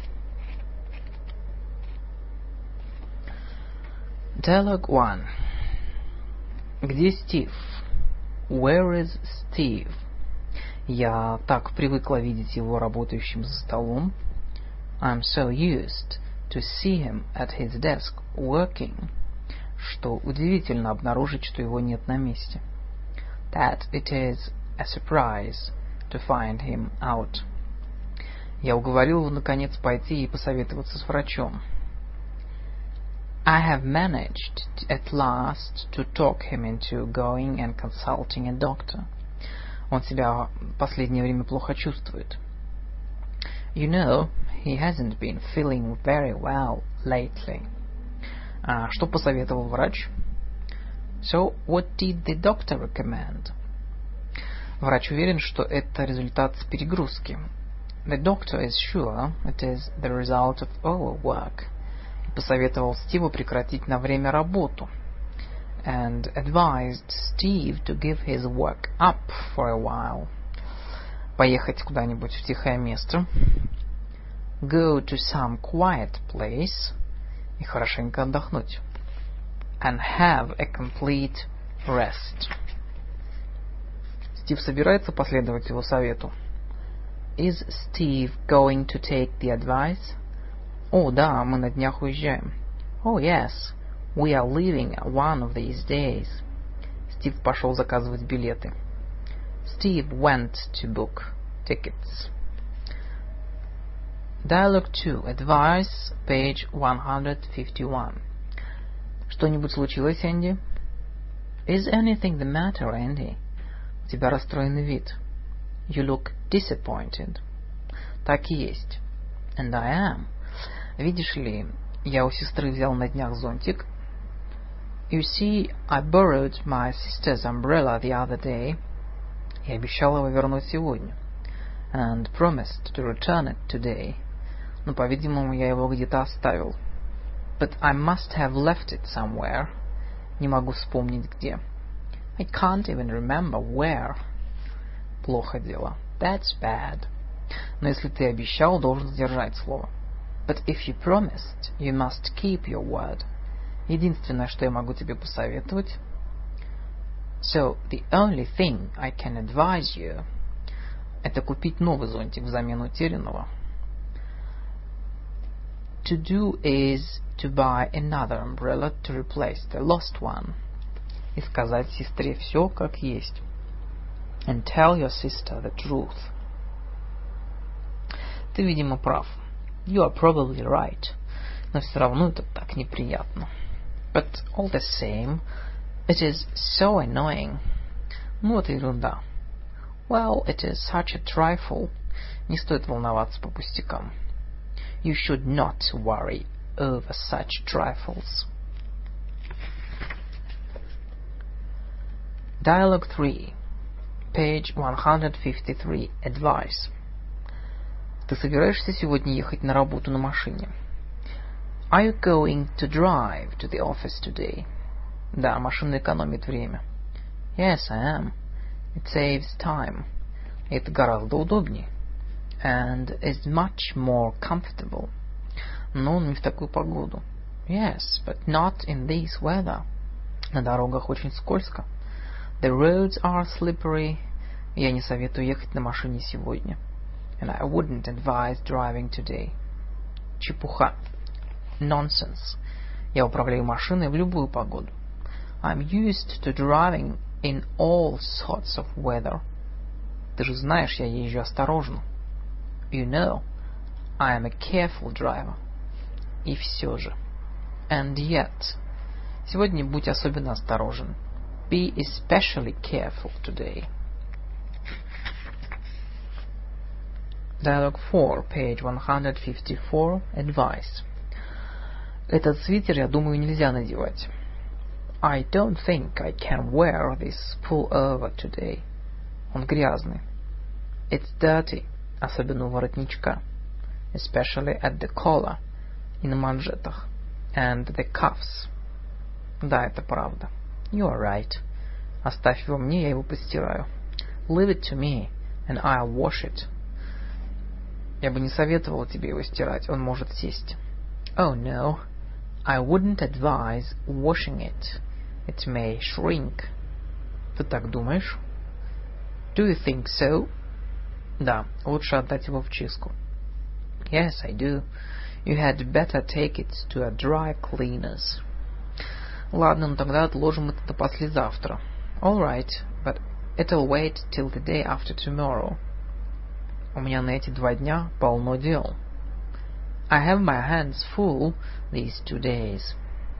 Dialogue 1. Где Стив? Where is Steve? Я так привыкла видеть его работающим за столом. I'm so used to see him at his desk working, что удивительно обнаружить, что его нет на месте. That it is a surprise to find him out. Я уговорил его, наконец, пойти и посоветоваться с врачом. I have managed at last to talk him into going and consulting a doctor. Он себя в последнее время плохо чувствует. You know, he hasn't been feeling very well lately. Что посоветовал врач? So, what did the doctor recommend? Врач уверен, что это результат перегрузки. The doctor is sure it is the result of overwork. И посоветовал Стиву прекратить на время работу. And advised Steve to give his work up for a while. Поехать куда-нибудь в тихое место. Go to some quiet place. И хорошенько отдохнуть. And have a complete rest. Стив собирается последовать его совету. Is Steve going to take the advice? О, да, мы на днях уезжаем. Oh, yes, we are leaving one of these days. Стив пошел заказывать билеты. Steve went to book tickets. Dialogue 2. Advice, page 151. Что-нибудь случилось, Энди? Is anything the matter, Andy? У тебя расстроенный вид. You look disappointed. Так и есть. And I am. Видишь ли, я у сестры взял на днях зонтик. You see, I borrowed my sister's umbrella the other day. И обещал его вернуть сегодня. And promised to return it today. Но, по-видимому, я его где-то оставил. But I must have left it somewhere. Не могу вспомнить где. I can't even remember where. Плохо дело. That's bad. Но если ты обещал, должен сдержать слово. But if you promised, you must keep your word. Единственное, что я могу тебе посоветовать. So, the only thing I can advise you, это купить новый зонтик взамен утерянного. To do is to buy another umbrella to replace the lost one. И сказать сестре все как есть. And tell your sister the truth. Ты, видимо, прав. You are probably right. Но все равно это так неприятно. But all the same, it is so annoying. Ну, это ерунда. Well, it is such a trifle. Не стоит волноваться по пустякам. You should not worry over such trifles. Dialogue 3. Page 153. Advice. Ты собираешься сегодня ехать на работу на машине? Are you going to drive to the office today? Да, машина экономит время. Yes, I am. It saves time. Это гораздо удобнее. And is much more comfortable. Но не в такую погоду. Yes, but not in this weather. На дорогах очень скользко. The roads are slippery. Я не советую ехать на машине сегодня. And I wouldn't advise driving today. Чепуха. Nonsense. Я управляю машиной в любую погоду. I'm used to driving in all sorts of weather. Ты же знаешь, я езжу осторожно. You know, I am a careful driver. И все же. And yet. Сегодня будь особенно осторожен. Be especially careful today. Dialogue 4, page 154. Advice. Этот свитер, я думаю, нельзя надевать. I don't think I can wear this pullover today. Он грязный. It's dirty, особенно у воротничка. Especially at the collar, и на манжетах. And the cuffs. Да, это правда. You are right. Оставь его мне, я его постираю. Leave it to me, and I'll wash it. Я бы не советовала тебе его стирать, он может сесть. Oh no, I wouldn't advise washing it. It may shrink. Ты так думаешь? Do you think so? Да, лучше отдать его в чистку. Yes, I do. You had better take it to a dry cleaner's. Ладно, ну тогда отложим это до послезавтра. All right, but it'll wait till the day after tomorrow. У меня на эти 2 дня полно дел. I have my hands full these 2 days.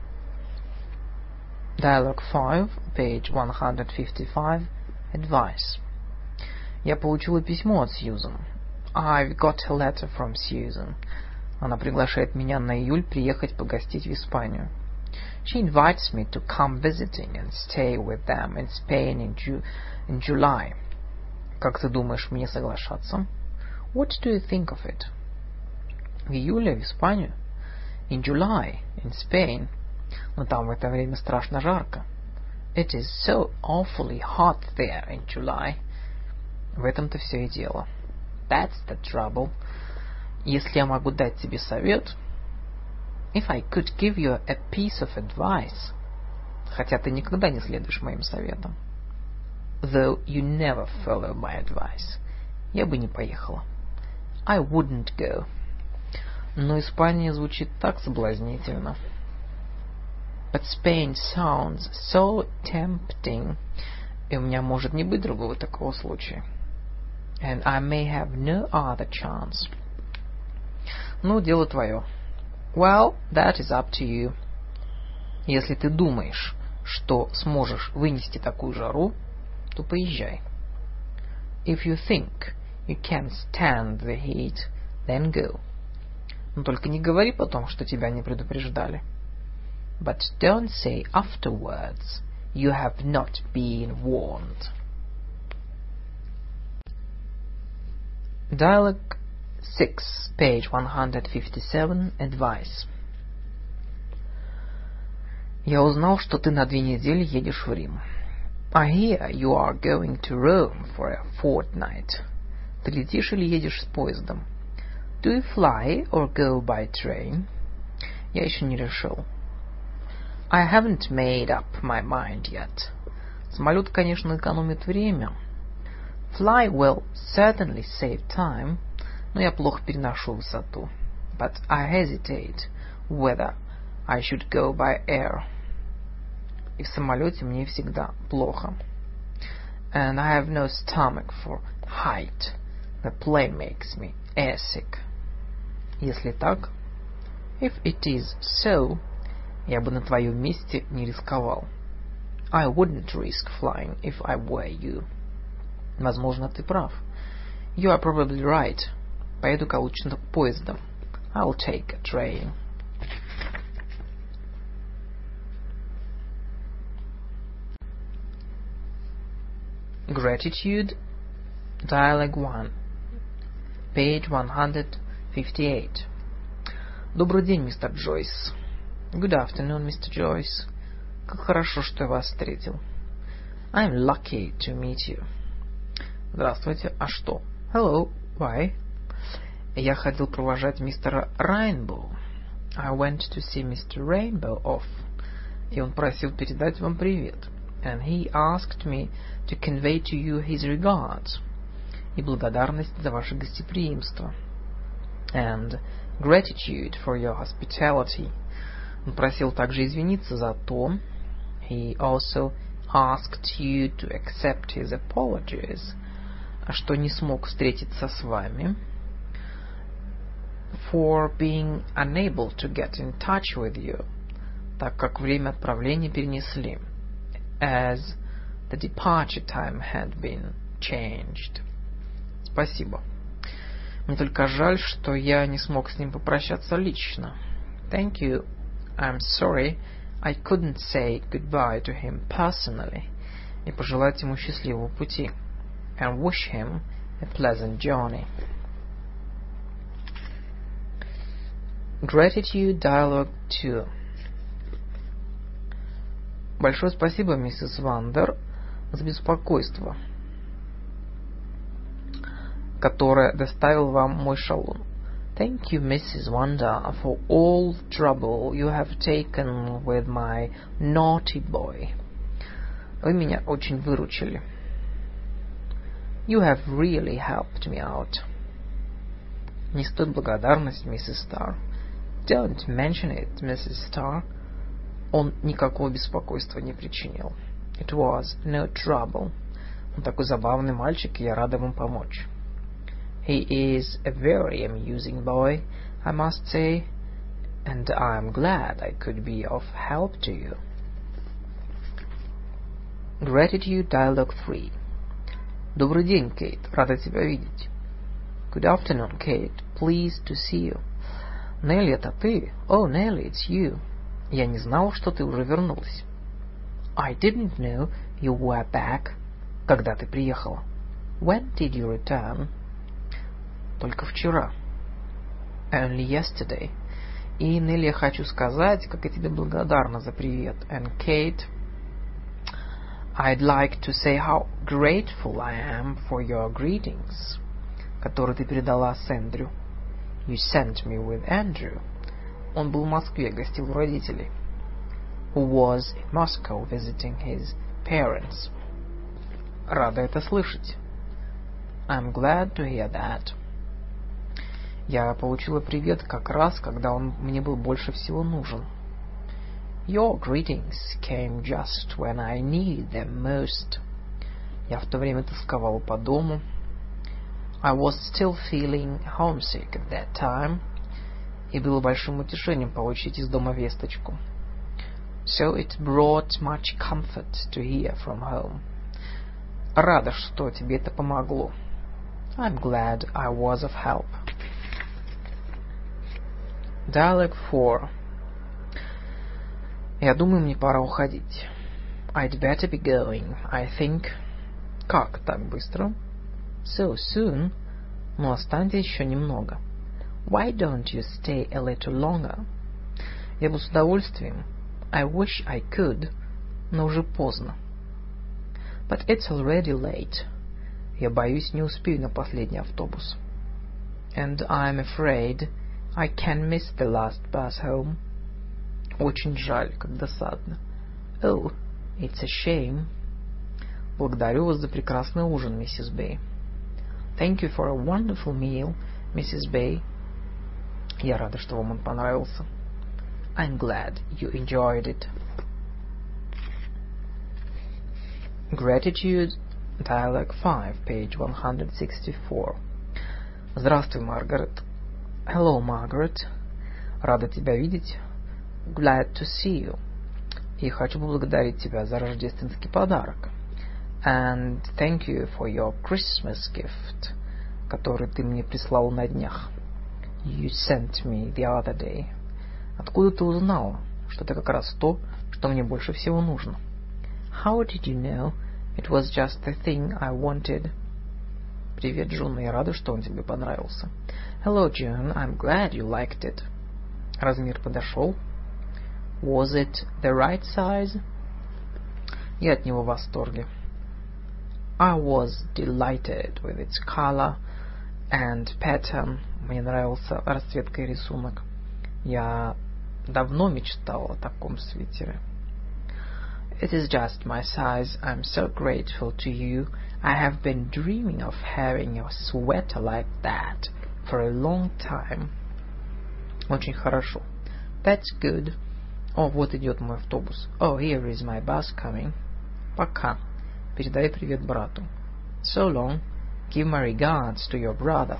Dialogue 5, page 155. Advice. Я получила письмо от Сьюзен. I've got a letter from Susan. Она приглашает меня на июль приехать погостить в Испанию. She invites me to come visiting and stay with them in Spain in July. Как ты думаешь, мне соглашаться? What do you think of it? В июле в Испанию. In July in Spain. Но там в это время страшно жарко. It is so awfully hot there in July. В этом-то все и дело. That's the trouble. Если я могу дать тебе совет... If I could give you a piece of advice, хотя ты никогда не следуешь моим советам, though you never follow my advice, я бы не поехала. I wouldn't go. Но Испания звучит так соблазнительно. But Spain sounds so tempting, и у меня может не быть другого такого случая. And I may have no other chance. Ну, дело твое. Well, that is up to you. Если ты думаешь, что сможешь вынести такую жару, то поезжай. If you think you can stand the heat, then go. Но только не говори потом, что тебя не предупреждали. But don't say afterwards you have not been warned. Dialogue 6, page 157. Advice. Я узнал, что ты на 2 недели едешь в Рим. I hear you are going to Rome for a fortnight. Ты летишь или едешь с поездом? Do you fly or go by train? Я еще не решил. I haven't made up my mind yet. Самолет, конечно, экономит время. Fly will certainly save time. Но я плохо переношу высоту. But I hesitate whether I should go by air. И в самолете мне всегда плохо. And I have no stomach for height. The plane makes me airsick. Если так, if it is so, я бы на твоем месте не рисковал. I wouldn't risk flying if I were you. Возможно, ты прав. You are probably right. Поеду-ка лучше поездом. I'll take a train. Gratitude, Dialogue 1, page 158. Добрый день, мистер Джойс. Good afternoon, Mr. Joyce. Как хорошо, что я вас встретил. I'm lucky to meet you. Здравствуйте. А что? Hello. Why? Я ходил провожать мистера Rainbow. I went to see Mr. Rainbow off. И он просил передать вам привет. And he asked me to convey to you his regards. И благодарность за ваше гостеприимство. And gratitude for your hospitality. Он просил также извиниться за то. He also asked you to accept his apologies. Что не смог встретиться с вами. For being unable to get in touch with you. Так как время отправления перенесли. As the departure time had been changed. Спасибо. Мне только жаль, что я не смог с ним попрощаться лично. Thank you. I'm sorry I couldn't say goodbye to him personally. И пожелать ему счастливого пути. And wish him a pleasant journey. Gratitude Dialogue 2. Большое спасибо, миссис Вандер, за беспокойство, которое доставил вам мой шалун. Thank you, Mrs. Wanda, for all the trouble you have taken with my naughty boy. Вы меня очень выручили. You have really helped me out. Не стоит благодарность, миссис Старр. Don't mention it, Mrs. Starr. Он никакого беспокойства не причинил. It was no trouble. Он такой забавный мальчик, и я рада вам помочь. He is a very amusing boy, I must say, and I'm glad I could be of help to you. Gratitude Dialogue 3. Добрый день, Кейт. Рада тебя видеть. Good afternoon, Kate. Pleased to see you. Нелли, это ты? Oh, Nelly, it's you. Я не знал, что ты уже вернулась. I didn't know you were back. Когда ты приехала? When did you return? Только вчера. Only yesterday. И, Нелли, я хочу сказать, как я тебе благодарна за привет. And Kate, I'd like to say how grateful I am for your greetings, которые ты передала с Эндрю. You sent me with Andrew. Он был в Москве, гостил у родителей. Who was in Moscow visiting his parents. Рада это слышать. I'm glad to hear that. Я получила привет как раз, когда он мне был больше всего нужен. Your greetings came just when I needed them most. Я в то время тосковала по дому. I was still feeling homesick at that time. И было большим утешением получить из дома весточку. So it brought much comfort to hear from home. Рада, что тебе это помогло. I'm glad I was of help. Dialogue 4. Я думаю, мне пора уходить. I'd better be going, I think. Как так быстро? So soon? Ну, останься еще немного. Why don't you stay a little longer? Я бы с удовольствием. I wish I could, но уже поздно. But it's already late. Я боюсь, не успею на последний автобус. And I'm afraid I can miss the last bus home. Очень жаль, как досадно. Oh, it's a shame. Благодарю вас за прекрасный ужин, миссис Бэй. Thank you for a wonderful meal, Mrs. Bay. Я рада, что вам он понравился. I'm glad you enjoyed it. Gratitude, Dialogue 5, page 164. Здравствуй, Маргарет. Hello, Margaret. Рада тебя видеть. Glad to see you. И хочу поблагодарить тебя за рождественский подарок. And thank you for your Christmas gift, который ты мне прислал на днях. You sent me the other day. Откуда ты узнала, что это как раз то, что мне больше всего нужно? How did you know It was just the thing I wanted. Привет, Джун, я рада, что он тебе понравился. Hello, June, I'm glad you liked it. Размер подошел? Was it the right size? Я от него в восторге. I was delighted with its color and pattern. Мне нравился расцветка и рисунок. Я давно мечтал о таком свитере. It is just my size. I'm so grateful to you. I have been dreaming of having a sweater like that for a long time. Очень хорошо. That's good. О, вот идет мой автобус. Oh, here is my bus coming. Пока. Передай привет брату. So long. Give my regards to your brother.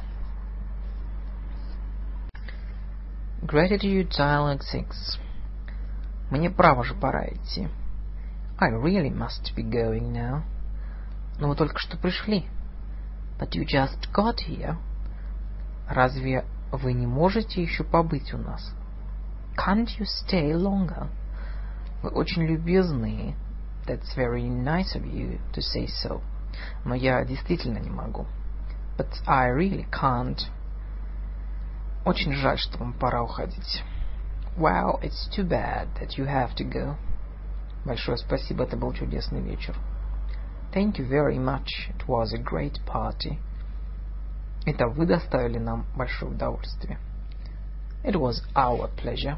Gratitude Dialogue 6. Мне право же пора идти. I really must be going now. Но вы только что пришли. But you just got here. Разве вы не можете еще побыть у нас? Can't you stay longer? Вы очень любезны. That's very nice of you to say so. Но я действительно не могу. But I really can't. Очень жаль, что вам пора уходить. Wow, it's too bad that you have to go. Большое спасибо, это был чудесный вечер. Thank you very much. It was a great party. Это вы доставили нам большое удовольствие. It was our pleasure.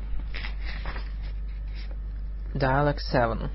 Dialogue 7.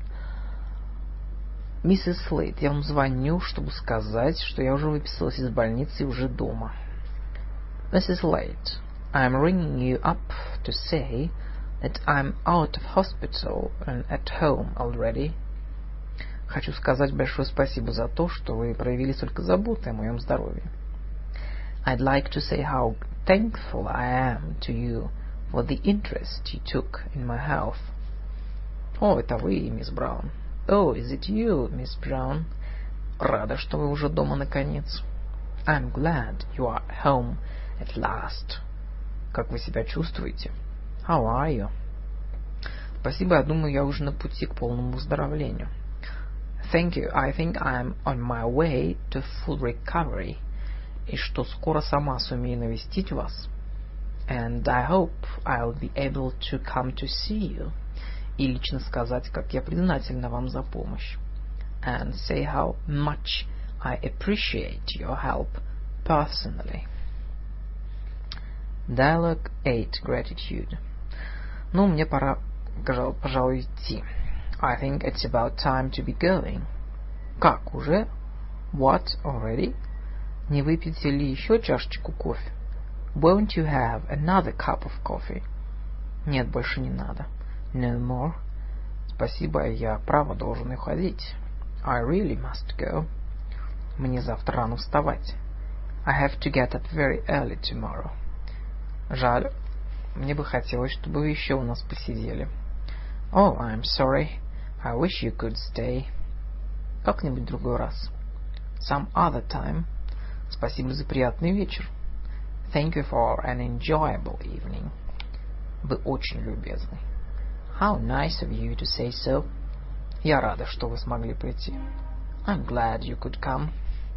Миссис Слейт, я вам звоню, чтобы сказать, что я уже выписалась из больницы и уже дома. Mrs. Slate, I'm ringing you up to say that I'm out of hospital and at home already. Хочу сказать большое спасибо за то, что вы проявили столько заботы о моем здоровье. I'd like to say how thankful I am to you for the interest you took in my health. О, это вы, мисс Браун. Oh, is it you, Miss Brown? Рада, что вы уже дома наконец. I'm glad you are home at last. Как вы себя чувствуете? How are you? Спасибо, я думаю, я уже на пути к полному выздоровлению. Thank you, I think I'm on my way to full recovery. И что скоро сама сумею навестить вас. And I hope I'll be able to come to see you. И лично сказать, как я признательна вам за помощь. And say how much I appreciate your help personally. Dialogue 8. Gratitude. Ну, мне пора, пожалуй, идти. I think it's about time to be going. Как, уже? What, already? Не выпьете ли еще чашечку кофе? Won't you have another cup of coffee? Нет, больше не надо. No more. Спасибо, я право должен уходить. I really must go. Мне завтра рано вставать. I have to get up very early tomorrow. Жаль. Мне бы хотелось, чтобы вы еще у нас посидели. Oh, I'm sorry. I wish you could stay. Как-нибудь другой раз. Some other time. Спасибо за приятный вечер. Thank you for an enjoyable evening. Вы очень любезны. How nice of you to say so. Я рада, что вы смогли прийти. I'm glad you could come.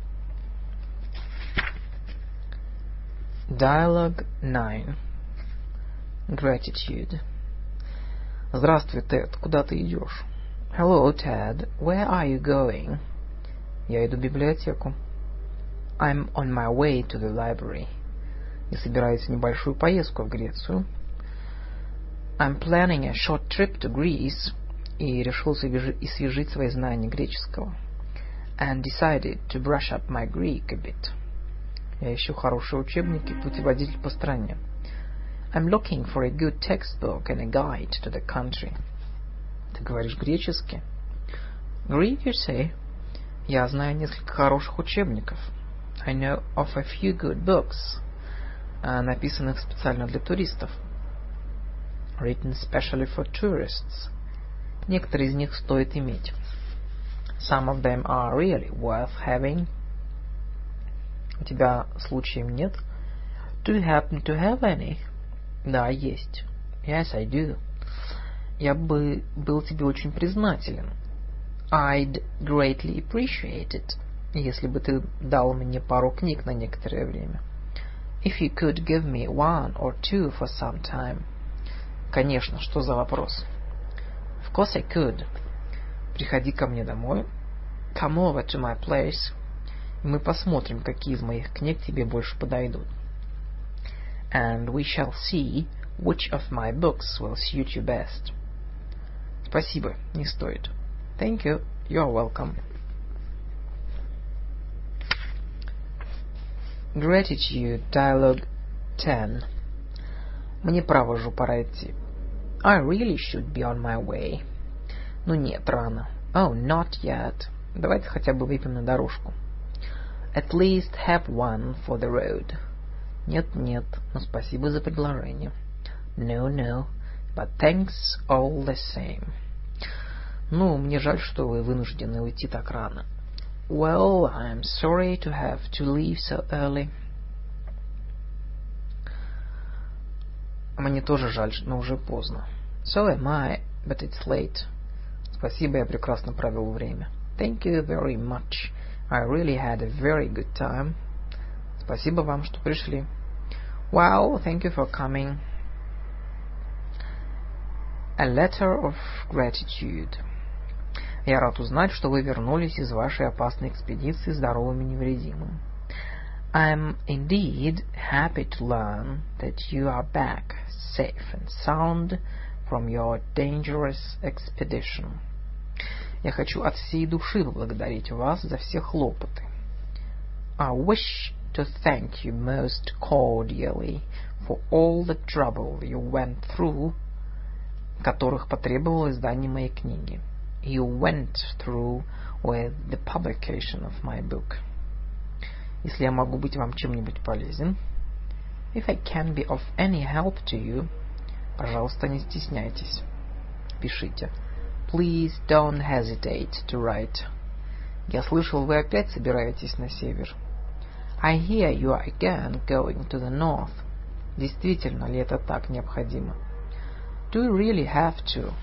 Dialogue 9. Gratitude. Здравствуй, Тед. Куда ты идешь? Hello, Ted. Where are you going? Я иду в библиотеку. I'm on my way to the library. Я собираюсь в небольшую поездку в Грецию. I'm planning a short trip to Greece. И решил освежить свои знания греческого. And decided to brush up my Greek a bit. Я ищу хорошие учебники, путеводитель по стране. I'm looking for a good textbook and a guide to the country. Ты говоришь гречески? Greek, you say? Я знаю несколько хороших учебников. I know of a few good books, написанных специально для туристов. Written specially for tourists. Некоторые из них стоит иметь. Some of them are really worth having. У тебя случаем нет? Do you happen to have any? Да, есть. Yes, I do. Я бы был тебе очень признателен. I'd greatly appreciate it, если бы ты дал мне пару книг на некоторое время. If you could give me one or two for some time. Конечно, что за вопрос? Of course I could. Приходи ко мне домой. Come over to my place. И мы посмотрим, какие из моих книг тебе больше подойдут. And we shall see which of my books will suit you best. Спасибо, не стоит. Thank you, you're welcome. Gratitude, dialogue 10. Мне право же пора идти. I really should be on my way. Ну нет, рано. Oh, not yet. Давайте хотя бы выпьем на дорожку. At least have one for the road. Нет, нет, но спасибо за предложение. No, no, but thanks all the same. Ну, мне жаль, что вы вынуждены уйти так рано. Well, I'm sorry to have to leave so early. Мне тоже жаль, но уже поздно. So am I, but it's late. Спасибо, я прекрасно провел время. Thank you very much. I really had a very good time. Спасибо вам, что пришли. Well, thank you for coming. A letter of gratitude. Я рад узнать, что вы вернулись из вашей опасной экспедиции здоровым и невредимым. I'm indeed happy to learn that you are back, safe and sound, from your dangerous expedition. Я хочу от всей души поблагодарить вас за все хлопоты. I wish to thank you most cordially for all the trouble you went through, которых потребовало издание моей книги. You went through with the publication of my book. Если я могу быть вам чем-нибудь полезен, if I can be of any help to you, пожалуйста, не стесняйтесь. Пишите. Please don't hesitate to write. Я слышал, вы опять собираетесь на север. I hear you are again going to the north. Действительно ли это так необходимо? Do you really have to?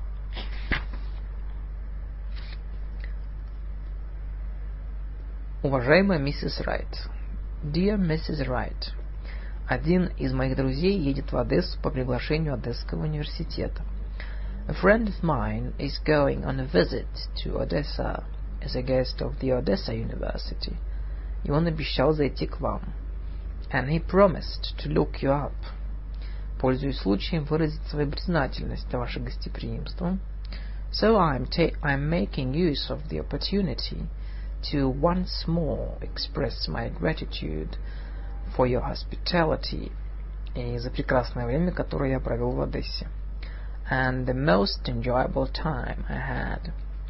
Уважаемая миссис Райт. Dear Mrs. Wright. Один из моих друзей едет в Одессу по приглашению Одесского университета. A friend of mine is going on a visit to Odessa as a guest of the Odessa University. И он обещал зайти к вам. And he promised to look you up. Пользуясь случаем выразить свою признательность за ваше гостеприимство. So I'm making use of the opportunity to once more express my gratitude for your hospitality и за прекрасное время, которое я провел в Одессе. And the most enjoyable time I had.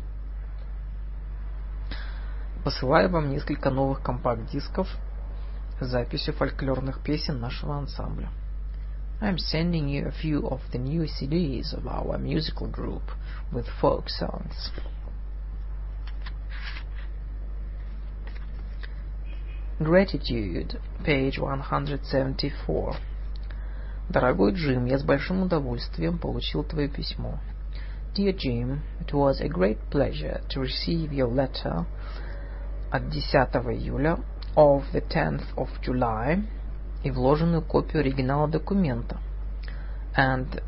Посылаю вам несколько новых компакт-дисков с записью фольклорных песен нашего ансамбля. I'm sending you a few of the new CDs of our musical group with folk songs. Gratitude, page 174. Дорогой Джим, я с большим удовольствием получил твое письмо. Dear Jim, it was a great pleasure to receive your letter от 10 июля of the 10th of July и вложенную копию оригинала документа and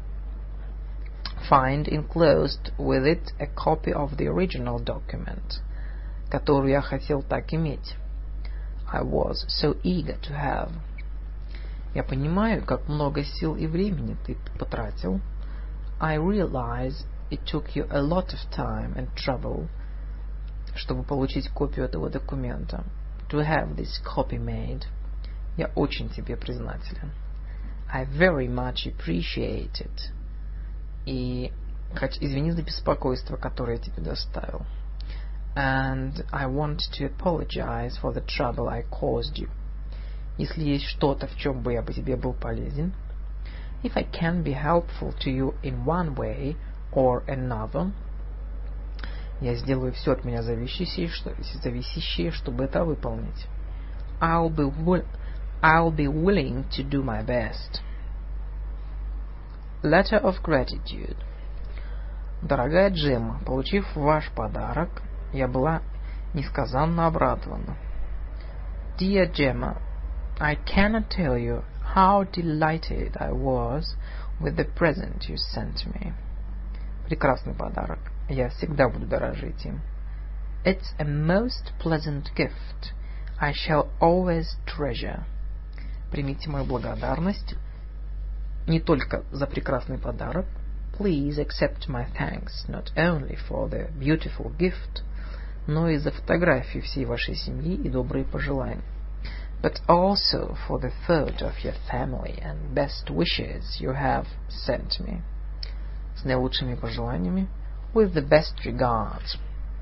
find enclosed with it a copy of the original document, которую я хотел так иметь. I was so eager to have. Я понимаю, как много сил и времени ты потратил. I realize it took you a lot of time and trouble, чтобы получить копию этого документа. To have this copy made. Я очень тебе признателен. I very much appreciate it. И извини за беспокойство, которое я тебе доставил. And I want to apologize for the trouble I caused you. Если есть что-то, в чем бы я бы тебе был полезен, if I can be helpful to you in one way or another, я сделаю все от меня зависящее, чтобы это выполнить. I'll be willing to do my best. Letter of gratitude. Дорогая Джемма, получив ваш подарок, я была несказанно обрадована. Dear Gemma, I cannot tell you how delighted I was with the present you sent me. Прекрасный подарок. Я всегда буду дорожить им. It's a most pleasant gift. I shall always treasure. Примите мою благодарность не только за прекрасный подарок. Please accept my thanks not only for the beautiful gift, но и за фотографии всей вашей семьи и добрые пожелания. But also for the photo of your family and best wishes you have sent me. С наилучшими пожеланиями. With the best regards.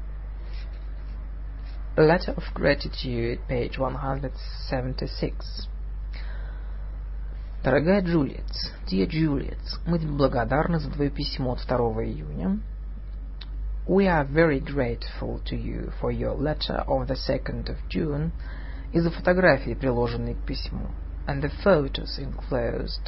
Letter of Gratitude, page 176. Дорогая Джулиет, Dear Juliet, мы тебе благодарны за твое письмо от 2 июня. We are very grateful to you for your letter of the 2nd of June и за фотографии, приложенные к письму, and the photos enclosed.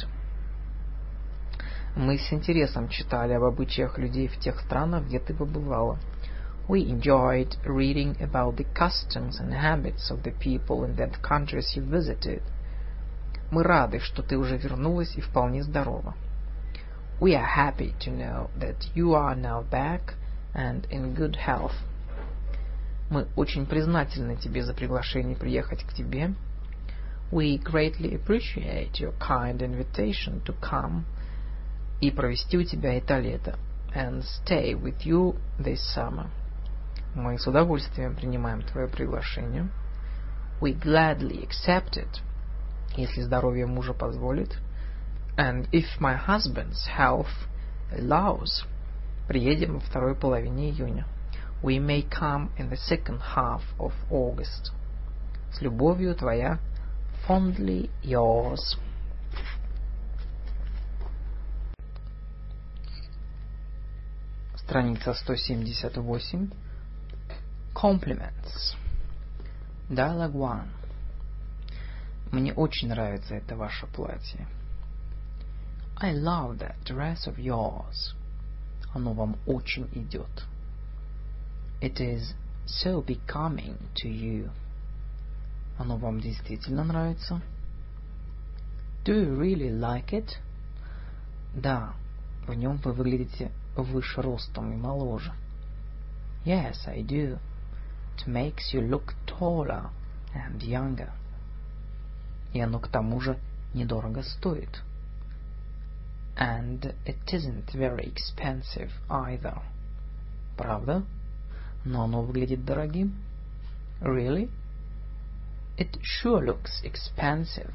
Мы с интересом читали об обычаях людей в тех странах, где ты побывала. We enjoyed reading about the customs and habits of the people in the countries you visited. Мы рады, что ты уже вернулась и вполне здорова. We are happy to know that you are now back and in good health. Мы очень признательны тебе за приглашение приехать к тебе. We greatly appreciate your kind invitation to come и провести у тебя это лето, and stay with you this summer. Мы с удовольствием принимаем твое приглашение. We gladly accept it, если здоровье мужа позволит, and if my husband's health allows, приедем во второй половине июня. We may come in the second half of August. С любовью, твоя fondly yours. Страница 178. Compliments. Dialogue 1. Мне очень нравится это ваше платье. I love that dress of yours. Оно вам очень идет. It is so becoming to you. Оно вам действительно нравится? Do you really like it? Да, в нем вы выглядите выше ростом и моложе. Yes, I do. It makes you look taller and younger. И оно к тому же недорого стоит. And it isn't very expensive either. Правда? Но оно выглядит дорогим. Really? It sure looks expensive.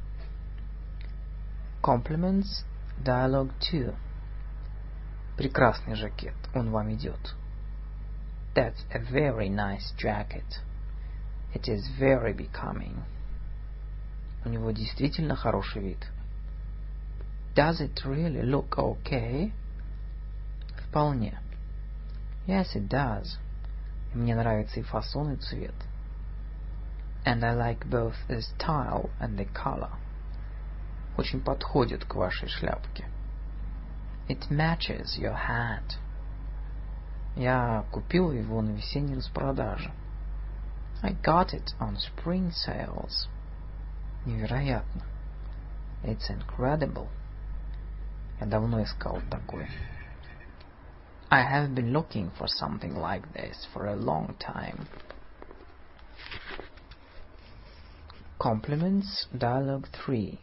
Compliments, dialogue 2. Прекрасный жакет, он вам идет. That's a very nice jacket. It is very becoming. У него действительно хороший вид. Does it really look okay? Вполне. Yes, it does. И мне нравится и фасон, и цвет. And I like both the style and the color. Очень подходит к вашей шляпке. It matches your hat. Я купил его на весенней распродаже. I got it on spring sales. Невероятно. It's incredible. Я давно искал такое. I have been looking for something like this for a long time. Compliments, dialogue 3.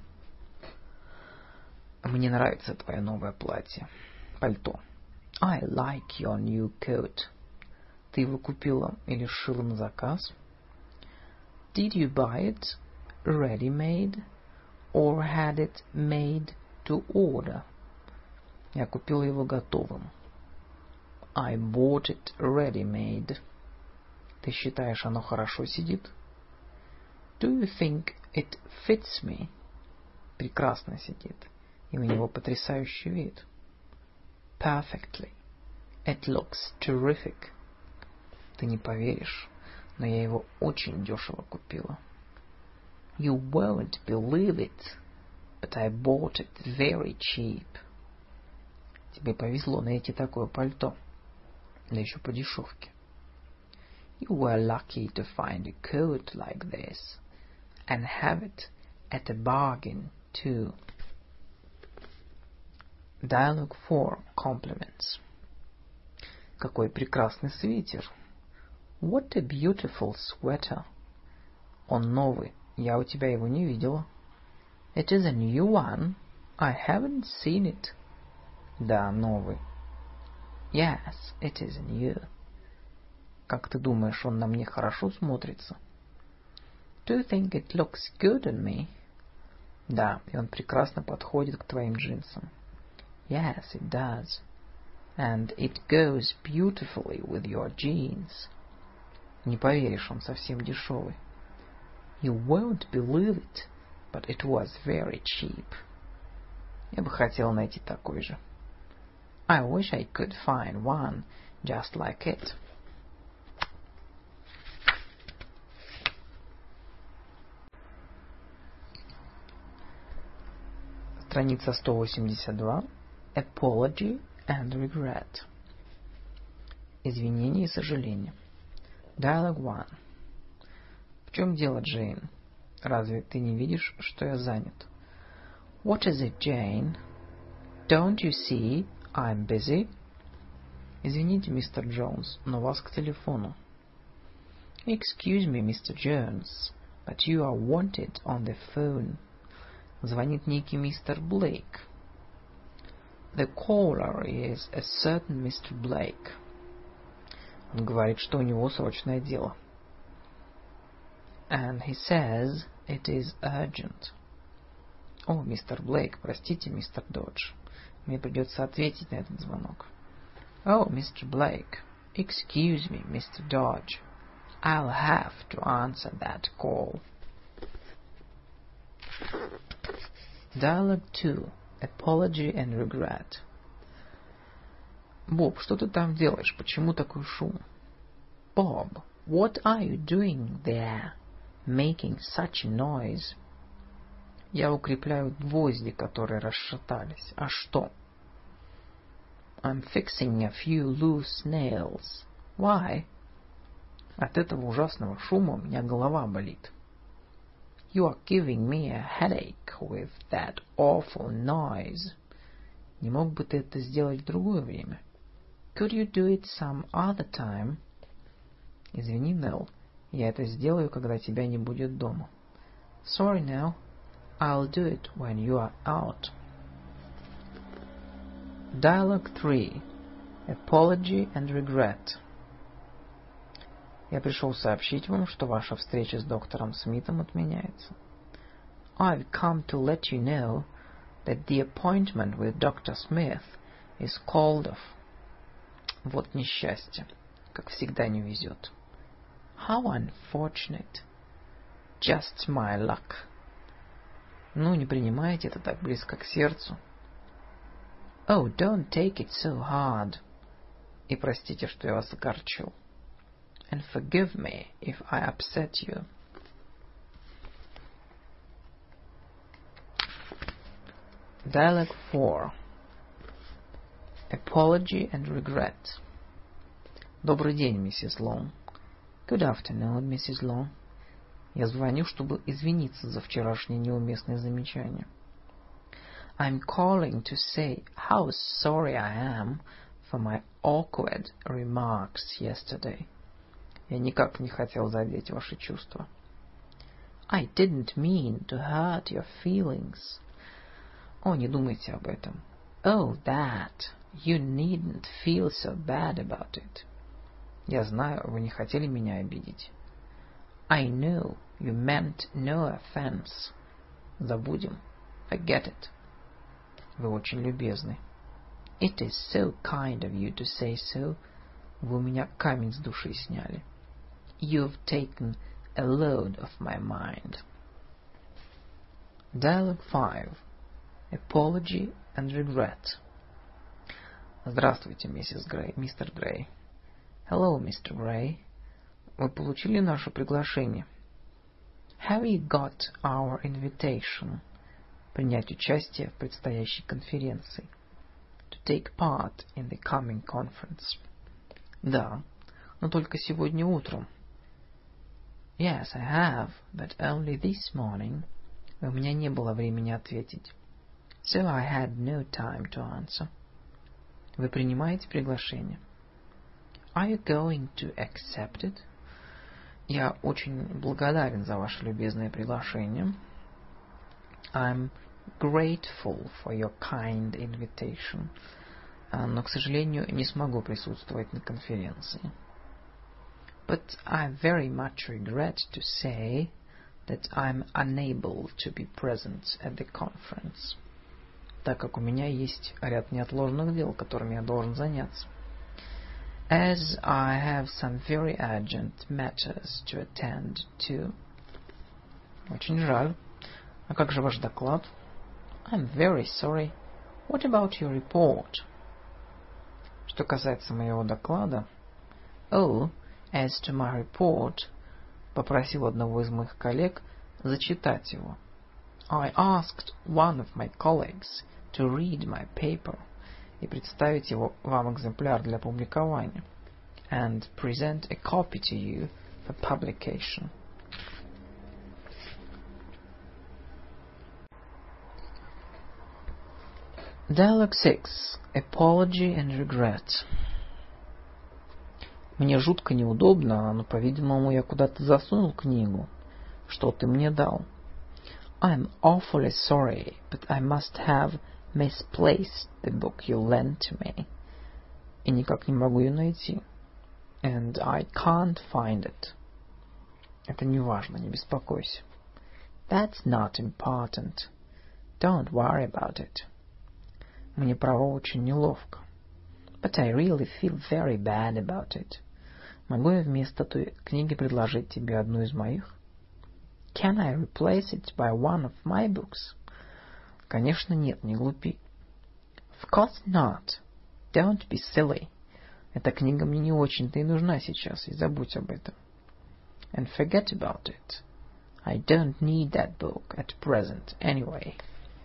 Мне нравится твое новое платье. Пальто. I like your new coat. Ты его купила или сшила на заказ? Did you buy it ready-made or had it made to order? Я купила его готовым. I bought it ready-made. Ты считаешь, оно хорошо сидит? Do you think it fits me? Прекрасно сидит. И у него потрясающий вид. Perfectly. It looks terrific. Ты не поверишь, но я его очень дешево купила. You won't believe it, but I bought it very cheap. Тебе повезло найти такое пальто. Да еще по дешевке. You were lucky to find a coat like this, and have it at a bargain, too. Dialogue 4. Compliments. Какой прекрасный свитер. What a beautiful sweater. Он новый. Я у тебя его не видела. It is a new one. I haven't seen it. Да, новый. Yes, it is new. Как ты думаешь, он на мне хорошо смотрится? Do you think it looks good on me? Да, и он прекрасно подходит к твоим джинсам. Yes, it does. And it goes beautifully with your jeans. Не поверишь, он совсем дешевый. You won't believe it, but it was very cheap. Я бы хотел найти такой же. I wish I could find one just like it. Страница 182. Apology and regret. Извинения и сожаления. Dialogue 1. В чем дело, Джейн? Разве ты не видишь, что я занят? What is it, Jane? Don't you see I'm busy? Извините, мистер Джонс, но вас к телефону. Excuse me, Mr. Jones, but you are wanted on the phone. Звонит некий мистер Блейк. The caller is a certain Mr. Blake. Он говорит, что у него срочное дело. And he says it is urgent. О, мистер Блейк, простите, мистер Додж. Мне придется ответить на этот звонок. Oh, Mr. Blake, excuse me, Mr. Dodge. I'll have to answer that call. Dialogue 2. Apology and regret. Боб, что ты там делаешь? Почему такой шум? Bob, what are you doing there, making such a noise? Я укрепляю гвозди, которые расшатались. А что? I'm fixing a few loose nails. Why? От этого ужасного шума у меня голова болит. You are giving me a headache with that awful noise. Не мог бы ты это сделать в другое время? Could you do it some other time? Извини, Нелл, я это сделаю, когда тебя не будет дома. Sorry, Nell. I'll do it when you are out. Dialogue 3. Apology and regret. Я пришел сообщить вам, что ваша встреча с доктором Смитом отменяется. I've come to let you know that the appointment with Dr. Smith is called off. Вот несчастье. Как всегда не везет. How unfortunate. Just my luck. Ну, не принимайте это так близко к сердцу. Oh, don't take it so hard. И простите, что я вас огорчил. And forgive me if I upset you. Dialogue 4. Apology and regret. Добрый день, миссис Лонг. Good afternoon, Mrs. Long. Я звоню, чтобы извиниться за вчерашнее неуместное замечание. I'm calling to say how sorry I am for my awkward remarks yesterday. Я никак не хотел задеть ваши чувства. I didn't mean to hurt your feelings. О, не думайте об этом. Oh, that. You needn't feel so bad about it. Я знаю, вы не хотели меня обидеть. I know you meant no offense. Забудем. Forget it. Вы очень любезны. It is so kind of you to say so. Вы у меня камень с души сняли. You've taken a load off my mind. Dialogue 5. Apology and regret. Здравствуйте, миссис Грей, мистер Грей. Hello, Mr. Gray. Вы получили наше приглашение? Have you got our invitation? Принять участие в предстоящей конференции. to take part in the coming conference. Да, но только сегодня утром. Yes, I have, but only this morning. У меня не было времени ответить. So I had no time to answer. Вы принимаете приглашение? Are you going to accept it? Я очень благодарен за ваше любезное приглашение. I'm grateful for your kind invitation. Но, к сожалению, не смогу присутствовать на конференции. But I very much regret to say that I'm unable to be present at the conference. Так как у меня есть ряд неотложных дел, которыми я должен заняться. As I have some very urgent matters to attend to. Очень жаль. А как же ваш доклад? I'm very sorry. What about your report? Что касается моего доклада, oh, as to my report, попросил одного из моих коллег зачитать его. I asked one of my colleagues to read my paper и представить его вам экземпляр для публикования and present a copy to you for publication. Dialogue 6. Apology and regret. Мне жутко неудобно, но, по-видимому, я куда-то засунул книгу. Что ты мне дал? I'm awfully sorry, but I must have misplaced the book you lent to me. И никак не могу ее найти. And I can't find it. Это не важно, не беспокойся. That's not important. Don't worry about it. Мне, право, очень неловко. But I really feel very bad about it. Могу я вместо той книги предложить тебе одну из моих? Can I replace it by one of my books? Конечно, нет, не глупи. Of course not. Don't be silly. Эта книга мне не очень-то и нужна сейчас, и забудь об этом. And forget about it. I don't need that book at present anyway.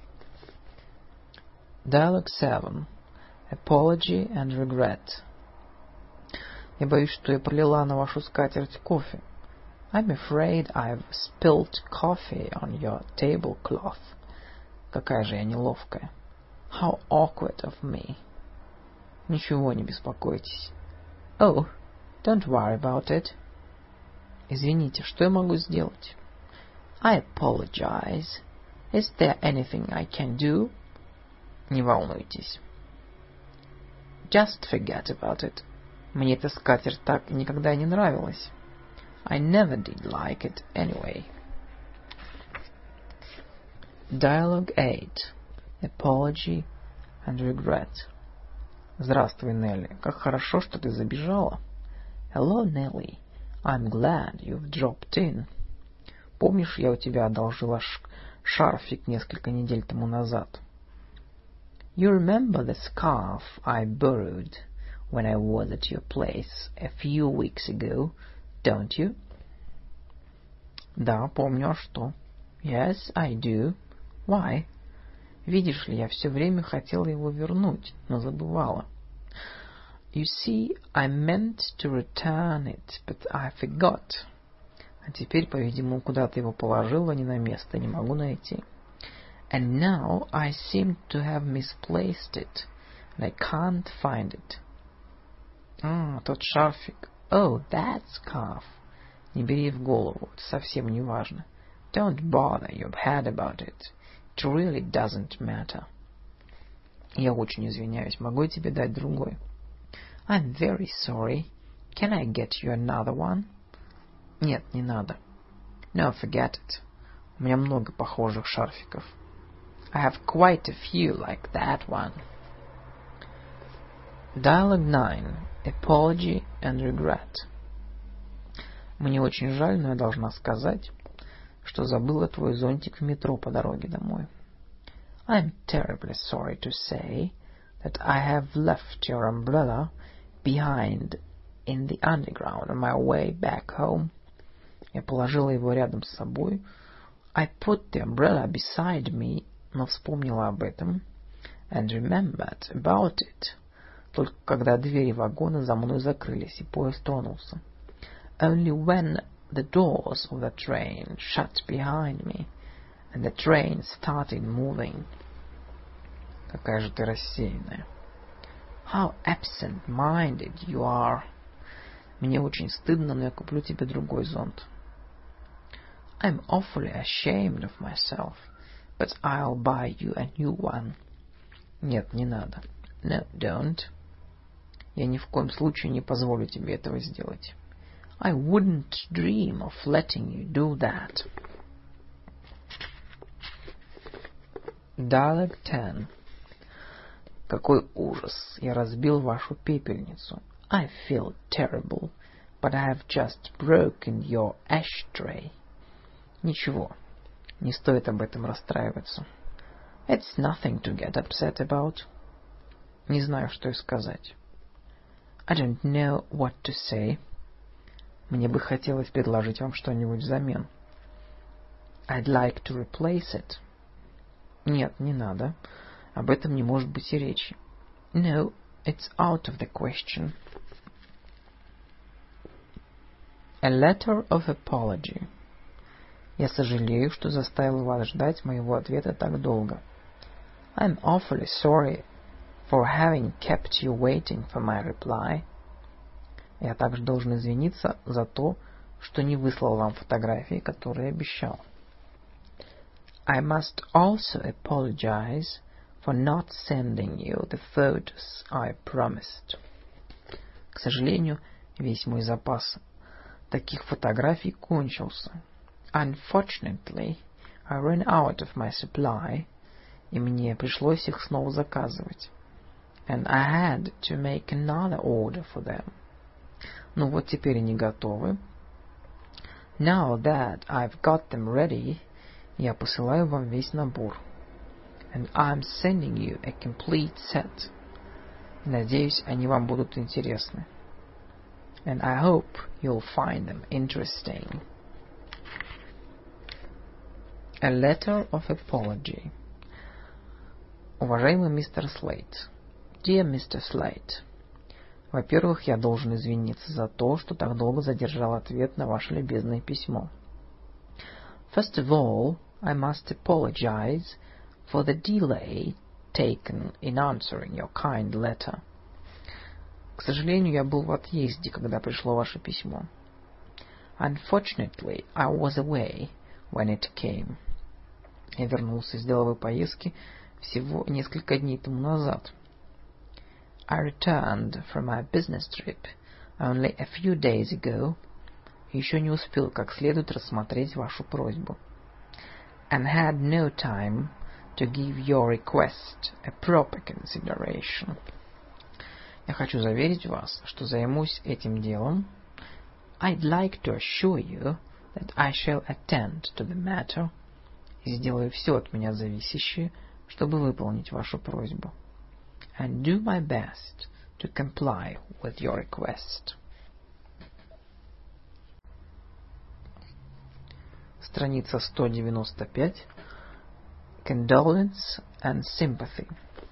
Dialogue 7. Apology and regret. Я боюсь, что я пролила на вашу скатерть кофе. I'm afraid I've spilled coffee on your tablecloth. Какая же я неловкая. How awkward of me. Ничего, не беспокойтесь. Oh, don't worry about it. Извините, что я могу сделать? I apologize. Is there anything I can do? Не волнуйтесь. Just forget about it. Мне эта скатерть так никогда не нравилась. I never did like it anyway. Dialogue 8. Apology and regret. Здравствуй, Нелли. Как хорошо, что ты забежала. Hello, Nelly. I'm glad you've dropped in. Помнишь, я у тебя одолжила шарфик несколько недель тому назад? You remember the scarf I borrowed when I was at your place a few weeks ago, don't you? Да, помню, а что? Yes, I do. Why? Видишь ли, я все время хотела его вернуть, но забывала. You see, I meant to return it, but I forgot. А теперь, по-видимому, куда-то его положила не на место, не могу найти. And now I seem to have misplaced it, and I can't find it. Тот шарфик. Oh, that scarf. Не бери в голову, это совсем не важно. Don't bother your head about it. It really doesn't matter. Я очень извиняюсь, могу я тебе дать другой? I'm very sorry. Can I get you another one? Нет, не надо. No, forget it. У меня много похожих шарфиков. I have quite a few like that one. Dialogue 9. Apology and regret. Мне очень жаль, но я должна сказать, что забыла твой зонтик в метро по дороге домой. I'm terribly sorry to say that I have left your umbrella behind in the underground on my way back home. Я положила его рядом с собой. I put the umbrella beside me, но вспомнила об этом. and remembered about it только когда двери вагона за мной закрылись и поезд тронулся. Only when the doors of the train shut behind me and the train started moving. Какая же ты рассеянная. How absent-minded you are. Мне очень стыдно, но я куплю тебе другой зонт. I'm awfully ashamed of myself, but I'll buy you a new one. Нет, не надо. No, don't. Я ни в коем случае не позволю тебе этого сделать. I wouldn't dream of letting you do that. Dialogue 10. Какой ужас! Я разбил вашу пепельницу. I feel terrible, but I have just broken your ashtray. Ничего, не стоит об этом расстраиваться. It's nothing to get upset about. Не знаю, что и сказать. I don't know what to say. Мне бы хотелось предложить вам что-нибудь взамен. I'd like to replace it. Нет, не надо. Об этом не может быть и речи. No, it's out of the question. A letter of apology. Я сожалею, что заставил вас ждать моего ответа так долго. I'm awfully sorry for having kept you waiting for my reply. Я также должен извиниться за то, что не выслал вам фотографии, которые обещал. I must also apologize for not sending you the photos I promised. К сожалению, весь мой запас таких фотографий кончился. Unfortunately, I ran out of my supply, и мне пришлось их снова заказывать. And I had to make another order for them. Ну вот теперь они готовы. Now that I've got them ready, я посылаю вам весь набор. And I'm sending you a complete set. Надеюсь, они вам будут интересны. And I hope you'll find them interesting. A letter of apology. Уважаемый мистер Слейт. Dear Mr. Slate. Во-первых, я должен извиниться за то, что так долго задержал ответ на ваше любезное письмо. First of all, I must apologize for the delay taken in answering your kind letter. К сожалению, я был в отъезде, когда пришло ваше письмо. Unfortunately, I was away when it came. Я вернулся из деловой поездки всего несколько дней тому назад. I returned from my business trip only a few days ago. Еще не успел как следует рассмотреть вашу просьбу. And had no time to give your request a proper consideration. Я хочу заверить вас, что займусь этим делом. I'd like to assure you that I shall attend to the matter. И сделаю все от меня зависящее, чтобы выполнить вашу просьбу. And do my best to comply with your request. Страница 195. Condolence and sympathy.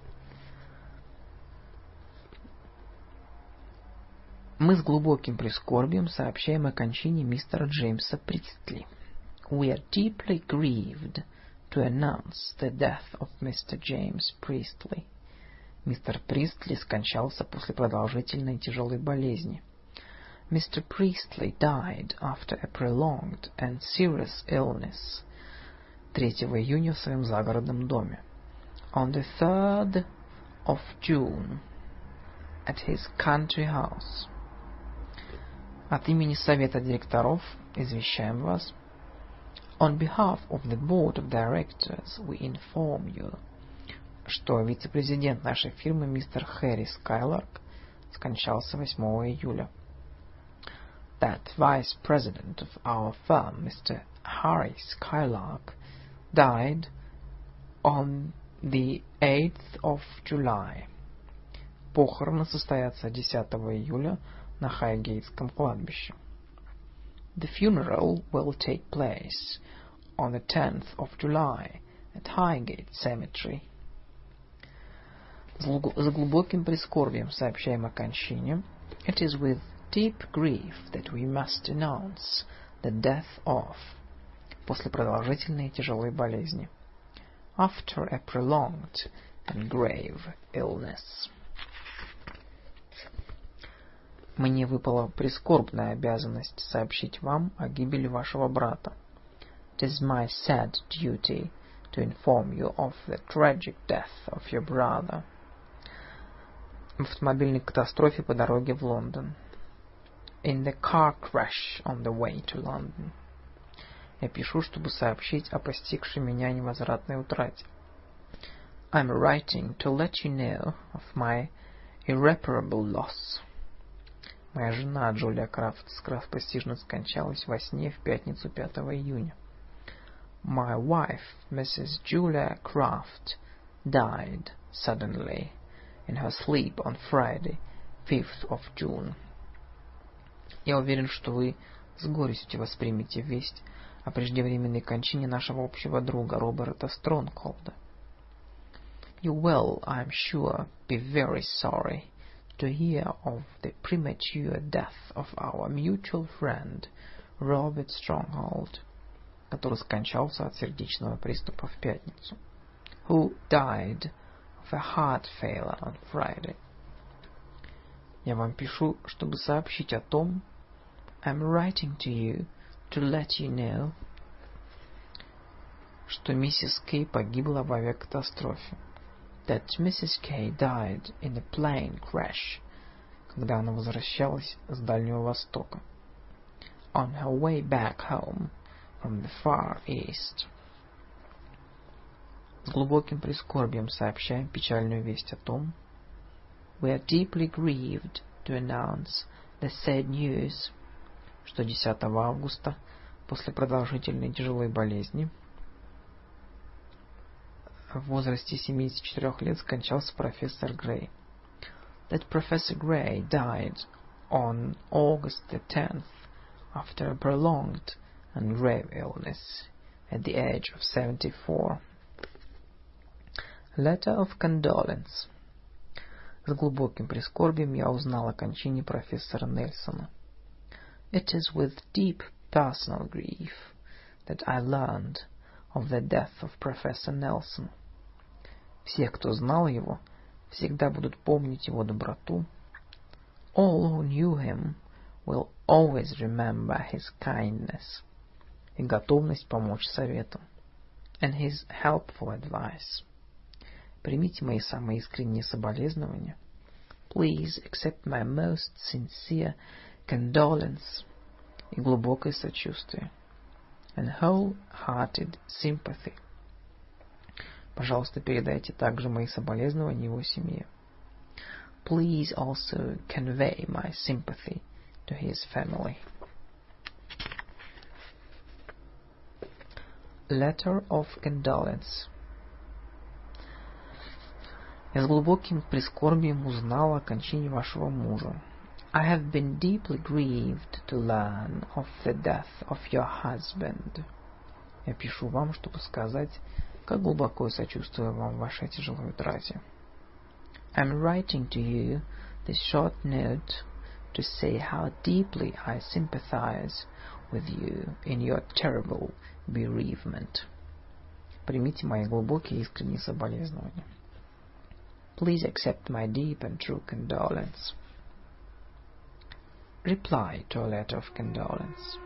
Мы с глубоким прискорбием сообщаем о кончине мистера Джеймса Пристли. We are deeply grieved to announce the death of Mr. James Priestley. Мистер Пристли скончался после продолжительной и тяжелой болезни. Mr. Priestley died after a prolonged and serious illness 3 июня в своем загородном доме. On the 3rd of June at his country house. От имени Совета директоров извещаем вас. On behalf of the Board of Directors we inform you, что вице-президент нашей фирмы мистер Хэри Скайларк скончался 8 июля. That Vice President of our firm, Mr. Harry Skylark, died on the 8th of July. Похороны состоятся 10 июля на Хайгейтском кладбище. The funeral will take place on the 10th of July at Highgate Cemetery. С глубоким прискорбием сообщаем о кончине. It is with deep grief that we must announce the death of. После продолжительной и тяжелой болезни. After a prolonged and grave illness. Мне выпала прискорбная обязанность сообщить вам о гибели вашего брата. It is my sad duty to inform you of the tragic death of your brother. В автомобильной катастрофе по дороге в Лондон. In the car crash on the way to London. Я пишу, чтобы сообщить о постигшей меня невозвратной утрате. I'm writing to let you know of my irreparable loss. Моя жена Джулия Крафт скоропостижно скончалась во сне в пятницу 5 июня. My wife, Mrs. Julia Craft, died suddenly in her sleep on Friday, 5th of June. Я уверен, что вы с горестью воспримете весть о преждевременной кончине нашего общего друга Роберта Стронгхолда. You will, I am sure, be very sorry to hear of the premature death of our mutual friend Robert Stronghold, который скончался от сердечного приступа в пятницу. Who died of a heart failure on Friday. Я вам пишу, чтобы сообщить о том, I'm writing to you to let you know, что миссис Кей погибла в авиакатастрофе. That Mrs. K died in a plane crash, когда она возвращалась с Дальнего Востока. On her way back home from the Far East. С глубоким прискорбием сообщаем печальную весть о том, we are deeply grieved to announce the sad news, что 10 августа, после продолжительной тяжелой болезни, в возрасте 74 лет скончался профессор Грей. That Professor Gray died on August the 10th after a prolonged and grave illness at the age of 74. Letter of condolence. С глубоким прискорбием я узнал о кончине профессора Нельсона. It is with deep personal grief that I learned of the death of Professor Nelson. Все, кто знал его, всегда будут помнить его доброту. All who knew him will always remember his kindness и готовность помочь советам. And his helpful advice. Примите мои самые искренние соболезнования. Please accept my most sincere condolence и глубокое сочувствие. And wholehearted sympathy. Пожалуйста, передайте также мои соболезнования его семье. Please also convey my sympathy to his family. Letter of condolence. Я с глубоким прискорбием узнал о кончине вашего мужа. I have been deeply grieved to learn of the death of your husband. Я пишу вам, чтобы сказать, как глубоко сочувствую вам в вашей тяжелой утрате. I'm writing to you this short note to say how deeply I sympathize with you in your terrible bereavement. Примите мои глубокие и искренние соболезнования. Please accept my deep and true condolence. Reply to a letter of condolence.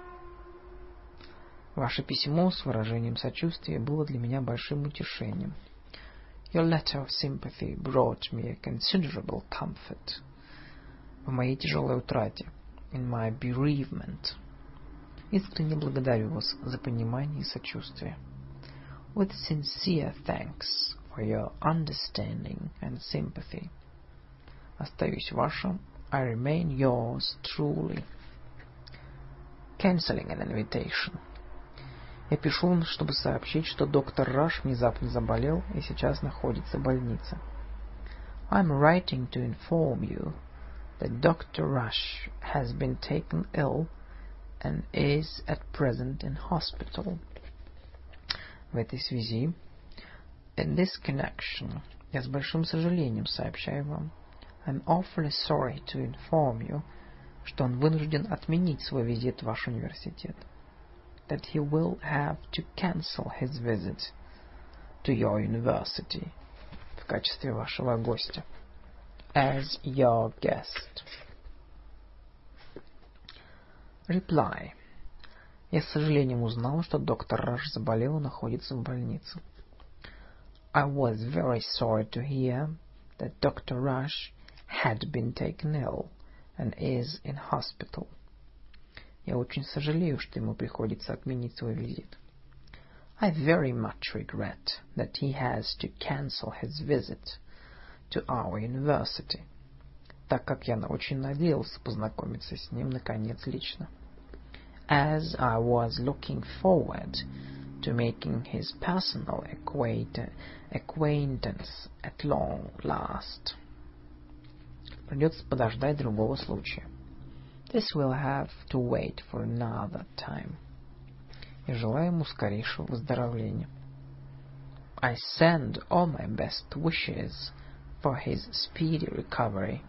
Ваше письмо с выражением сочувствия было для меня большим утешением. Your letter of sympathy brought me a considerable comfort. В моей тяжелой утрате. In my bereavement. Искренне благодарю вас за понимание и сочувствие. With sincere thanks for your understanding and sympathy. Остаюсь вашим. I remain yours truly. Cancelling an invitation. Я пишу, чтобы сообщить, что доктор Раш внезапно заболел и сейчас находится в больнице. I'm writing to inform you that Dr. Rush has been taken ill and is at present in hospital. В этой связи, in this connection, Я с большим сожалением сообщаю вам. I'm awfully sorry to inform you, что он вынужден отменить свой визит в ваш университет. That he will have to cancel his visit to your university в качестве вашего гостя. As your guest. Reply. Я с сожалением узнал, что доктор Раш заболел и находится в больнице. I was very sorry to hear that Dr. Rush had been taken ill and is in hospital. Я очень сожалею, что ему приходится отменить свой визит. I very much regret that he has to cancel his visit to our university, так как я очень надеялся познакомиться с ним наконец лично. As I was looking forward to making his personal acquaintance at long last. Придется подождать другого случая. This will have to wait for another time. И желаю ему скорейшего выздоровления. I send all my best wishes for his speedy recovery.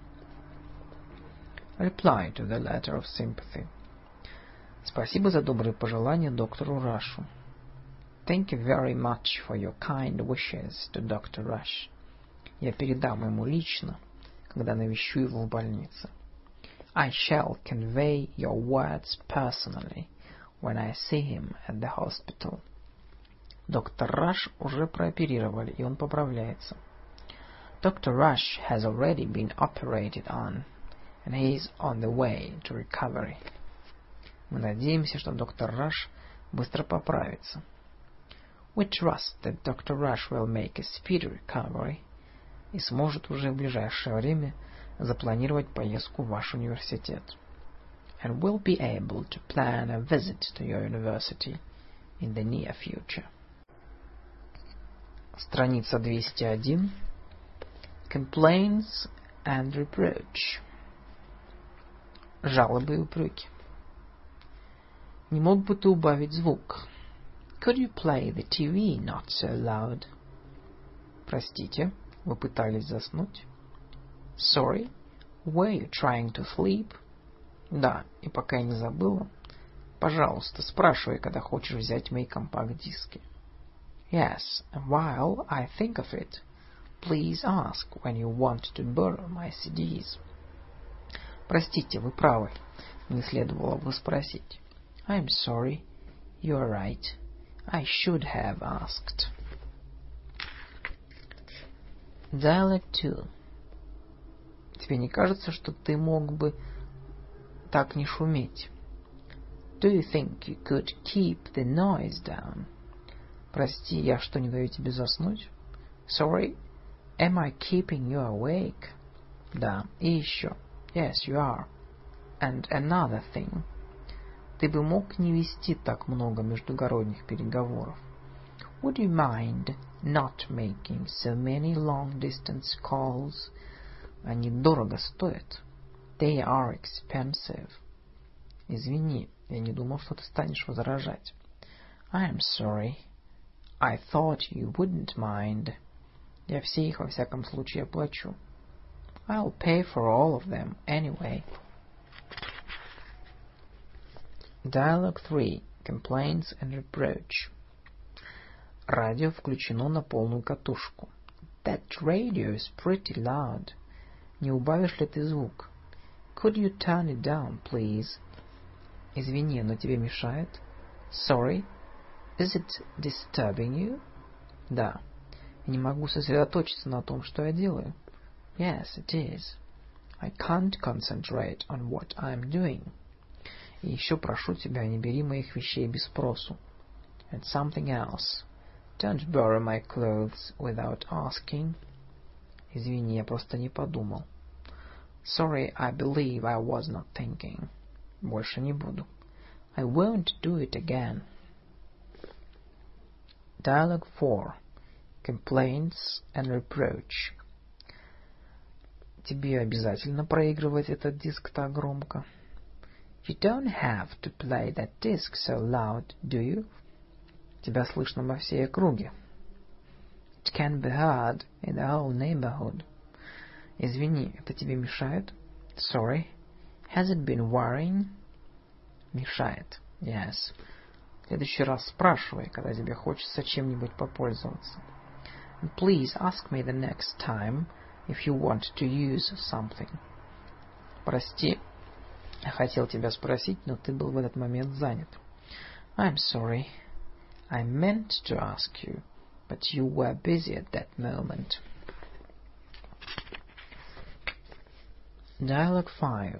Reply to the letter of sympathy. Спасибо за добрые пожелания доктору Рашу. Thank you very much for your kind wishes to Dr. Rush. Я передам ему лично, когда навещу его в больнице. I shall convey your words personally when I see him at the hospital. Доктор Раш уже прооперировали, и он поправляется. Dr. Rush has already been operated on, and he is on the way to recovery. Мы надеемся, что доктор Раш быстро поправится. We trust that Dr. Rush will make a speedy recovery и сможет уже в ближайшее время запланировать поездку в ваш университет. And will be able to plan a visit to your university in the near future. Страница 201. Complaints and reproach. Жалобы и упреки. Не мог бы ты убавить звук? Could you play the TV not so loud? Простите, вы пытались заснуть? Sorry, were you trying to sleep? Да, и пока я не забыла, пожалуйста, спрашивай, когда хочешь взять мои компакт-диски. Yes, and while I think of it, please ask when you want to borrow my CDs. Простите, вы правы, не следовало бы спросить. I'm sorry, you are right. I should have asked. Dialogue 2. Тебе не кажется, что ты мог бы так не шуметь? Do you think you could keep the noise down? Прости, я что, не даю тебе заснуть? Sorry, am I keeping you awake? Да, и еще. Yes, you are. And another thing. Ты бы мог не вести так много междугородних переговоров? Would you mind not making so many long-distance calls? Они дорого стоят. They are expensive. Извини, я не думал, что ты станешь возражать. I am sorry. I thought you wouldn't mind. Я все их во всяком случае оплачу. I'll pay for all of them anyway. Dialogue 3. Complaints and reproach. Радио включено на полную катушку. That radio is pretty loud. Не убавишь ли ты звук? Could you turn it down, please? Извини, но тебе мешает? Sorry, is it disturbing you? Да. Я не могу сосредоточиться на том, что я делаю. Yes, it is. I can't concentrate on what I'm doing. И еще прошу тебя, не бери моих вещей без спросу. And something else. Don't borrow my clothes without asking. Извини, я просто не подумал. Sorry, I believe I was not thinking. Больше не буду. I won't do it again. Dialogue 4. Complaints and reproach. Тебе обязательно проигрывать этот диск так громко? You don't have to play that disc so loud, do you? Тебя слышно во всей округе. It can be heard in the whole neighborhood. Извини, это тебе мешает? Sorry. Has it been worrying? Мешает. Yes. В следующий раз спрашивай, когда тебе хочется чем-нибудь попользоваться. And please ask me the next time if you want to use something. Прости, я хотел тебя спросить, но ты был в этот момент занят. I'm sorry. I meant to ask you, but you were busy at that moment. Dialogue 5.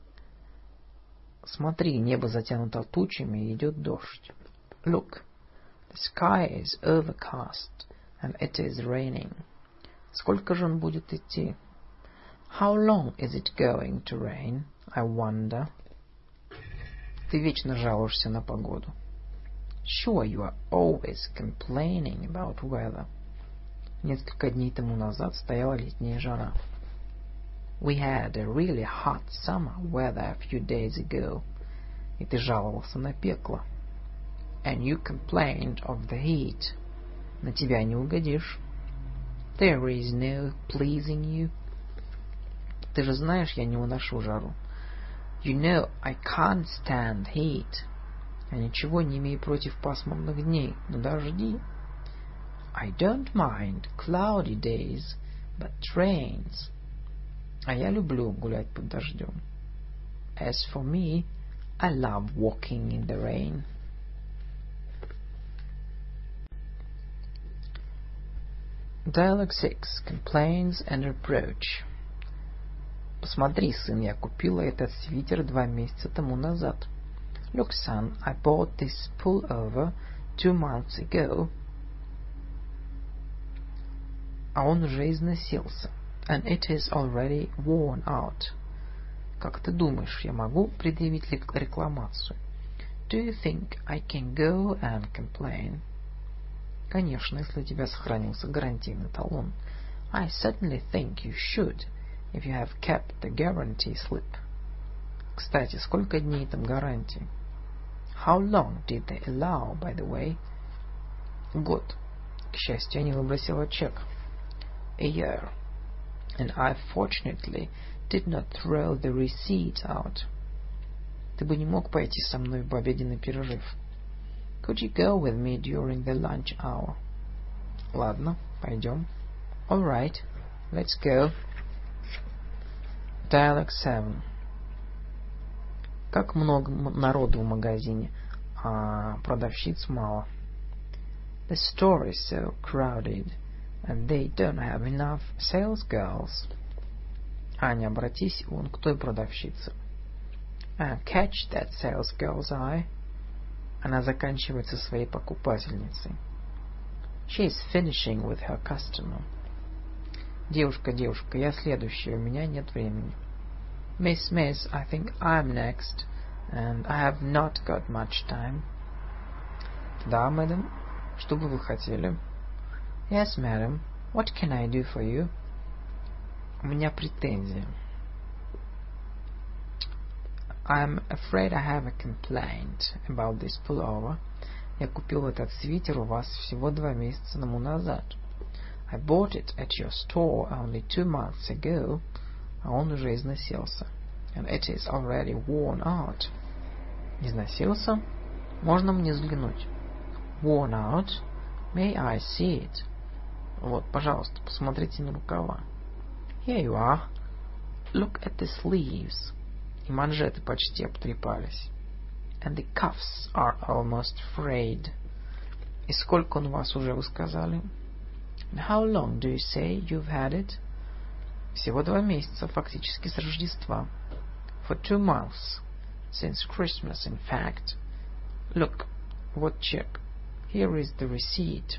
Смотри, небо затянуто тучами и идет дождь. Look, the sky is overcast and it is raining. Сколько же он будет идти? How long is it going to rain? I wonder. Ты вечно жалуешься на погоду. Sure, you are always complaining about weather. Несколько дней тому назад стояла летняя жара. We had a really hot summer weather a few days ago. И ты жаловался на пекло. And you complained of the heat. На тебя не угодишь. There is no pleasing you. Ты же знаешь, я не уношу жару. You know I can't stand heat. Я ничего не имею против пасмурных дней, но дожди. I don't mind cloudy days, but rains. А я люблю гулять под дождем. As for me, I love walking in the rain. Dialogue 6. Complaints and reproach. Посмотри, сын, я купила этот свитер 2 месяца тому назад. Look, son, I bought this pullover 2 months ago. А он уже износился. And it is already worn out. Как ты думаешь, я могу предъявить рекламацию? Do you think I can go and complain? Конечно, если у тебя сохранился гарантийный талон. I certainly think you should, if you have kept the guarantee slip. Кстати, сколько дней там гарантии? How long did they allow, by the way? Год. К счастью, я не выбросила чек. A year. And I fortunately did not throw the receipt out. Ты бы не мог пойти со мной в обеденный перерыв? Could you go with me during the lunch hour? Ладно, пойдем. All right, let's go. Dialogue 7. Как много народу в магазине, а продавщиц мало. The store is so crowded, and they don't have enough sales girls. Аня, обратись вон к той продавщице. Catch that sales girl's eye. Она заканчивает со своей покупательницей. She is finishing with her customer. Девушка, я следующая, у меня нет времени. Miss, I think I'm next, and I have not got much time. Да, мэдам, что бы вы хотели? Yes, madam, what can I do for you? У меня претензия. I'm afraid I have a complaint about this pullover. Я купил этот свитер у вас всего 2 месяца тому назад. I bought it at your store only 2 months ago, а он уже износился. And it is already worn out. Износился? Можно мне взглянуть? Worn out? May I see it? Вот, пожалуйста, посмотрите на рукава. Here you are. Look at the sleeves. И манжеты почти обтрепались. And the cuffs are almost frayed. И сколько он у вас уже, вы сказали? And how long do you say you've had it? Всего 2 месяца, фактически с Рождества. For 2 months. Since Christmas, in fact. Look, вот чек. Here is the receipt.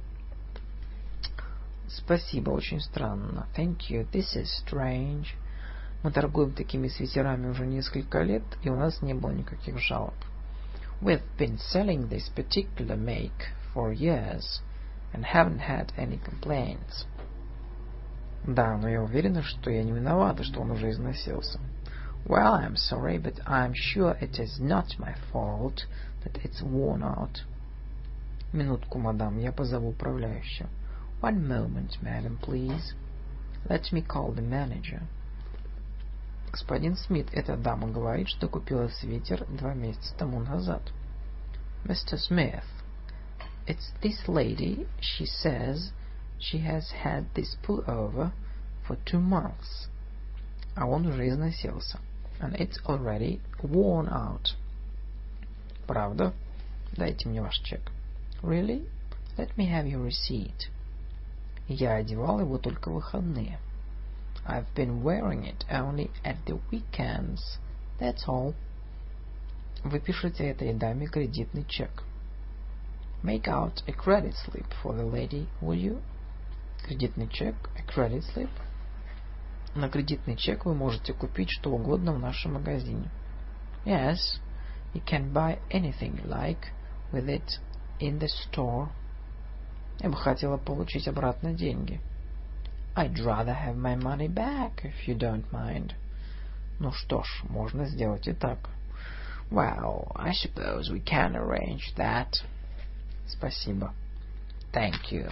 Спасибо, очень странно. Thank you, this is strange. Мы торгуем такими свитерами уже несколько лет, и у нас не было никаких жалоб. We've been selling this particular make for years and haven't had any complaints. Да, но я уверена, что я не виновата, что он уже износился. Well, I'm sorry, but I'm sure it is not my fault that it's worn out. Минутку, мадам, я позову управляющего. One moment, madam, please. Let me call the manager. Господин Смит, эта дама говорит, что купила свитер 2 месяца тому назад. Mr. Smith, it's this lady. She says she has had this pullover for 2 months. А он уже износился. And it's already worn out. Правда? Дайте мне ваш чек. Really? Let me have your receipt. Я одевал его только в выходные. I've been wearing it only at the weekends. That's all. Вы пишете этой даме кредитный чек. Make out a credit slip for the lady, will you? Кредитный чек, a credit slip. На кредитный чек вы можете купить что угодно в нашем магазине. Yes, you can buy anything you like with it in the store. Я бы хотела получить обратно деньги. I'd rather have my money back, if you don't mind. Ну что ж, можно сделать и так. Well, I suppose we can arrange that. Спасибо. Thank you.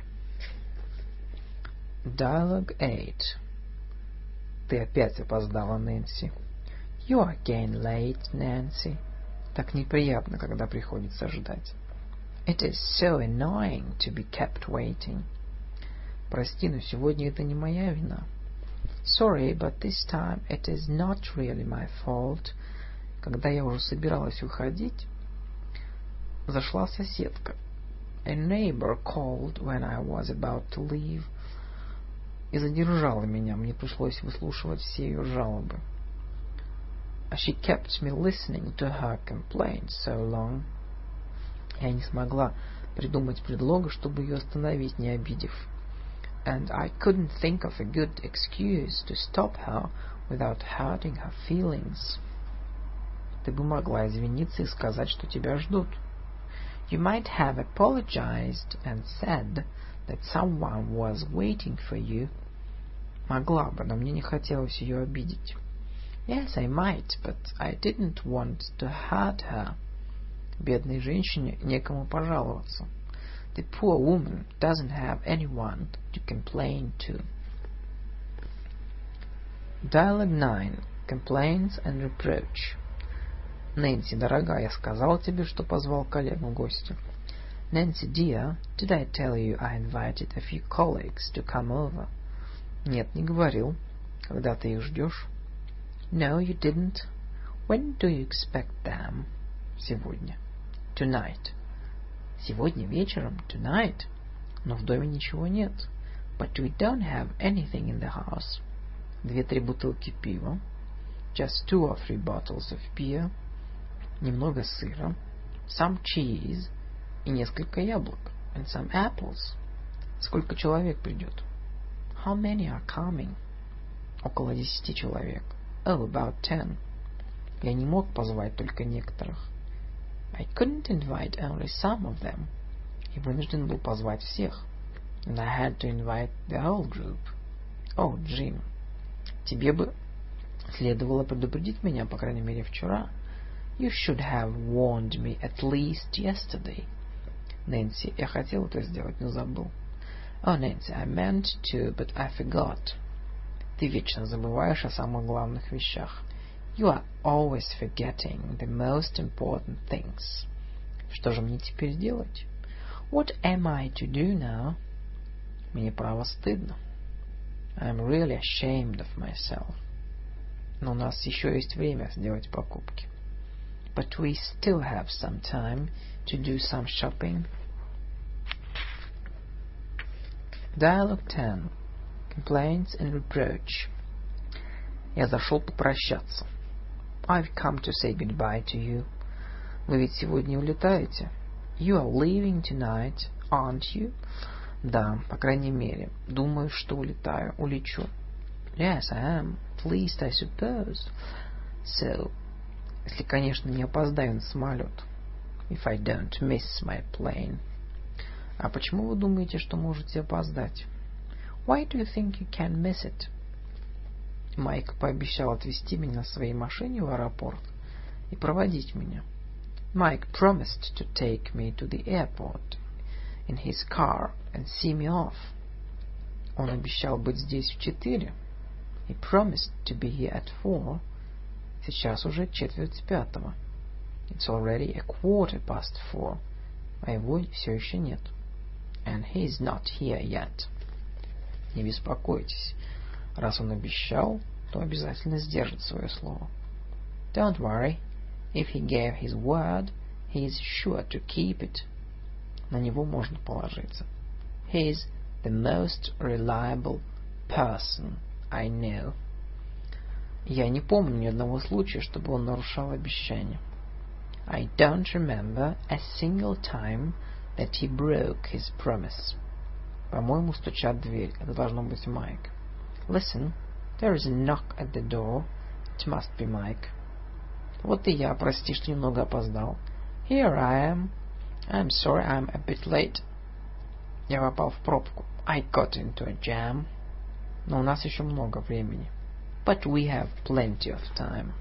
Dialogue 8. Ты опять опоздала, Нэнси. You are again late, Nancy. Так неприятно, когда приходится ждать. It is so annoying to be kept waiting. Прости, но сегодня это не моя вина. Sorry, but this time it is not really my fault. Когда я уже собиралась уходить, зашла соседка. A neighbor called when I was about to leave. И задержала меня. Мне пришлось выслушивать все ее жалобы. She kept me listening to her complaints so long. Я не смогла придумать предлога, чтобы ее остановить, не обидев. And I couldn't think of a good excuse to stop her without hurting her feelings. Ты бы могла извиниться и сказать, что тебя ждут. You might have apologized and said that someone was waiting for you. Могла бы, но мне не хотелось ее обидеть. Yes, I might, but I didn't want to hurt her. Бедной женщине некому пожаловаться. The poor woman doesn't have anyone to complain to. Dialogue 9. Complaints and reproach. Нэнси, дорогая, я сказал тебе, что позвал коллегу в гости. Nancy, dear, did I tell you I invited a few colleagues to come over? Нет, не говорил. Когда ты их ждешь? No, you didn't. When do you expect them? Сегодня. Tonight. Сегодня вечером, tonight. Но в доме ничего нет. But we don't have anything in the house. 2-3 бутылки пива. Just 2 or 3 bottles of beer. Немного сыра. Some cheese. И несколько яблок. And some apples. Сколько человек придет? How many are coming? Около 10 человек. Oh, about 10. Я не мог позвать только некоторых. I couldn't invite only some of them. И вынужден был позвать всех. And I had to invite the whole group. Oh, Jim, тебе бы следовало предупредить меня, по крайней мере, вчера. You should have warned me at least yesterday. Нэнси, я хотел это сделать, но забыл. Oh, Nancy, I meant to, but I forgot. Ты вечно забываешь о самых главных вещах. You are always forgetting the most important things. Что же мне теперь делать? What am I to do now? Мне право стыдно. I'm really ashamed of myself. Но у нас еще есть время сделать покупки. But we still have some time to do some shopping. Dialogue 10. Complaints and reproach. Я зашел попрощаться. I've come to say goodbye to you. Вы ведь сегодня улетаете? You are leaving tonight, aren't you? Да, по крайней мере. Думаю, что улечу. Yes, I am. At least I suppose. So, если, конечно, не опоздаю на самолет. If I don't miss my plane. А почему вы думаете, что можете опоздать? Why do you think you can miss it? Майк пообещал отвезти меня на своей машине в аэропорт и проводить меня. Mike promised to take me to the airport in his car and see me off. Он обещал быть здесь в 4. He promised to be here at 4. Сейчас уже 4:45. It's already 4:15, а его все еще нет. And he's not here yet. Не беспокойтесь. Раз он обещал, то обязательно сдержит свое слово. Don't worry. If he gave his word, he is sure to keep it. На него можно положиться. He is the most reliable person I know. Я не помню ни одного случая, чтобы он нарушал обещание. I don't remember a single time that he broke his promise. По-моему, стучат в дверь. Это должно быть Майк. Listen, there is a knock at the door. It must be Mike. Вот и я, прости, что немного опоздал. Here I am. I'm sorry I'm a bit late. Я попал в пробку. I got into a jam. Но у нас еще много времени. But we have plenty of time.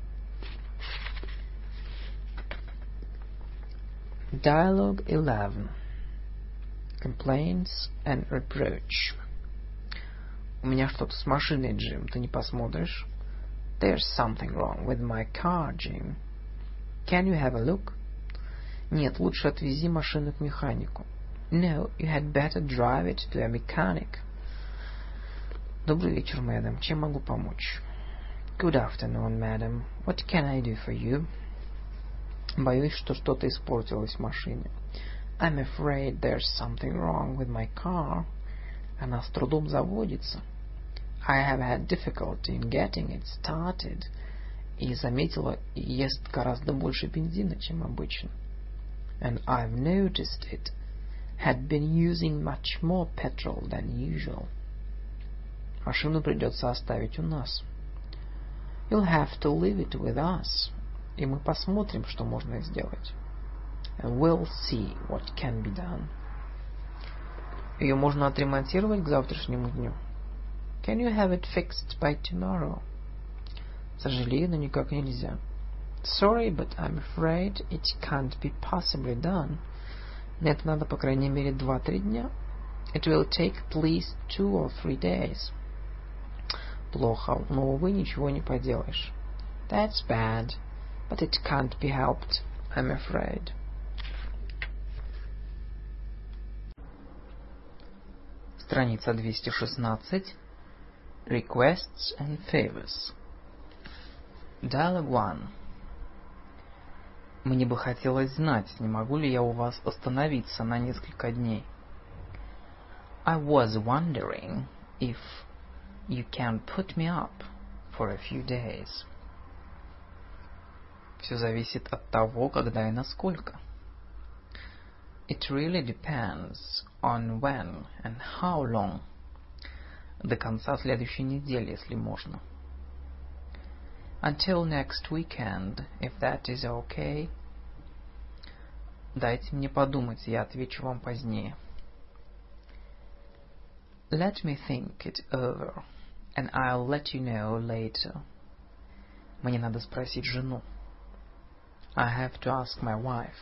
Dialogue 11. Complaints and reproach. У меня что-то с машиной, Джим. Ты не посмотришь? There's something wrong with my car, Jim. Can you have a look? Нет, лучше отвези машину к механику. No, you had better drive it to a mechanic. Добрый вечер, мэдам. Чем могу помочь? Good afternoon, madam. What can I do for you? Боюсь, что что-то испортилось в машине. I'm afraid there's something wrong with my car. Она с трудом заводится. I have had difficulty in getting it started. И заметила, ест гораздо больше бензина, чем обычно. And I've noticed it had been using much more petrol than usual. Машину придется оставить у нас. You'll have to leave it with us. И мы посмотрим, что можно сделать. And we'll see what can be done. Ее можно отремонтировать к завтрашнему дню. Can you have it fixed by tomorrow? Сожалею, но никак нельзя. Sorry, but I'm afraid it can't be possibly done. На это надо, по крайней мере, 2-3 дня. It will take at least 2 or 3 days. Плохо, но, увы, ничего не поделаешь. That's bad, but it can't be helped, I'm afraid. Страница 216. Requests and favors. Dialogue 1. Мне бы хотелось знать, не могу ли я у вас остановиться на несколько дней. I was wondering if you can put me up for a few days. Все зависит от того, когда и насколько. It really depends on when and how long. До конца следующей недели, если можно. Until next weekend, if that is okay. Дайте мне подумать, я отвечу вам позднее. Let me think it over, and I'll let you know later. Мне надо спросить жену. I have to ask my wife.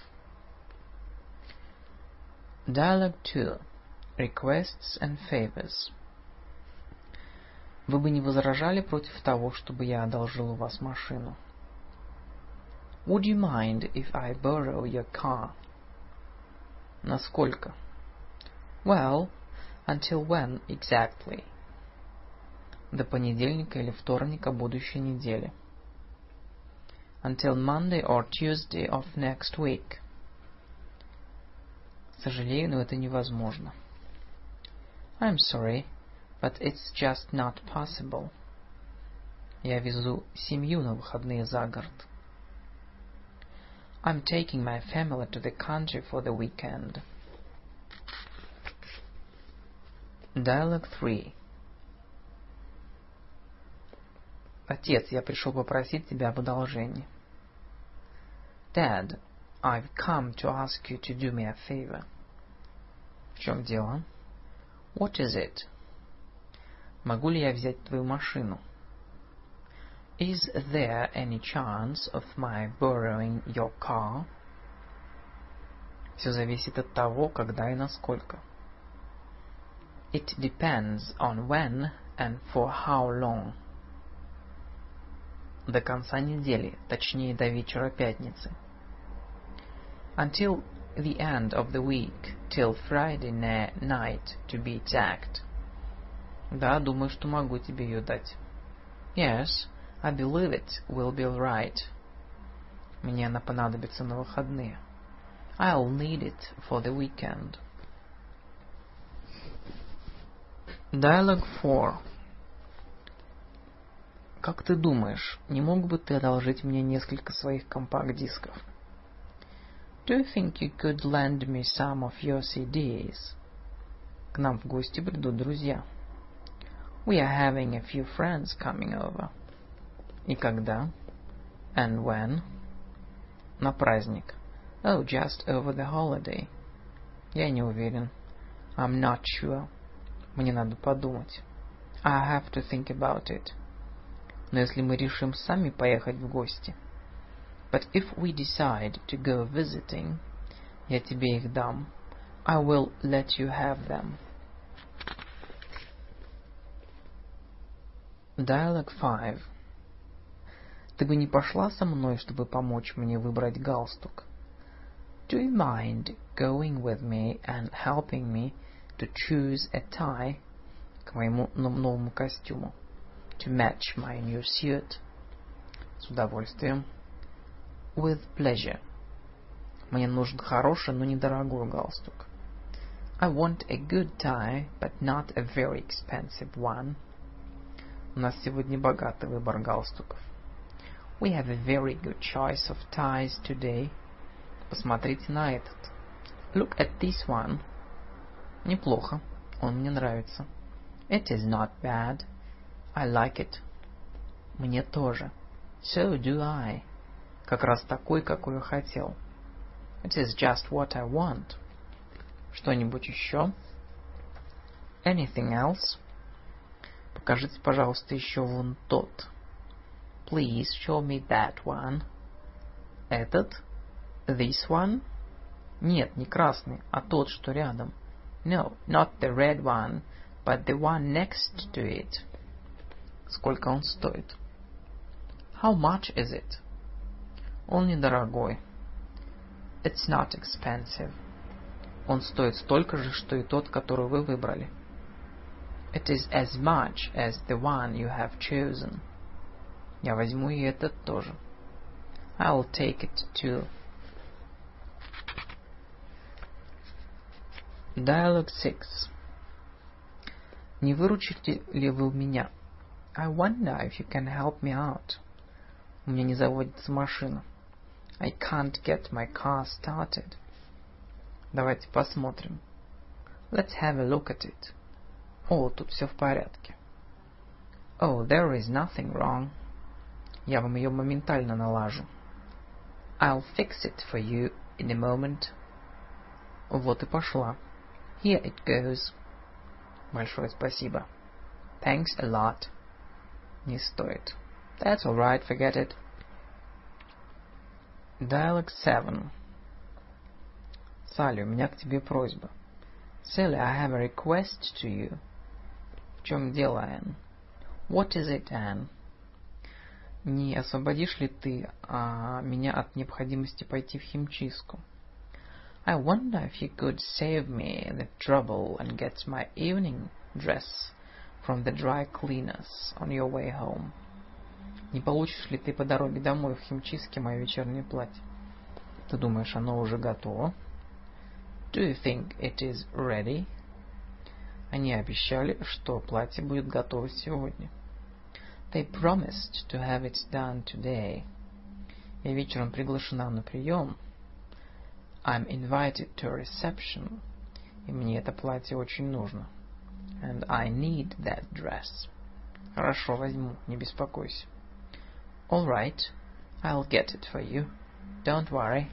Dialogue 2. Requests and favors. Вы бы не возражали против того, чтобы я одолжил у вас машину? Would you mind if I borrow your car? Насколько? Well, until when exactly? До понедельника или вторника будущей недели. Until Monday or Tuesday of next week. Сожалею, но это невозможно. I'm sorry, but it's just not possible. Я везу семью на выходные за город. I'm taking my family to the country for the weekend. Dialogue 3. Отец, я пришел попросить тебя об одолжении. Dad, I've come to ask you to do me a favor. В чем дело? What is it? Могу ли я взять твою машину? Is there any chance of my borrowing your car? Все зависит от того, когда и насколько. It depends on when and for how long. До конца недели, точнее до вечера пятницы. Until the end of the week, till Friday night, to be exact. Да, думаю, что могу тебе ее дать. Yes, I believe it will be all right. Мне она понадобится на выходные. I'll need it for the weekend. Dialogue 4. Как ты думаешь, не мог бы ты одолжить мне несколько своих компакт-дисков? Do you think you could lend me some of your CDs? К нам в гости придут друзья. We are having a few friends coming over. И когда? And when? На праздник. Oh, just over the holiday. Я не уверен. I'm not sure. Мне надо подумать. I have to think about it. Но если мы решим сами поехать в гости. But if we decide to go visiting, я тебе их дам. I will let you have them. Dialogue 5. Ты бы не пошла со мной, чтобы помочь мне выбрать галстук? Do you mind going with me and helping me to choose a tie к моему новому костюму? To match my new suit. С удовольствием. With pleasure. Мне нужен хороший, но недорогой галстук. I want a good tie, but not a very expensive one. У нас сегодня богатый выбор галстуков. We have a very good choice of ties today. Посмотрите на этот. Look at this one. Неплохо. Он мне нравится. It is not bad. I like it. Мне тоже. So do I. Как раз такой, какой я хотел. It is just what I want. Что-нибудь еще? Anything else? Покажите, пожалуйста, еще вон тот. Please show me that one. Этот? This one? Нет, не красный, а тот, что рядом. No, not the red one, but the one next to it. Сколько он стоит? How much is it? Он недорогой. It's not expensive. Он стоит столько же, что и тот, который вы выбрали. It is as much as the one you have chosen. Я возьму и этот тоже. I will take it too. Dialogue 6. Не выручите ли вы меня? I wonder if you can help me out. У меня не заводится машина. I can't get my car started. Давайте посмотрим. Let's have a look at it. О, тут все в порядке. Oh, there is nothing wrong. Я вам ее моментально налажу. I'll fix it for you in a moment. Вот и пошла. Here it goes. Большое спасибо. Thanks a lot. Не стоит. That's all right, forget it. Dialogue 7. Салли, у меня к тебе просьба. Sally, I have a request to you. В чем дело, Энн? What is it, Anne? Не освободишь ли ты меня от необходимости пойти в химчистку? I wonder if you could save me the trouble and get my evening dress from the dry cleaners on your way home. Не получишь ли ты по дороге домой в химчистке мое вечернее платье? Ты думаешь, оно уже готово? Do you think it is ready? Они обещали, что платье будет готово сегодня. They promised to have it done today. Я вечером приглашена на прием. I'm invited to a reception. И мне это платье очень нужно. And I need that dress. Хорошо, возьму, не беспокойся. All right, I'll get it for you. Don't worry.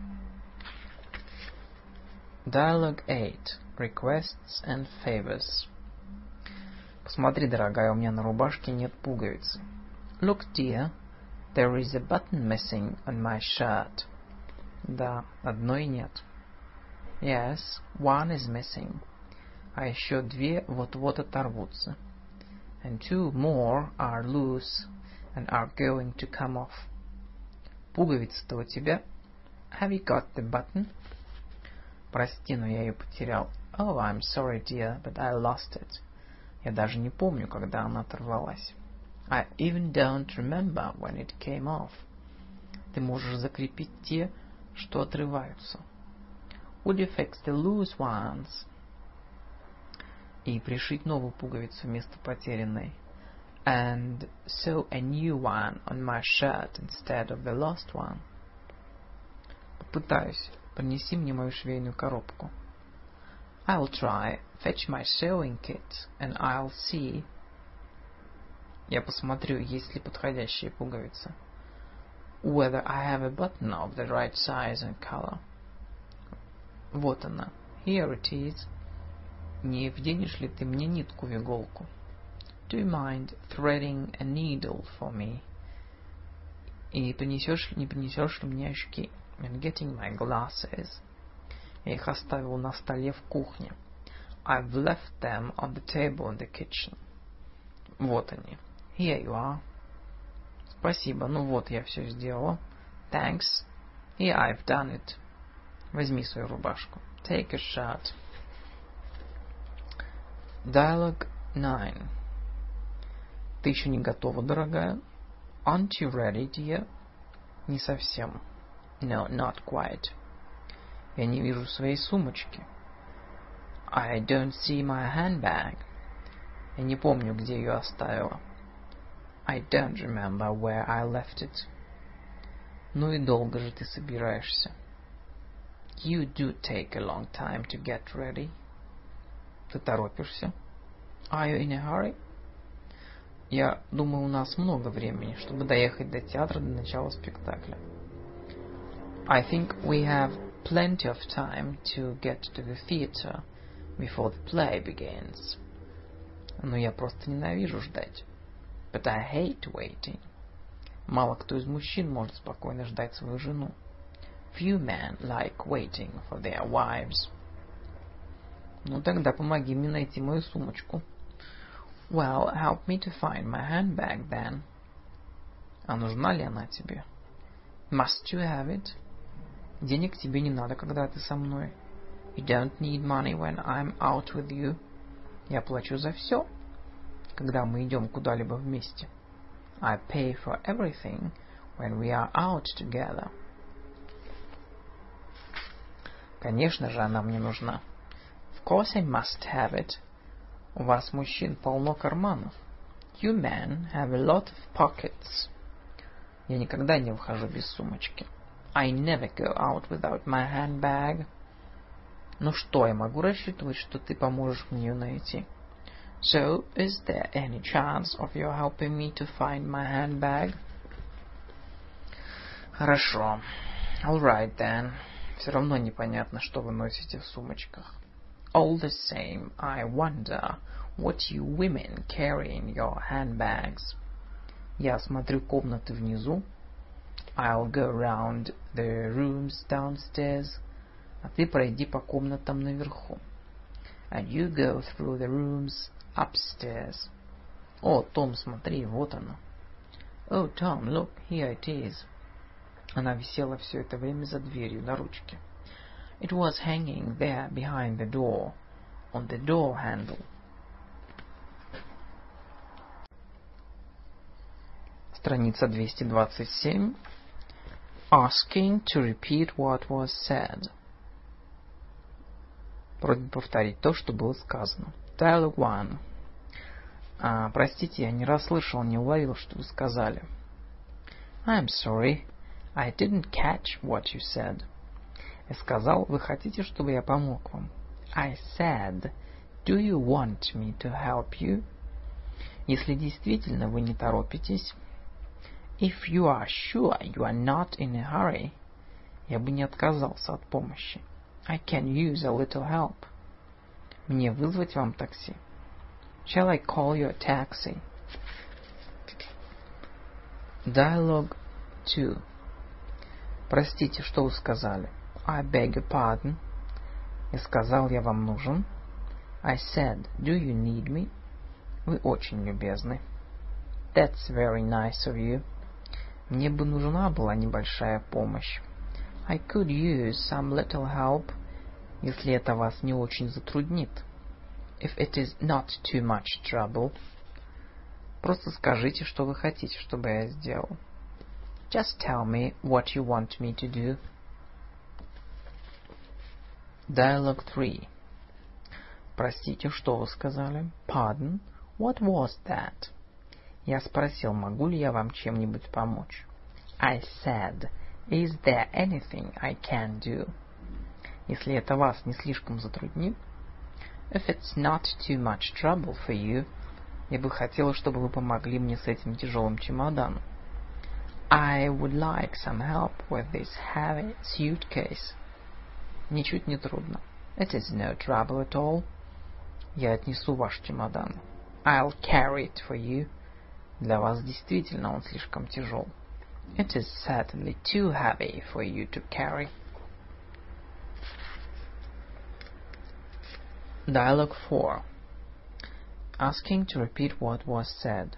Dialogue 8. Requests and favors. Посмотри, дорогая, у меня на рубашке нет пуговицы. Look, dear, there is a button missing on my shirt. Да, одной нет. Yes, one is missing. А еще две вот-вот оторвутся. And two more are loose and are going to come off. Пуговица-то у тебя? Have you got the button? Прости, но я ее потерял. Oh, I'm sorry, dear, but I lost it. Я даже не помню, когда она оторвалась. I even don't remember when it came off. Ты можешь закрепить те, что отрываются. Would you fix the loose ones? И пришить новую пуговицу вместо потерянной. And sew a new one on my shirt instead of the lost one. Попытаюсь. Принеси мне мою швейную коробку. I'll try. Fetch my sewing kit, and I'll see. Я посмотрю, есть ли подходящие пуговицы. Whether I have a button of the right size and color. Вот она. Here it is. Не вденешь ли ты мне нитку в иголку? Do you mind threading a needle for me? И не принесешь ли мне очки? And getting my glasses. Я их оставил на столе в кухне. I've left them on the table in the kitchen. Вот они. Here you are. Спасибо. Ну вот, я все сделала. Thanks. Here I've done it. Возьми свою рубашку. Take your shirt. Dialogue 9. Ты еще не готова, дорогая? Aren't you ready, dear? Не совсем. No, not quite. Я не вижу своей сумочки. I don't see my handbag. Я не помню, где ее оставила. I don't remember where I left it. Ну и долго же ты собираешься. You do take a long time to get ready. Ты торопишься? Are you in a hurry? Я думаю, у нас много времени, чтобы доехать до театра до начала спектакля. I think we have plenty of time to get to the theater before the play begins. Но я просто ненавижу ждать. But I hate waiting. Мало кто из мужчин может спокойно ждать свою жену. Few men like waiting for their wives. Ну тогда помоги мне найти мою сумочку. Well, help me to find my handbag then. А нужна ли она тебе? Must you have it? Денег тебе не надо, когда ты со мной. You don't need money when I'm out with you. Я плачу за все, когда мы идем куда-либо вместе. I pay for everything when we are out together. Конечно же, она мне нужна. Of course I must have it. У вас, мужчин, полно карманов. You men have a lot of pockets. Я никогда не выхожу без сумочки. I never go out without my handbag. Ну что, я могу рассчитывать, что ты поможешь мне ее найти? So, is there any chance of you helping me to find my handbag? Хорошо. All right then. Все равно непонятно, что вы носите в сумочках. All the same, I wonder what you women carry in your handbags. Я осмотрю комнаты внизу. I'll go around the rooms downstairs. А ты пройди по комнатам наверху. And you go through the rooms upstairs. О, Том, смотри, вот она. Oh, Tom, look, here it is. Она висела все это время за дверью на ручке. It was hanging there behind the door, on the door handle. Страница 227. Asking to repeat what was said. Просьба повторить то, что было сказано. Dialogue 1. Простите, я не расслышал, не уловил, что вы сказали. I'm sorry, I didn't catch what you said. Я сказал, вы хотите, чтобы я помог вам? I said, do you want me to help you? Если действительно вы не торопитесь. If you are sure you are not in a hurry, я бы не отказался от помощи. I can use a little help. Мне вызвать вам такси? Shall I call you a taxi? Dialogue 2. Простите, что вы сказали? I beg your pardon. Я сказал, я вам нужен. I said, do you need me? Вы очень любезны. That's very nice of you. Мне бы нужна была небольшая помощь. I could use some little help. Если это вас не очень затруднит. If it is not too much trouble. Просто скажите, что вы хотите, чтобы я сделал. Just tell me what you want me to do. Dialogue 3. Простите, что вы сказали? Pardon, what was that? Я спросил, могу ли я вам чем-нибудь помочь? I said, is there anything I can do? Если это вас не слишком затруднит. If it's not too much trouble for you. Я бы хотела, чтобы вы помогли мне с этим тяжелым чемоданом. I would like some help with this heavy suitcase. Ничуть не трудно. It is no trouble at all. Я отнесу ваш чемодан. I'll carry it for you. Для вас действительно он слишком тяжел. It is certainly too heavy for you to carry. Dialogue 4. Asking to repeat what was said.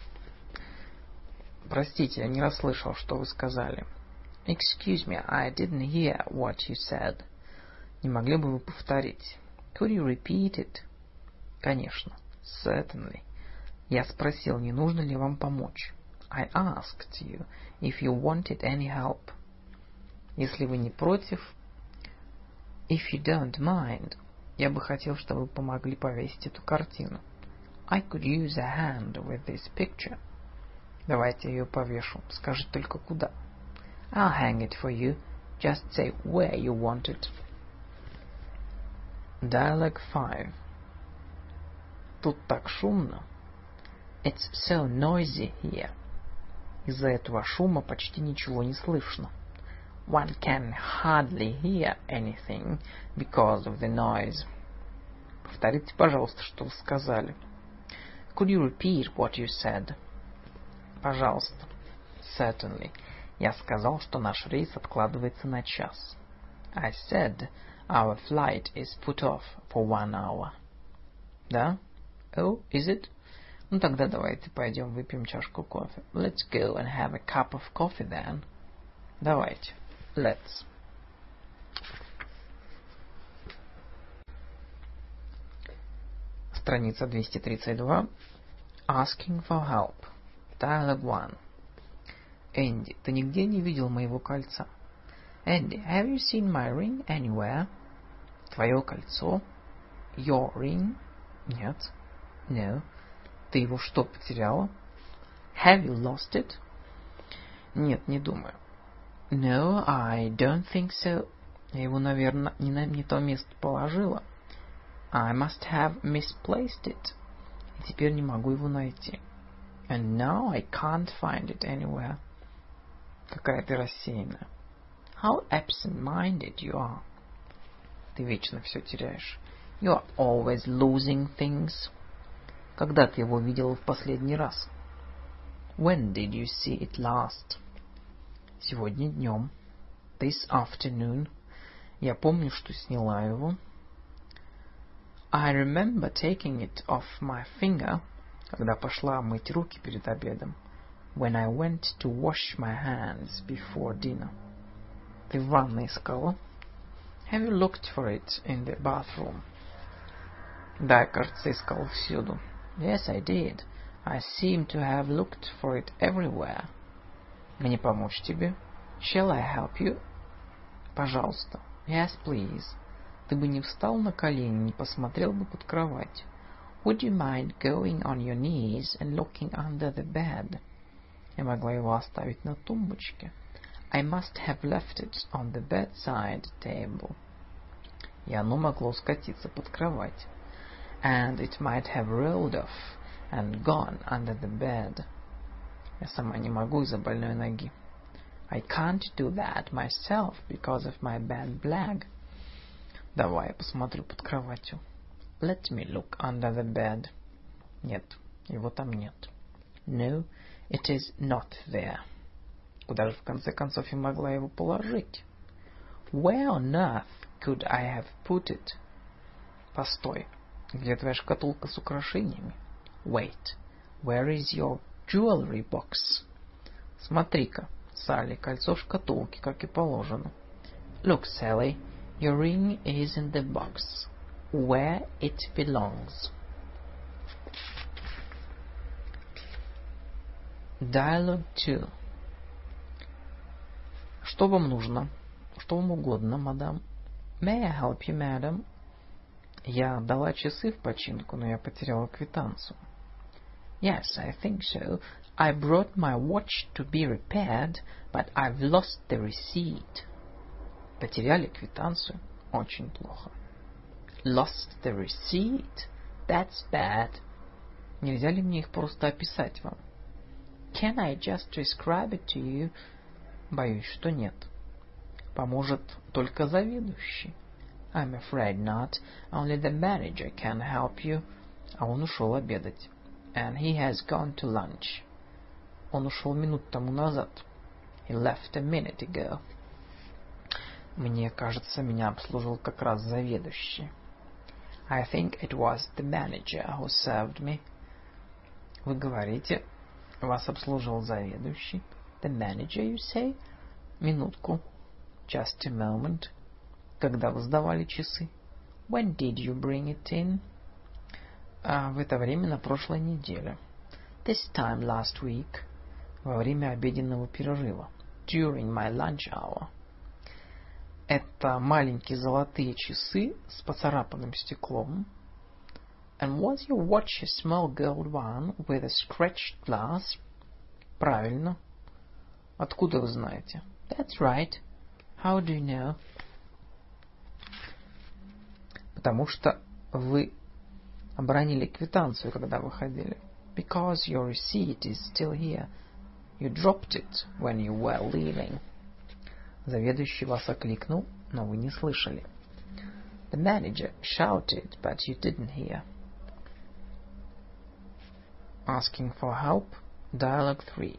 Простите, я не расслышал, что вы сказали. Excuse me, I didn't hear what you said. Не могли бы вы повторить? Could you repeat it? Конечно. Certainly. Я спросил, не нужно ли вам помочь. I asked you if you wanted any help. Если вы не против, if you don't mind, я бы хотел, чтобы вы помогли повесить эту картину. I could use a hand with this picture. Давайте я ее повешу. Скажите только куда. I'll hang it for you. Just say where you want it. Dialogue 5. Тут так шумно. It's so noisy here. Из-за этого шума почти ничего не слышно. One can hardly hear anything because of the noise. Повторите, пожалуйста, что вы сказали. Could you repeat what you said? Пожалуйста. Certainly. Я сказал, что наш рейс откладывается на час. I said our flight is put off for 1 hour. Да? Oh, is it? Ну тогда давайте пойдем выпьем чашку кофе. Let's go and have a cup of coffee then. Давайте. Let's. Страница 232. Asking for help. Dialogue 1. Энди, ты нигде не видел моего кольца? Andy, have you seen my ring anywhere? Твое кольцо? Your ring? Нет. No. Ты его что, потеряла? Have you lost it? Нет, не думаю. No, I don't think so. Я его, наверное, не то место положила. I must have misplaced it. И теперь не могу его найти. And now I can't find it anywhere. Какая ты рассеянная. How absent-minded you are. Ты вечно все теряешь. You are always losing things. Когда ты его видела в последний раз? When did you see it last? Сегодня днем. This afternoon. Я помню, что сняла его. I remember taking it off my finger, когда пошла мыть руки перед обедом. When I went to wash my hands before dinner. Ты в ванной искала? Have you looked for it in the bathroom? Да, кажется, искал всюду. Yes, I did. I seem to have looked for it everywhere. Мне помочь тебе? Shall I help you? Пожалуйста. Yes, please. Ты бы не встал на колени, не посмотрел бы под кровать. Would you mind going on your knees and looking under the bed? Я могла его оставить на тумбочке. I must have left it on the bedside table. И оно могло скатиться под кровать. And it might have rolled off and gone under the bed. Я сама не могу из-за больной ноги. I can't do that myself because of my bad leg. Давай я посмотрю под кроватью. Let me look under the bed. Нет, его там нет. No, it is not there. Куда же в конце концов я могла его положить? Where on earth could I have put it? Постой. Где твоя шкатулка с украшениями? Wait. Where is your jewelry box? Смотри-ка, Салли, кольцо в шкатулке, как и положено. Look, Sally, your ring is in the box, where it belongs. Dialogue 2. Что вам нужно? Что вам угодно, мадам? May I help you, madam? Я дала часы в починку, но я потеряла квитанцию. Yes, I think so. I brought my watch to be repaired, but I've lost the receipt. Потеряли квитанцию? Очень плохо. Lost the receipt? That's bad. Нельзя ли мне их просто описать вам? Can I just describe it to you? Боюсь, что нет. Поможет только заведующий. I'm afraid not. Only the manager can help you. А он ушел обедать. And he has gone to lunch. Он ушел минут тому назад. He left a minute ago. Мне кажется, меня обслужил как раз заведующий. I think it was the manager who served me. Вы говорите, вас обслуживал заведующий. The manager, you say? Минутку. Just a moment. Когда вы сдавали часы? When did you bring it in? В это время на прошлой неделе. This time last week. Во время обеденного перерыва. During my lunch hour. Это маленькие золотые часы с поцарапанным стеклом. And was your watch a small gold one with a scratched glass? Правильно. Откуда вы знаете? That's right. How do you know? Потому что вы обронили квитанцию, когда выходили. Because your receipt is still here. You dropped it when you were leaving. Заведующий вас окликнул, но вы не слышали. The manager shouted, but you didn't hear. Asking for help. Dialogue 3.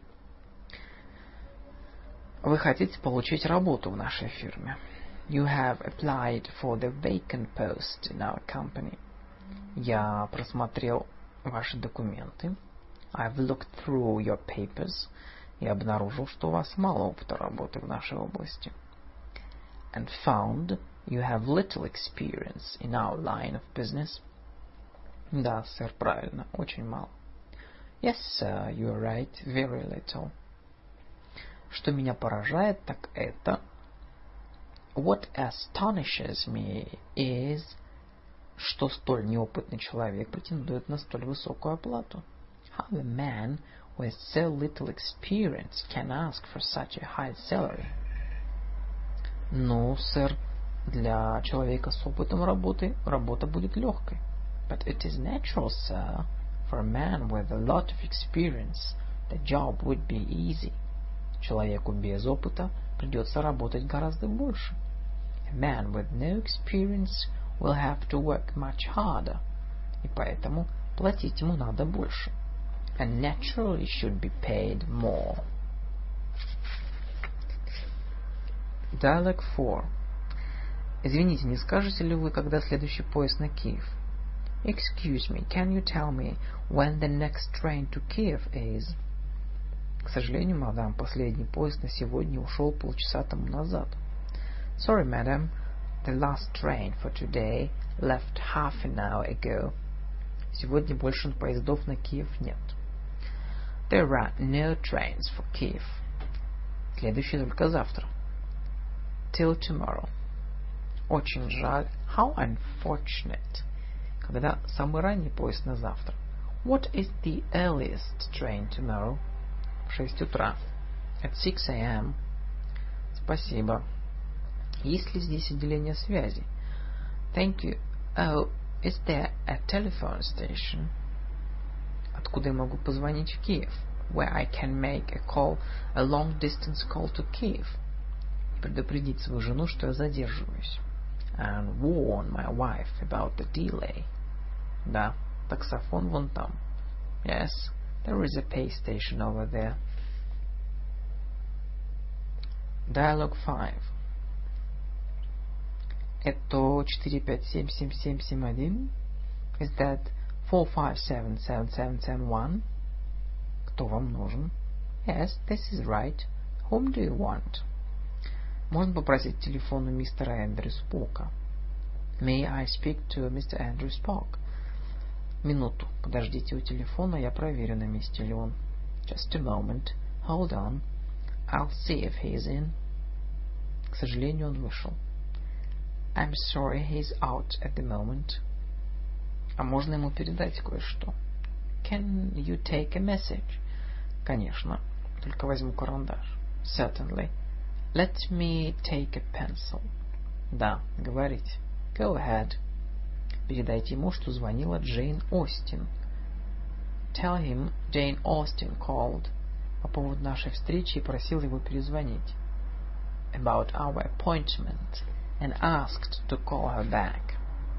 Вы хотите получить работу в нашей фирме. You have applied for the vacant post in our company. Я просмотрел ваши документы. I've looked through your papers и обнаружил, что у вас мало опыта работы в нашей области. And found you have little experience in our line of business. Да, сэр, правильно, очень мало. Yes, sir, you are right, very little. Что меня поражает, так это... What astonishes me is... Что столь неопытный человек претендует на столь высокую оплату. How a man with so little experience can ask for such a high salary. Ну, сэр, для человека с опытом работы работа будет легкой. But it is natural, sir, for a man with a lot of experience, the job would be easy. Человеку без опыта придется работать гораздо больше. A man with no experience will have to work much harder. И поэтому платить ему надо больше. And naturally should be paid more. Dialogue 4. Извините, не скажете ли вы, когда следующий поезд на Киев? Excuse me, can you tell me when the next train to Kiev is? К сожалению, мадам, последний поезд на сегодня ушел полчаса тому назад. Sorry, madam, the last train for today left half an hour ago. Сегодня больше поездов на Киев нет. There are no trains for Kiev. Следующий только завтра. Till tomorrow. Очень жаль. How unfortunate. Когда самый ранний поезд на завтра? What is the earliest train tomorrow? В 6 утра. At 6 a.m. Спасибо. Есть ли здесь отделение связи? Thank you. Oh, is there a telephone station? Откуда я могу позвонить в Киев? Where I can make a long-distance call to Kiev. Предупредить свою жену, что я задерживаюсь. And warn my wife about the delay. Да, таксофон вон там. Yes, there is a pay station over there. Dialogue 5. Это 4577771? Is that 4577771? Кто вам нужен? Yes, this is right. Whom do you want? Можно попросить телефон у мистера Эндрю Спока? May I speak to Mr. Andrew Spock? Минуту, подождите у телефона, я проверю, на месте ли он. Just a moment. Hold on. I'll see if he's in. К сожалению, он вышел. I'm sorry, he's out at the moment. А можно ему передать кое-что? Can you take a message? Конечно. Только возьму карандаш. Certainly. Let me take a pencil. Да, говорите. Go ahead. Передайте ему, что звонила Джейн Остин. Tell him Jane Austen called. По поводу нашей встречи и просил его перезвонить. About our appointment and asked to call her back.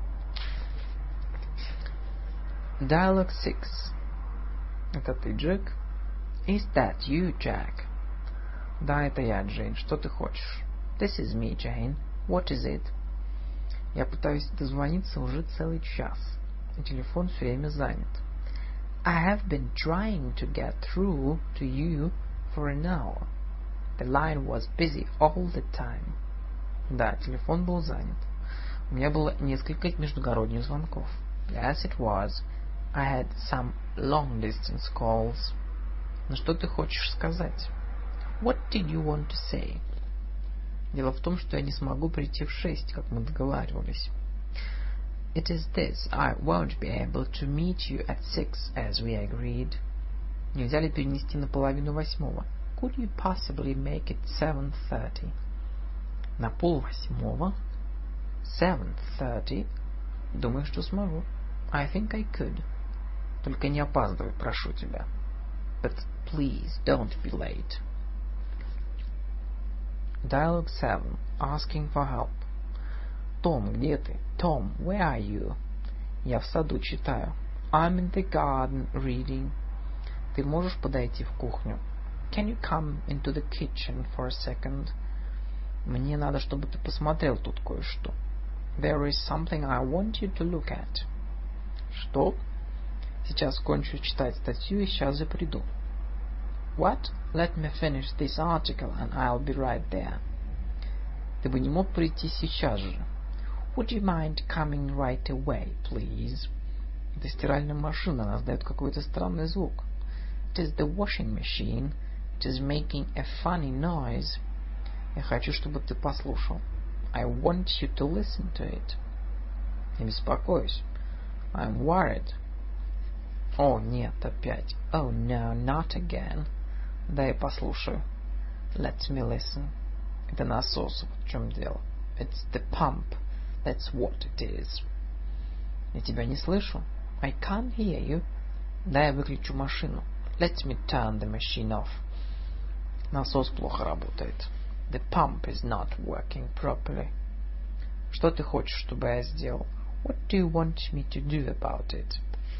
Dialogue 6. Это ты, Джек? Is that you, Jack? Да, это я, Джейн. Что ты хочешь? This is me, Jane. What is it? Я пытаюсь дозвониться уже целый час. Телефон все время занят. I have been trying to get through to you for an hour. The line was busy all the time. Да, телефон был занят. У меня было несколько междугородних звонков. Yes, it was. I had some long-distance calls. Но что ты хочешь сказать? What did you want to say? Дело в том, что я не смогу прийти в 6, как мы договаривались. It is this. I won't be able to meet you at 6, as we agreed. Нельзя ли перенести на 7:30? Could you possibly make it 7:30? На 7:30? 7:30? Думаю, что смогу. I think I could. Только не опаздывай, прошу тебя. But please don't be late. Dialogue 7. Asking for help. Том, где ты? Tom, where are you? Я в саду читаю. I'm in the garden reading. Ты можешь подойти в кухню? Can you come into the kitchen for a second? Мне надо, чтобы ты посмотрел тут кое-что. There is something I want you to look at. Что? Сейчас кончу читать статью и сейчас же приду. What? Let me finish this article and I'll be right there. Ты бы не мог прийти сейчас же? Would you mind coming right away, please? Это стиральная машина, она издает какой-то странный звук. It is the washing machine. It is making a funny noise. Я хочу, чтобы ты послушал. I want you to listen to it. Не беспокойся. I'm worried. О, нет, опять. Oh, no, not again. Дай послушаю. Let me listen. Это насос, вот в чем дело. It's the pump. That's what it is. Я тебя не слышу. I can't hear you. Дай я выключу машину. Let me turn the machine off. Насос плохо работает. The pump is not working properly. Что ты хочешь, чтобы я сделал? What do you want me to do about it?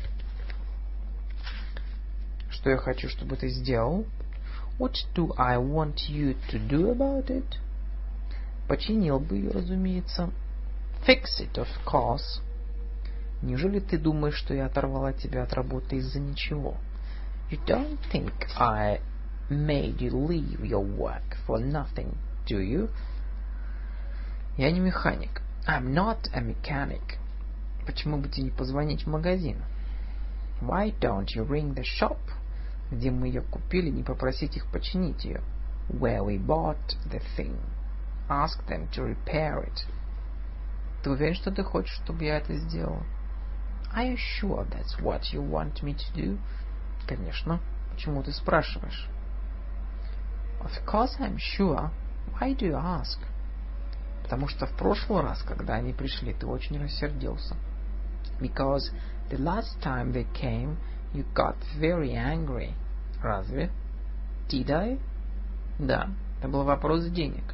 Что я хочу, чтобы ты сделал? What do I want you to do about it? Починил бы ее, разумеется. Fix it, of course. Неужели ты думаешь, что я оторвала тебя от работы из-за ничего? You don't think I made you leave your work for nothing, do you? Я не механик. I'm not a mechanic. Почему бы тебе не позвонить в магазин? Why don't you ring the shop, где мы ее купили, не попросить их починить ее? Where we bought the thing. Ask them to repair it. Ты уверен, что ты хочешь, чтобы я это сделал? Are you sure that's what you want me to do? Конечно. Почему ты спрашиваешь? Of course I'm sure. Why do you ask? Потому что в прошлый раз, когда они пришли, ты очень рассердился. Because the last time they came, you got very angry. Разве? Did I? Да, это был вопрос денег.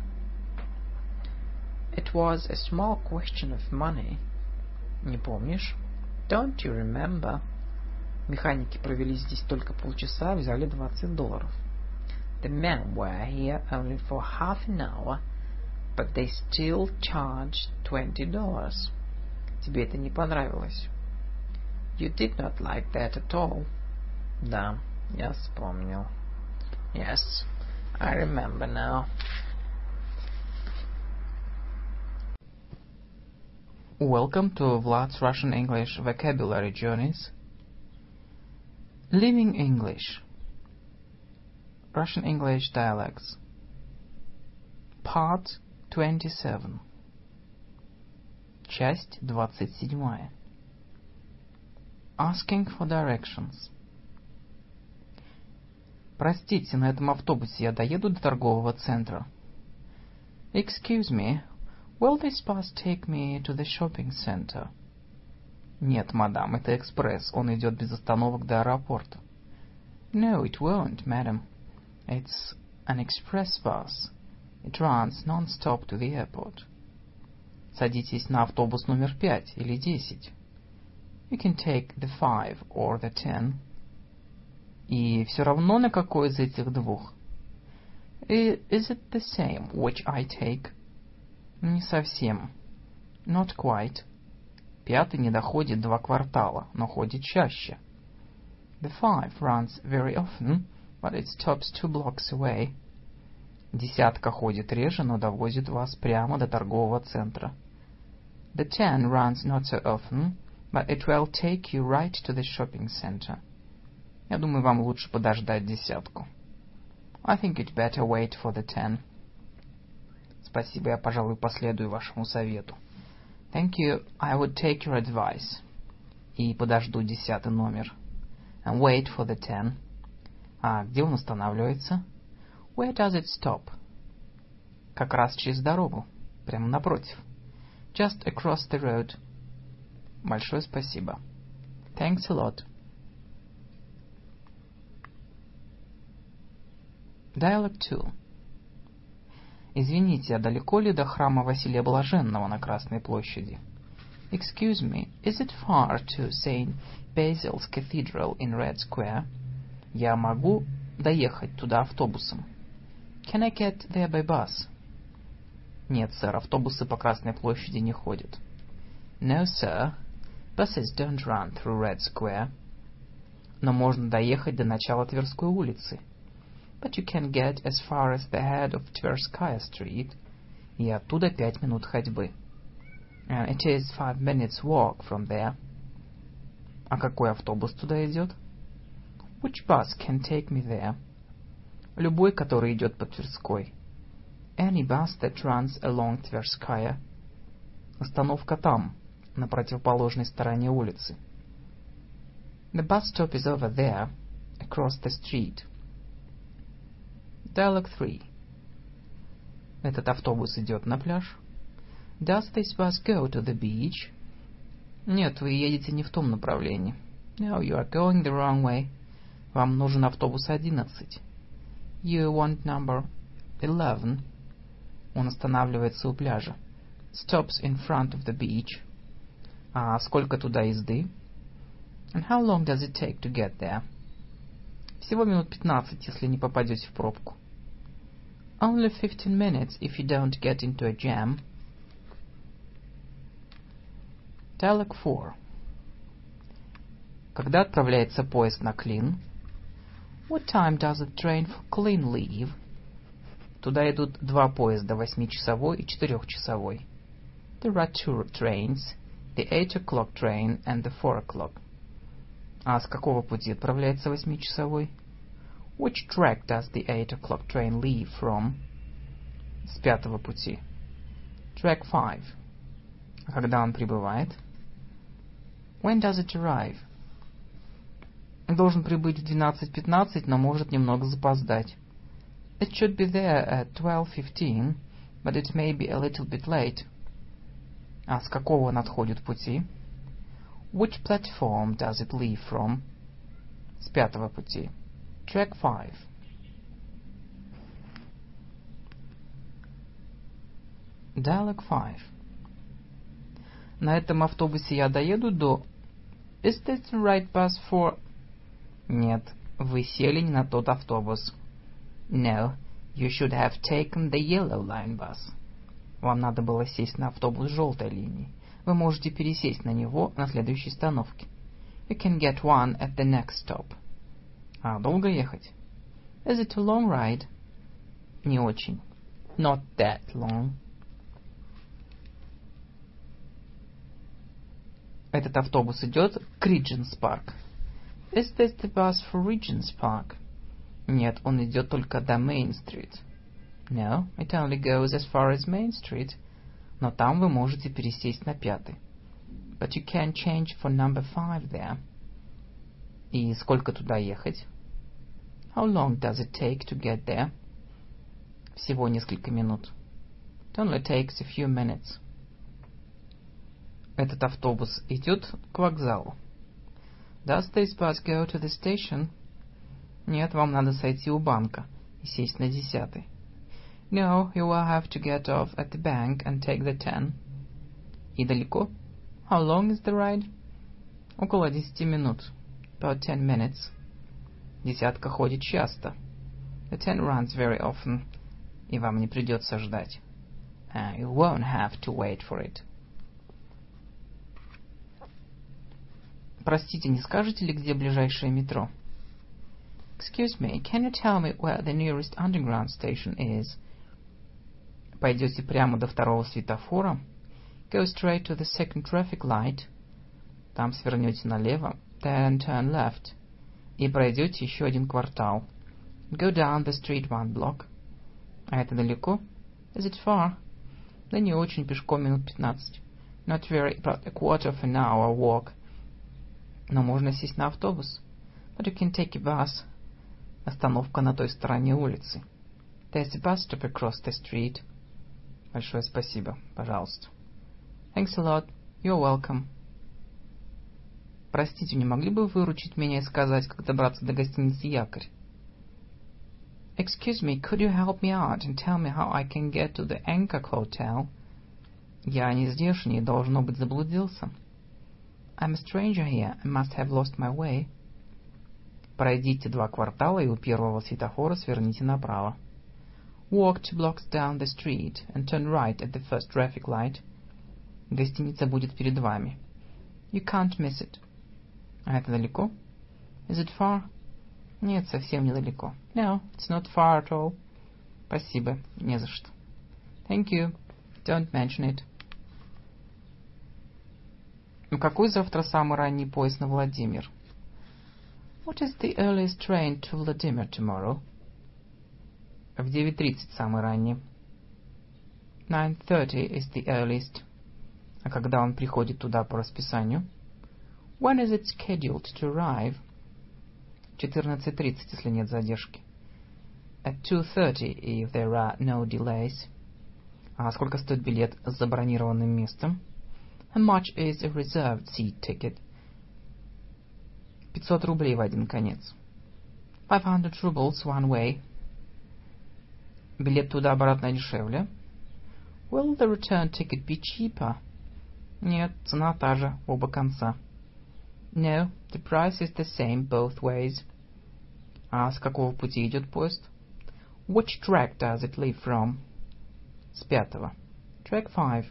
It was a small question of money. Не помнишь? Don't you remember? Механики провели здесь только полчаса, взяли $20. The men were here only for half an hour, but they still charged $20. Тебе это не понравилось? You did not like that at all. Да, я вспомнил. Yes, I remember now. Welcome to Vlad's Russian English Vocabulary Journeys. Living English. Russian English Dialects. Part 27. Часть 27. Asking for directions. Простите, на этом автобусе я доеду до торгового центра? Excuse me, will this bus take me to the shopping center? Нет, мадам, это экспресс, он идет без остановок до аэропорта. No, it won't, madam. It's an express bus. It runs non-stop to the airport. Садитесь на автобус номер 5 или 10. You can take the 5 or the 10. И все равно на какой из этих двух? Is it the same which I take? Не совсем. Not quite. 5 не доходит 2 квартала, но ходит чаще. The 5 runs very often, but it stops 2 blocks away. 10 ходит реже, но довозит вас прямо до торгового центра. The 10 runs not so often, but it will take you right to the shopping center. Я думаю, вам лучше подождать 10. I think it's better wait for the 10. Спасибо, я, пожалуй, последую вашему совету. Thank you, I would take your advice. И подожду 10 номер. And wait for the 10. А где он останавливается? Where does it stop? Как раз через дорогу. Прямо напротив. Just across the road. Большое спасибо. Thanks a lot. Dialogue 2. Извините, а далеко ли до храма Василия Блаженного на Красной площади? Excuse me, is it far to St. Basil's Cathedral in Red Square? Я могу доехать туда автобусом? Can I get there by bus? Нет, сэр, автобусы по Красной площади не ходят. No, sir. Buses don't run through Red Square. Но можно доехать до начала Тверской улицы. But you can get as far as the head of Tverskaya Street. И оттуда 5 минут ходьбы. And it is 5 minutes walk from there. А какой автобус туда идет? Which bus can take me there? Любой, который идет по Тверской. Any bus that runs along Tverskaya. Остановка там, на противоположной стороне улицы. The bus stop is over there, across the street. Dialogue 3. Этот автобус идет на пляж? Does this bus go to the beach? Нет, вы едете не в том направлении. No, you are going the wrong way. Вам нужен автобус 11. You want number 11. Он останавливается у пляжа. Stops in front of the beach. А сколько туда езды? And how long does it take to get there? Всего минут 15, если не попадете в пробку. Only 15 minutes if you don't get into a jam. Dialogue 4. Когда отправляется поезд на Клин? What time does the train for Klin leave? Туда идут 2 поезда, 8-часовой и 4-часовой. There are 2 trains, the 8 o'clock train and the 4 o'clock. А с какого пути отправляется 8-часовой? Which track does the 8 o'clock train leave from? С 5-го пути. Track 5. А когда он прибывает? When does it arrive? Должен прибыть в 12:15, но может немного запоздать. It should be there at 12:15, but it may be a little bit late. А с какого он отходит пути? Which platform does it leave from? С 5-го пути. Track 5. Dialogue 5. На этом автобусе я доеду до... Is this the right bus for... Нет, вы сели не на тот автобус. No, you should have taken the Yellow Line bus. Вам надо было сесть на автобус желтой линии. Вы можете пересесть на него на следующей остановке. You can get one at the next stop. А долго ехать? Is it a long ride? Не очень. Not that long. Этот автобус идет к Regent's Park. Is this the bus for Regent's Park? Нет, он идет только до Main Street. No, it only goes as far as Main Street. Но там вы можете пересесть на 5-й. But you can change for number 5 there. И сколько туда ехать? How long does it take to get there? Всего несколько минут. It only takes a few minutes. Этот автобус идет к вокзалу. Does this bus go to the station? Нет, вам надо сойти у банка и сесть на 10-й. No, you will have to get off at the bank and take the 10. И далеко? How long is the ride? Около 10 минут. About 10 minutes. Десятка ходит часто. The 10 runs very often. И вам не придется ждать. You won't have to wait for it. Простите, не скажете ли, где ближайшее метро? Excuse me, can you tell me where the nearest underground station is? Пойдете прямо до второго светофора. Go straight to the second traffic light. Там свернете налево. Then turn left. И пройдете еще один квартал. Go down the street one block. А это далеко? Is it far? Да не очень, пешком минут 15. Not very, about a quarter of an hour walk. Но можно сесть на автобус. But you can take a bus. Остановка на той стороне улицы. There's a bus stop across the street. Большое спасибо. Пожалуйста. Thanks a lot. You're welcome. Простите, не могли бы вы выручить меня и сказать, как добраться до гостиницы «Якорь»? Excuse me, could you help me out and tell me how I can get to the Anchor Hotel? Я не здешний и, должно быть, заблудился. I'm a stranger here and must have lost my way. Пройдите 2 квартала и у первого светофора сверните направо. Walk 2 blocks down the street and turn right at the first traffic light. Гостиница будет перед вами. You can't miss it. А это далеко? Is it far? Нет, совсем недалеко. No, it's not far at all. Спасибо, не за что. Thank you. Don't mention it. Какой завтра самый ранний поезд на Владимир? What is the earliest train to Vladimir tomorrow? В 9:30 самый ранний. 9:30 is the earliest. А когда он приходит туда по расписанию? When is it scheduled to arrive? 14:30, если нет задержки. At 2:30, if there are no delays. А сколько стоит билет с забронированным местом? How much is a reserved seat ticket? 500 рублей в один конец. 500 rubles one way. Билет туда-обратно дешевле? Will the return ticket be cheaper? Нет, цена та же, оба конца. No, the price is the same both ways. А с какого пути идет поезд? Which track does it leave from? С 5-го. Track 5.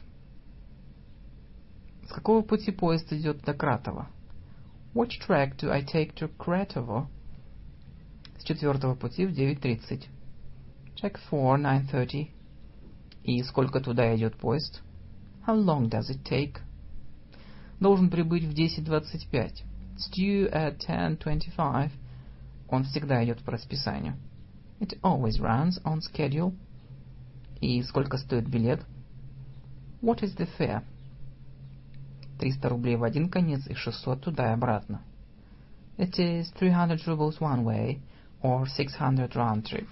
С какого пути поезд идет до Кратова? Which track do I take to Kratovo? С 4-го пути в 9:30. Track 4, 9:30. И сколько туда идет поезд? How long does it take? Должен прибыть в 10:25. It's due at 10:25. Он всегда идет по расписанию. It always runs on schedule. И сколько стоит билет? What is the fare? 300 рублей в один конец и 600 туда и обратно. It is 300 rubles one way or 600 round trip.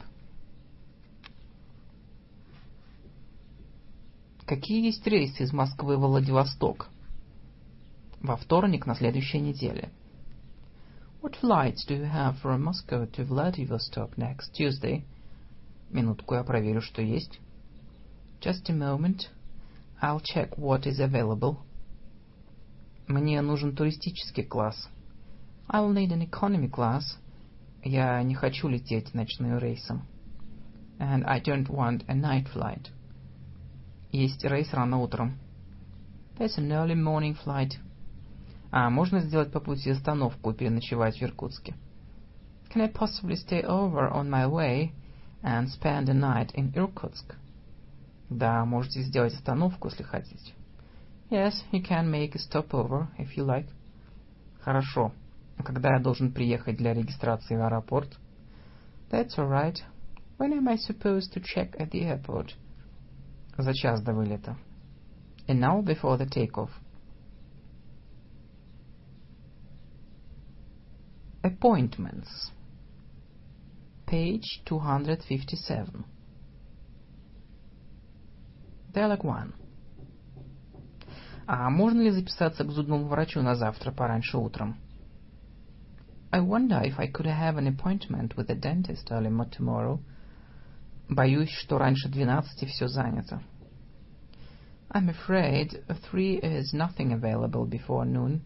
Какие есть рейсы из Москвы во Владивосток? Во вторник на следующей неделе. What flights do you have from Moscow to Vladivostok next Tuesday? Минутку, я проверю, что есть. Just a moment. I'll check what is available. Мне нужен туристический класс. I'll need an economy class. Я не хочу лететь ночным рейсом. And I don't want a night flight. Есть рейс рано утром. There's an early morning flight. А можно сделать по пути остановку и переночевать в Иркутске? Can I possibly stay over on my way and spend a night in Irkutsk? Да, можете сделать остановку, если хотите. Yes, you can make a stopover if you like. Хорошо. А когда я должен приехать для регистрации в аэропорт? That's all right. When am I supposed to check at the airport? За час до вылета. An hour before the takeoff. Appointments. Page 257. Dialogue 1. А можно ли записаться к зубному врачу на завтра пораньше утром? I wonder if I could have an appointment with the dentist early tomorrow. Боюсь, что раньше 12 все занято. I'm afraid 3 is nothing available before noon.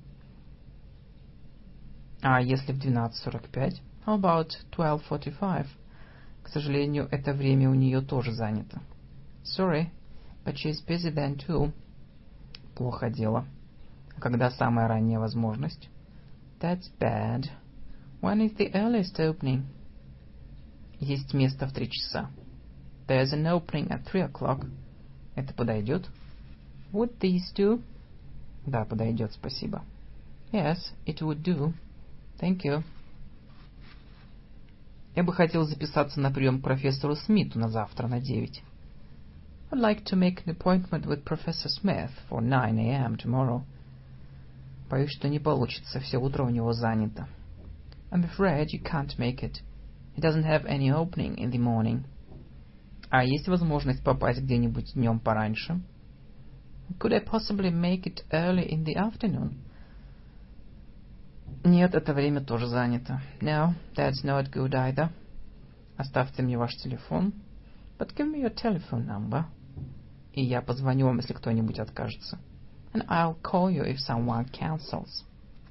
А если в 12:45? How about 12:45? К сожалению, это время у нее тоже занято. Sorry, but she's busy then too. Плохо дело. А когда самая ранняя возможность? That's bad. When is the earliest opening? Есть место в 3 часа. There's an opening at 3 o'clock. Это подойдет? Would these do? Да, подойдет, спасибо. Yes, it would do. Thank you. Я бы хотел записаться на прием к профессору Смиту на завтра на 9. I'd like to make an appointment with Professor Smith for 9 a.m. tomorrow. Боюсь, что не получится, все утро у него занято. I'm afraid you can't make it. He doesn't have any opening in the morning. А есть возможность попасть где-нибудь днем пораньше? Could I possibly make it early in the afternoon? Нет, это время тоже занято. No, that's not good either. Оставьте мне ваш телефон. But give me your telephone number. И я позвоню вам, если кто-нибудь откажется. And I'll call you if someone cancels.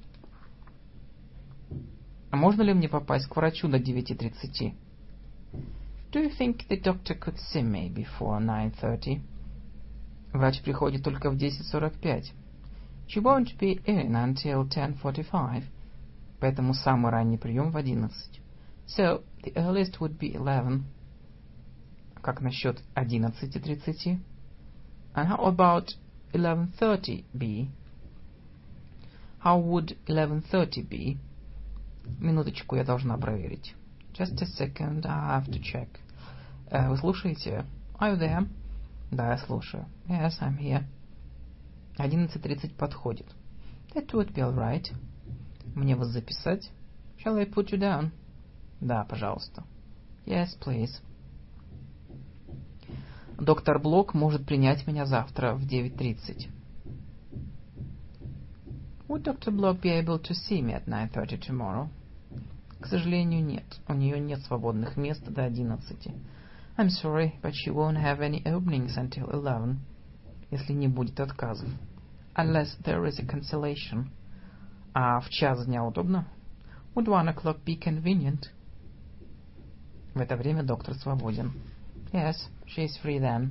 А можно ли мне попасть к врачу до 9:30? Do you think the doctor could see me before 9:30? Врач приходит только в 10:45. She won't be in until 10:45. Поэтому самый ранний прием в 11. So the earliest would be 11. Как насчет 11:30? And how about 11:30 be? How would 11:30 be? Минуточку, я должна проверить. Just a second, I have to check. Вы слушаете? Are you there? Да, я слушаю. Yes, I'm here. 11:30 подходит. That would be all right. Мне вас записать? Shall I put you down? Да, пожалуйста. Yes, please. Доктор Блок может принять меня завтра в 9:30. Would Dr. Block be able to see me at 9:30 tomorrow? К сожалению, нет. У нее нет свободных мест до 11. I'm sorry, but she won't have any openings until 11. Если не будет отказов. Unless there is a cancellation. А в час дня удобно? Would 1 o'clock be convenient? В это время доктор свободен. Yes, she is free then.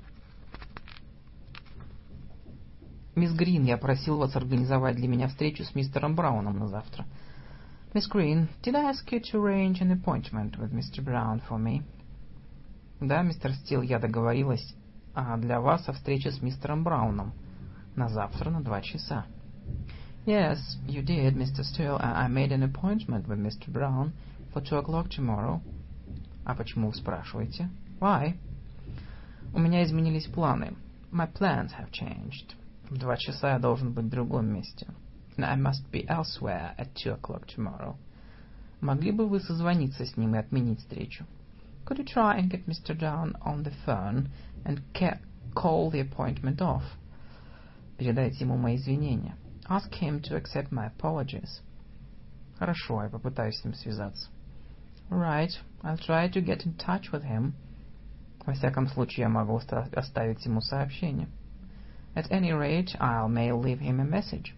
Мисс Грин, я просил вас организовать для меня встречу с мистером Брауном на завтра. Miss Green, did I ask you to arrange an appointment with Mr. Brown for me? Да, мистер Стил, я договорилась для вас о встрече с мистером Брауном на завтра на 2 часа. Yes, you did, Mr. Steele. I made an appointment with Mr. Brown for 2 o'clock tomorrow. А почему вы спрашиваете? Why? У меня изменились планы. My plans have changed. В 2 часа я должен быть в другом месте. And I must be elsewhere at 2 o'clock tomorrow. Могли бы вы созвониться с ним и отменить встречу? Could you try and get Mr. Brown on the phone and call the appointment off? Передайте ему мои извинения. Ask him to accept my apologies. Хорошо, я попытаюсь с ним связаться. Right, I'll try to get in touch with him. Во всяком случае, я могу оставить ему сообщение. At any rate, I may leave him a message.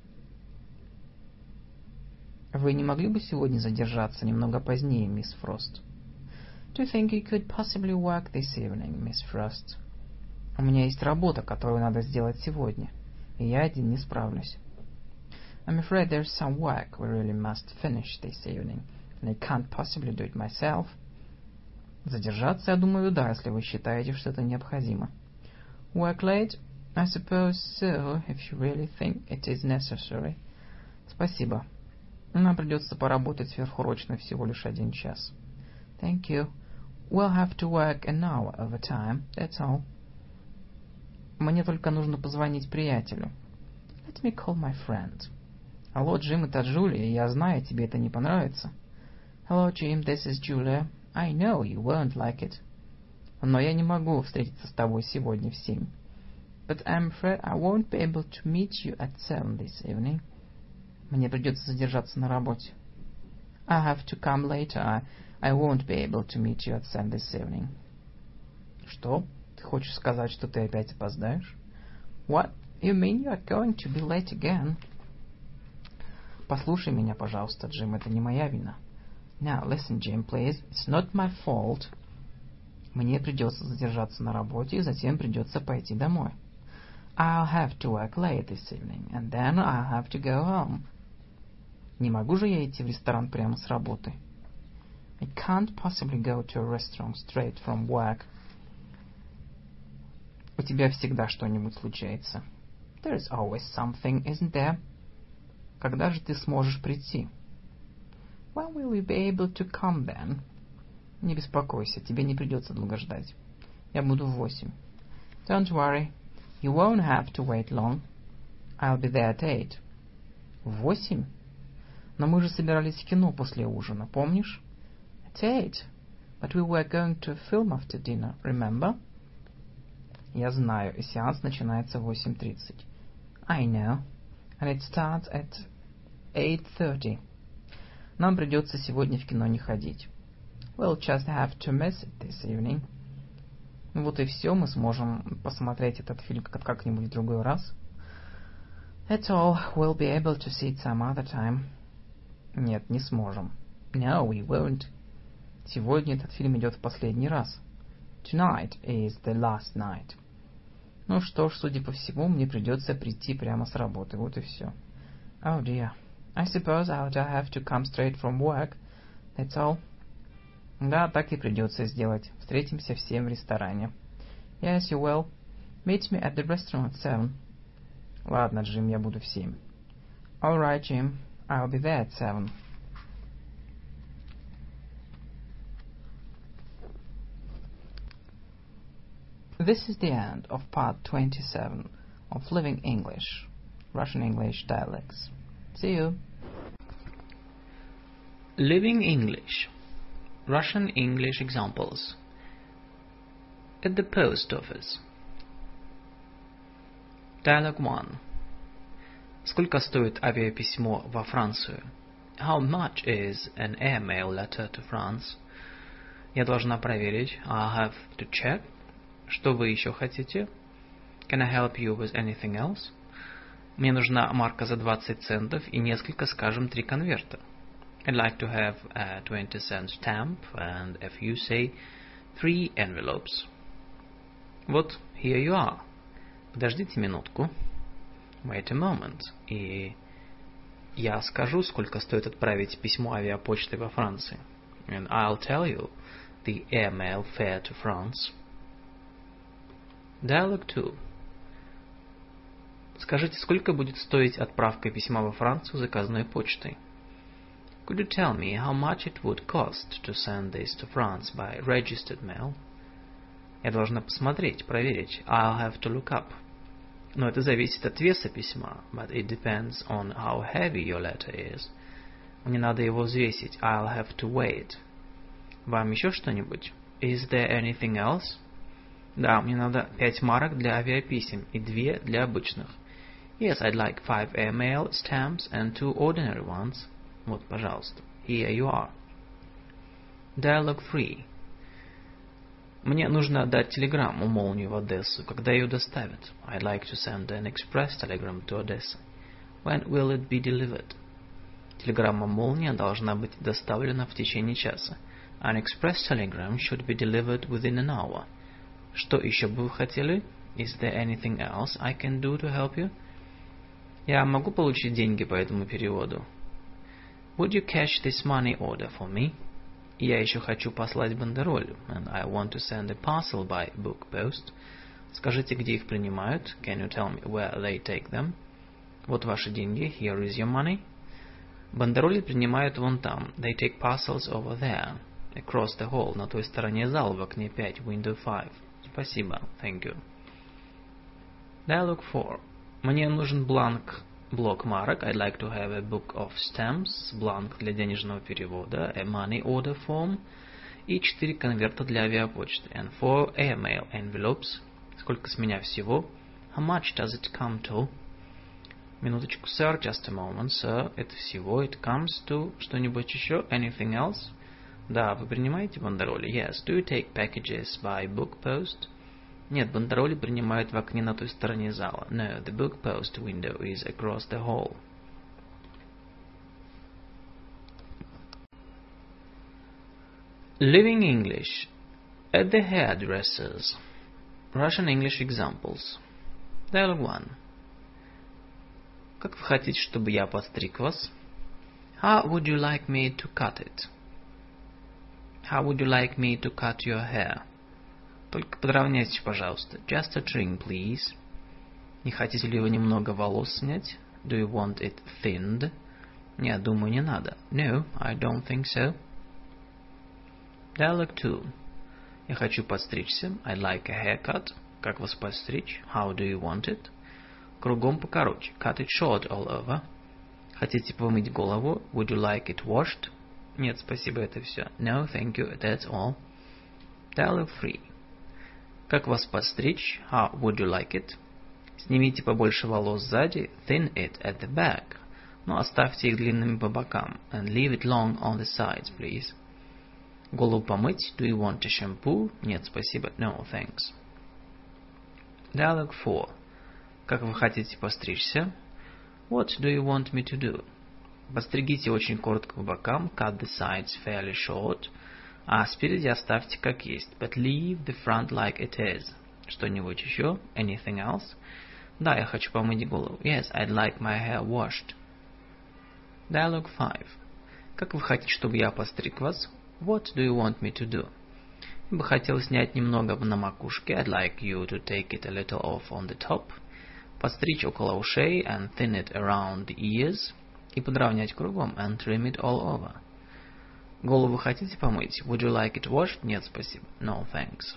Вы не могли бы сегодня задержаться немного позднее, мисс Фрост? Do you think you could possibly work this evening, Miss Frost? У меня есть работа, которую надо сделать сегодня, и я один не справлюсь. I'm afraid there's some work we really must finish this evening, and I can't possibly do it myself. Задержаться, я думаю, да, если вы считаете, что это необходимо. Work late? I suppose so, if you really think it is necessary. Спасибо. Нам придется поработать сверхурочно всего лишь 1 час. Thank you. We'll have to work an hour overtime, that's all. Мне только нужно позвонить приятелю. Let me call my friend. Алло, Джим, это Джулия, я знаю, тебе это не понравится. Hello, Jim, this is Julia. I know you won't like it. Но я не могу встретиться с тобой сегодня в 7. But I'm afraid I won't be able to meet you at 7 this evening. Мне придется задержаться на работе. I'll have to come later. I won't be able to meet you at 7 this evening. Что? Ты хочешь сказать, что ты опять опоздаешь? What? You mean you are going to be late again? Послушай меня, пожалуйста, Джим, это не моя вина. Now, listen, Jim, please. It's not my fault. Мне придется задержаться на работе, и затем придется пойти домой. I'll have to work late this evening, and then I'll have to go home. Не могу же я идти в ресторан прямо с работы? I can't possibly go to a restaurant straight from work. У тебя всегда что-нибудь случается. There is always something, isn't there? Когда же ты сможешь прийти? When will you be able to come then? Не беспокойся, тебе не придется долго ждать. Я буду в 8. Don't worry, you won't have to wait long. I'll be there at 8. В 8? Но мы же собирались в кино после ужина, помнишь? At 8. But we were going to a film after dinner, remember? Я знаю, и сеанс начинается в 8:30. I know, and it starts at 8:30. Нам придется сегодня в кино не ходить. We'll just have to miss it this evening. Вот и все, мы сможем посмотреть этот фильм как-нибудь в другой раз. That's all, we'll be able to see it some other time. Нет, не сможем. No, we won't. Сегодня этот фильм идет в последний раз. Tonight is the last night. Ну что ж, судя по всему, мне придется прийти прямо с работы. Вот и все. Oh dear. I suppose I'll just have to come straight from work. That's all. Да, так и придется сделать. Встретимся в 7 в ресторане. Yes, you will. Meet me at the restaurant at 7. Ладно, Джим, я буду в 7. All right, Jim. I'll be there at 7. This is the end of part 27 of Living English, Russian English Dialects. See you. Living English, Russian English examples. At the post office. Dialogue 1. Сколько стоит авиаписьмо во Францию? How much is an airmail letter to France? Я должна проверить. I'll have to check. Что вы еще хотите? Can I help you with anything else? Мне нужна марка за 20 центов и несколько, скажем, 3 конверта. I'd like to have a 20-cent stamp and a few, say, 3 envelopes. Вот, here you are. Подождите минутку. Wait a moment. И я скажу, сколько стоит отправить письмо авиапочтой во Франции. And I'll tell you the airmail fare to France. Dialogue 2. Скажите, сколько будет стоить отправка письма во Францию заказной почтой? Could you tell me how much it would cost to send this to France by registered mail? Я должна посмотреть, проверить. I'll have to look up. Но это зависит от веса письма. But it depends on how heavy your letter is. Мне надо его взвесить. I'll have to weigh it. Вам еще что-нибудь? Is there anything else? Да, мне надо 5 марок для авиаписем и 2 для обычных. Yes, I'd like 5 airmail stamps and 2 ordinary ones. Вот, пожалуйста. Here you are. Dialogue 3. Мне нужно отдать телеграмму молнию в Одессу, когда ее доставят. I'd like to send an express telegram to Odessa. When will it be delivered? Телеграмма молния должна быть доставлена в течение часа. An express telegram should be delivered within an hour. Что еще бы вы хотели? Is there anything else I can do to help you? Я могу получить деньги по этому переводу? Would you cash this money order for me? Я еще хочу послать бандероль, and I want to send a parcel by book post. Скажите, где их принимают? Can you tell me where they take them? Вот ваши деньги. Here is your money. Бандероли принимают вон там. They take parcels over there. Across the hall. На той стороне зала, в окне 5. Window 5. Спасибо. Thank you. Dialogue 4. Мне нужен блок марок. I'd like to have a book of stamps. Бланк для денежного перевода. A money order form. И 4 конверта для авиапочты. And 4 airmail envelopes. Сколько с меня всего? How much does it come to? Минуточку, sir. Just a moment, sir. Это всего. It comes to... Что-нибудь еще? Anything else? Да, вы принимаете бандероли? Yes. Do you take packages by book post? Нет, бандероли принимают в окне на той стороне зала. No, the book post window is across the hall. Living English. At the hairdresser's. Russian English examples. Dialogue 1. Как вы хотите, чтобы я подстриг вас? How would you like me to cut it? How would you like me to cut your hair? Только подровняйте, пожалуйста. Just a trim, please. Не хотите ли вы немного волос снять? Do you want it thinned? Нет, думаю, не надо. No, I don't think so. Dialogue 2. Я хочу подстричься. I'd like a haircut. Как вас подстричь? How do you want it? Кругом покороче. Cut it short all over. Хотите помыть голову? Would you like it washed? Нет, спасибо, это все. No, thank you, that's all. Dialogue 3. Как вас подстричь? How would you like it? Снимите побольше волос сзади. Thin it at the back. Но оставьте их длинными по бокам. And leave it long on the sides, please. Голову помыть? Do you want a shampoo? Нет, спасибо. No, thanks. Dialogue 4. Как вы хотите постричься? What do you want me to do? Постригите очень коротко по бокам. Cut the sides fairly short. А спереди оставьте как есть. But leave the front like it is. Что-нибудь еще? Anything else? Да, я хочу помыть голову. Yes, I'd like my hair washed. Dialogue 5. Как вы хотите, чтобы я постриг вас? What do you want me to do? Я бы хотел снять немного на макушке. I'd like you to take it a little off on the top. Постричь около ушей and thin it around the ears. И подровнять кругом and trim it all over. Голову хотите помыть? Would you like it washed? Нет, спасибо. No, thanks.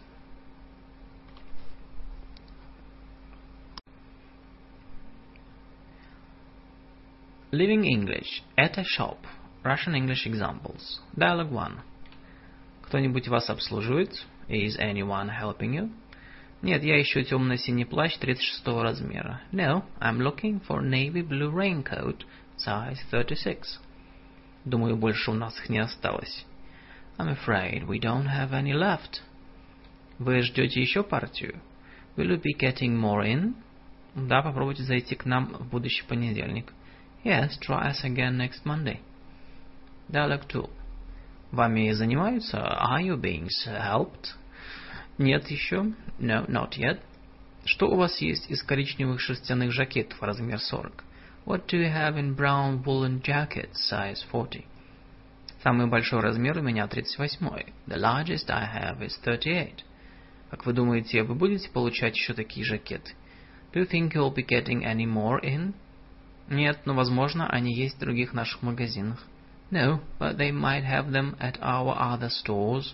Living English. At a shop. Russian English examples. Dialogue 1. Кто-нибудь вас обслуживает? Is anyone helping you? Нет, я ищу темно-синий плащ 36 размера. No, I'm looking for navy blue raincoat, size 36. Думаю, больше у нас их не осталось. I'm afraid we don't have any left. Вы ждете еще партию? Will you be getting more in? Да, попробуйте зайти к нам в будущий понедельник. Yes, try us again next Monday. Dialogue 2. Вами занимаются? Are you being helped? Нет еще. No, not yet. Что у вас есть из коричневых шерстяных жакетов размер 40? What do you have in brown woolen jackets, size 40? Самый большой размер у меня 38. The largest I have is 38. Как вы думаете, вы будете получать еще такие жакеты? Do you think you'll be getting any more in? Нет, но возможно, они есть в других наших магазинах. No, but they might have them at our other stores.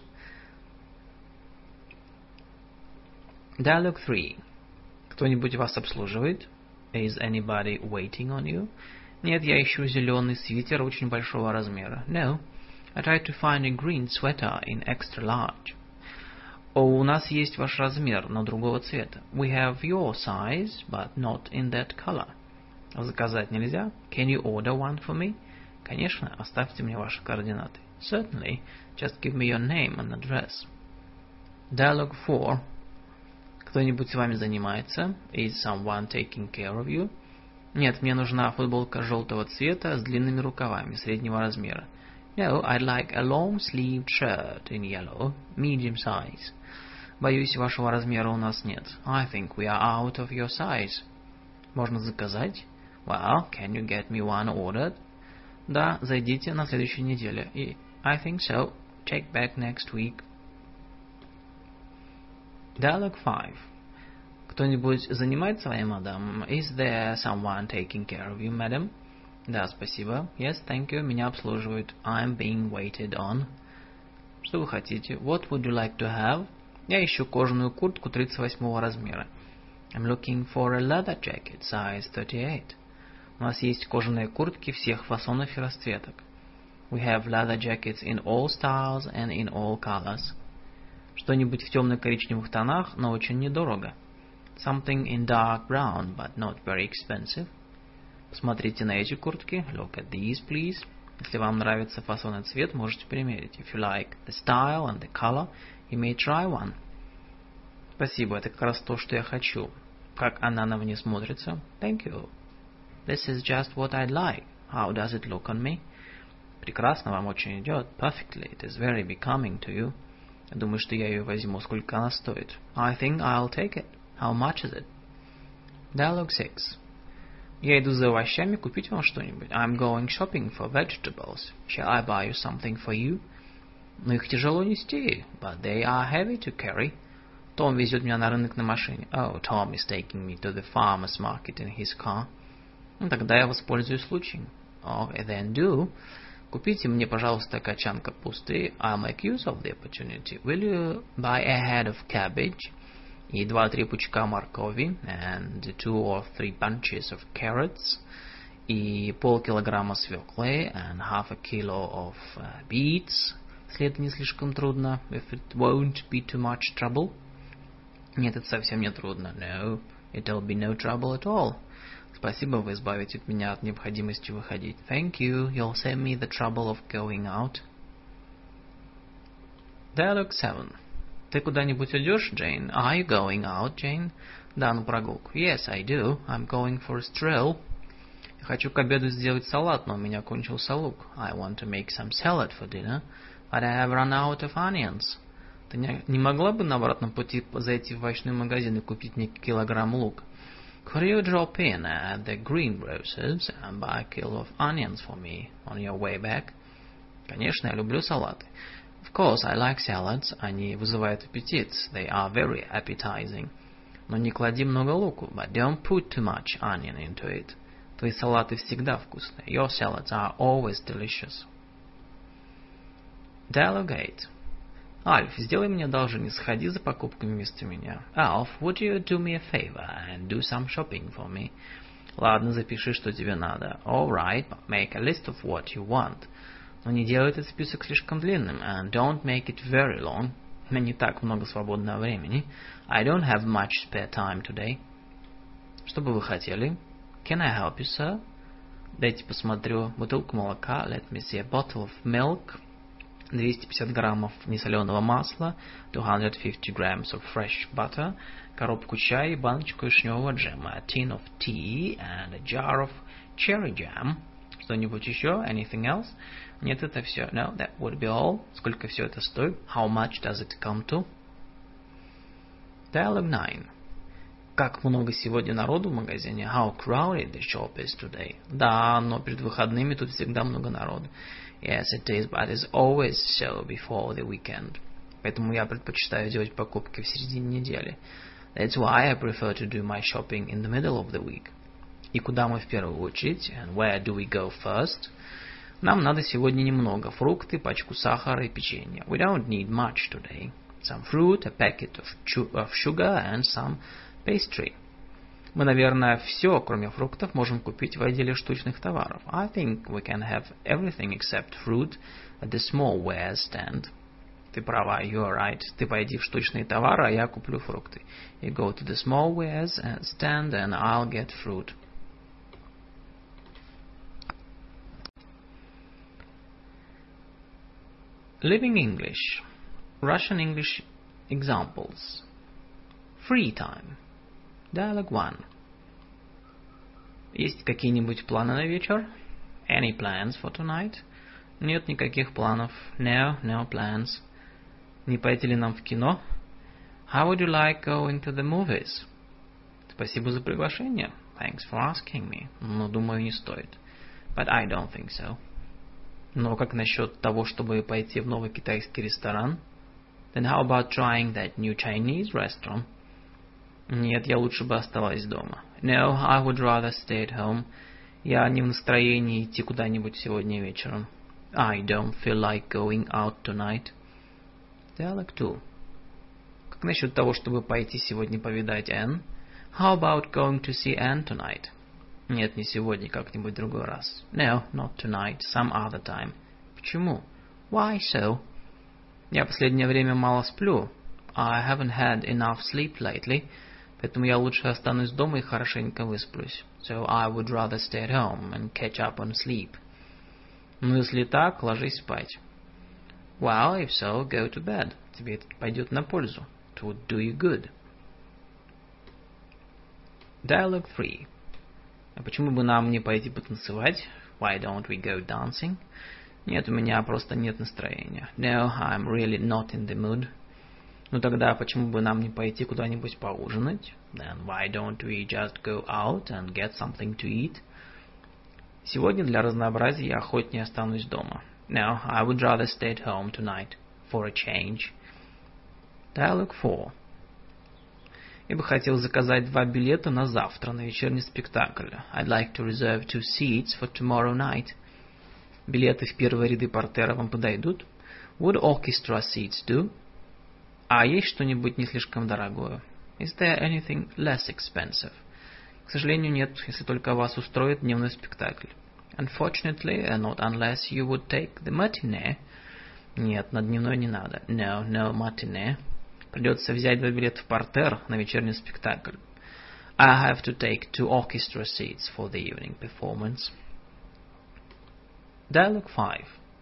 Dialogue 3. Кто-нибудь вас обслуживает? Is anybody waiting on you? Нет, я ищу зеленый свитер очень большого размера. No, I tried to find a green sweater in extra large. О, у нас есть ваш размер, но другого цвета. We have your size, but not in that color. Заказать нельзя? Can you order one for me? Конечно, оставьте мне ваши координаты. Certainly, just give me your name and address. Dialogue 4. Кто-нибудь с вами занимается? Is someone taking care of you? Нет, мне нужна футболка желтого цвета с длинными рукавами среднего размера. No, I'd like a long-sleeved shirt in yellow, medium size. Боюсь, вашего размера у нас нет. I think we are out of your size. Можно заказать? Well, can you get me one ordered? Да, зайдите на следующей неделе. И I think so. Check back next week. Dialogue 5. Кто-нибудь занимает с вами, мадам? Is there someone taking care of you, madam? Да, спасибо. Yes, thank you. Меня обслуживают. I'm being waited on. Что вы хотите? What would you like to have? Я ищу кожаную куртку 38 размера. I'm looking for a leather jacket, size 38. У нас есть кожаные куртки всех фасонов и расцветок. We have leather jackets in all styles and in all colors. Что-нибудь в темно-коричневых тонах, но очень недорого. Something in dark brown, but not very expensive. Посмотрите на эти куртки. Look at these, please. Если вам нравится фасон и цвет, можете примерить. If you like the style and the color, you may try one. Спасибо, это как раз то, что я хочу. Как она на мне смотрится? Thank you. This is just what I'd like. How does it look on me? Прекрасно, вам очень идет. Perfectly. It is very becoming to you. Я думаю, что я ее возьму. Сколько она стоит? I think I'll take it. How much is it? Dialogue 6. Я иду за овощами, купить вам что-нибудь. I'm going shopping for vegetables. Shall I buy you something for you? Но их тяжело нести. But they are heavy to carry. Том везет меня на рынок на машине. Oh, Tom is taking me to the farmer's market in his car. Ну, тогда я воспользуюсь случаем. Oh, then do. Купите мне, пожалуйста, качан капусты. I'll make use of the opportunity. Will you buy a head of cabbage? И 2-3 пучка моркови. And 2 or 3 bunches of carrots. И полкилограмма свеклы. And half a kilo of beets. Если это не слишком трудно. If it won't be too much trouble. Нет, это совсем не трудно. No, it'll be no trouble at all. Спасибо, вы избавите меня от необходимости выходить. Thank you, you'll save me the trouble of going out. Dialogue 7. Ты куда-нибудь идешь, Jane? Are you going out, Jane? Да, на прогулку. Yes, I do. I'm going for a stroll. Я хочу к обеду сделать салат, но у меня кончился лук. I want to make some salad for dinner, but I have run out of onions. Ты не могла бы на обратном пути зайти в овощной магазин и купить мне килограмм лука? Could you drop in at the greengrocer's and buy a kilo of onions for me on your way back? Конечно, я люблю салаты. Of course, I like salads. Они вызывают аппетит. They are very appetizing. Но не клади много луку. But don't put too much onion into it. Твои салаты всегда вкусные. Your salads are always delicious. Dialogue 8. Альф, сделай мне одолжение, сходи за покупками вместо меня. Alf, would you do me a favor and do some shopping for me? Ладно, запиши, что тебе надо. All right, but make a list of what you want. Но не делай этот список слишком длинным. And don't make it very long. У меня не так много свободного времени. I don't have much spare time today. Что бы вы хотели? Can I help you, sir? Дайте посмотрю. Бутылку молока. Let me see a bottle of milk. 250 граммов несоленого масла, 250 grams of fresh butter, коробку чая и баночку вишневого джема, a tin of tea and a jar of cherry jam. Что-нибудь еще? Anything else? Нет, это все. No, that would be all. Сколько все это стоит? How much does it come to? Dialogue 9. Как много сегодня народу в магазине? How crowded the shop is today. Да, но перед выходными тут всегда много народу. Yes, it is, but it's always so before the weekend. Поэтому я предпочитаю делать покупки в середине недели. That's why I prefer to do my shopping in the middle of the week. И куда мы в первую очередь? And where do we go first? Нам надо сегодня немного. Фрукты, пачку сахара и печенья. We don't need much today. Some fruit, a packet of sugar and some pastry. Мы, наверное, все, кроме фруктов, можем купить в отделе штучных товаров. I think we can have everything except fruit at the small wares stand. Ты права, you're right. Ты пойди в штучные товары, а я куплю фрукты. You go to the small wares stand and I'll get fruit. Living English. Russian English examples. Free time. Dialogue 1. Есть какие-нибудь планы на вечер? Any plans for tonight? Нет никаких планов. No plans. Не пойти ли нам в кино? How would you like going to the movies? Спасибо за приглашение. Thanks for asking me. Но, думаю, не стоит. But I don't think so. Но как насчет того, чтобы пойти в новый китайский ресторан? Then how about trying that new Chinese restaurant? Нет, я лучше бы оставалась дома. No, I would rather stay at home. Я не в настроении идти куда-нибудь сегодня вечером. I don't feel like going out tonight. Dialogue 2. Как насчет того, чтобы пойти сегодня повидать Энн? How about going to see Anne tonight? Нет, не сегодня, как-нибудь в другой раз. No, not tonight, some other time. Почему? Why so? Я в последнее время мало сплю. I haven't had enough sleep lately. Поэтому я лучше останусь дома и хорошенько высплюсь. So I would rather stay at home and catch up on sleep. Ну, если так, ложись спать. Well, if so, go to bed. Тебе это пойдет на пользу. It would do you good. Dialogue 3. А почему бы нам не пойти потанцевать? Why don't we go dancing? Нет, у меня просто нет настроения. No, I'm really not in the mood. Ну тогда почему бы нам не пойти куда-нибудь поужинать? Then why don't we just go out and get something to eat? Сегодня для разнообразия я охотнее останусь дома. No, I would rather stay at home tonight for a change. Dialogue 4. Я бы хотел заказать 2 билета на завтра на вечерний спектакль. I'd like to reserve 2 seats for tomorrow night. Билеты в первые ряды портера вам подойдут? Would orchestra seats do? А есть что-нибудь не слишком дорогое? Is there anything less expensive? К сожалению, нет, если только вас устроит дневной спектакль. Unfortunately, not unless you would take the matinee. Нет, на дневной не надо. No, no matinee. Придется взять 2 билета в портер на вечерний спектакль. I have to take 2 orchestra seats for the evening performance. Dialogue 5.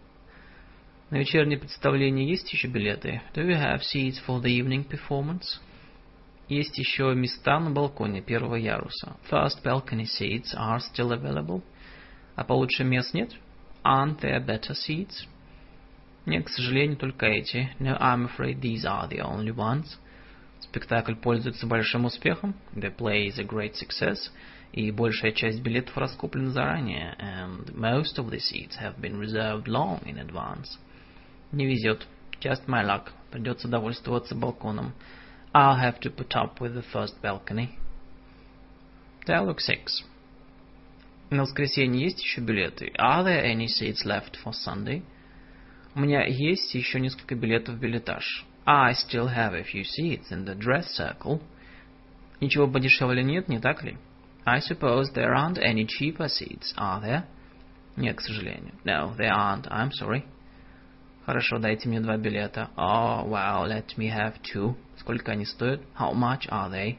На вечернее представление есть еще билеты? Do you have seats for the evening performance? Есть еще места на балконе первого яруса. First balcony seats are still available. А получше мест нет? Aren't there better seats? Нет, к сожалению, только эти. No, I'm afraid these are the only ones. Спектакль пользуется большим успехом. The play is a great success. И большая часть билетов раскуплена заранее. And most of the seats have been reserved long in advance. Не везет. Just my luck. Придется довольствоваться балконом. I'll have to put up with the first balcony. Dialogue 6. На воскресенье есть еще билеты? Are there any seats left for Sunday? У меня есть еще несколько билетов в билетаж. I still have a few seats in the dress circle. Ничего подешевле нет, не так ли? I suppose there aren't any cheaper seats, are there? Нет, к сожалению. No, there aren't. I'm sorry. Хорошо, дайте мне 2 билета. Oh, well, let me have 2. Сколько они стоят? How much are they?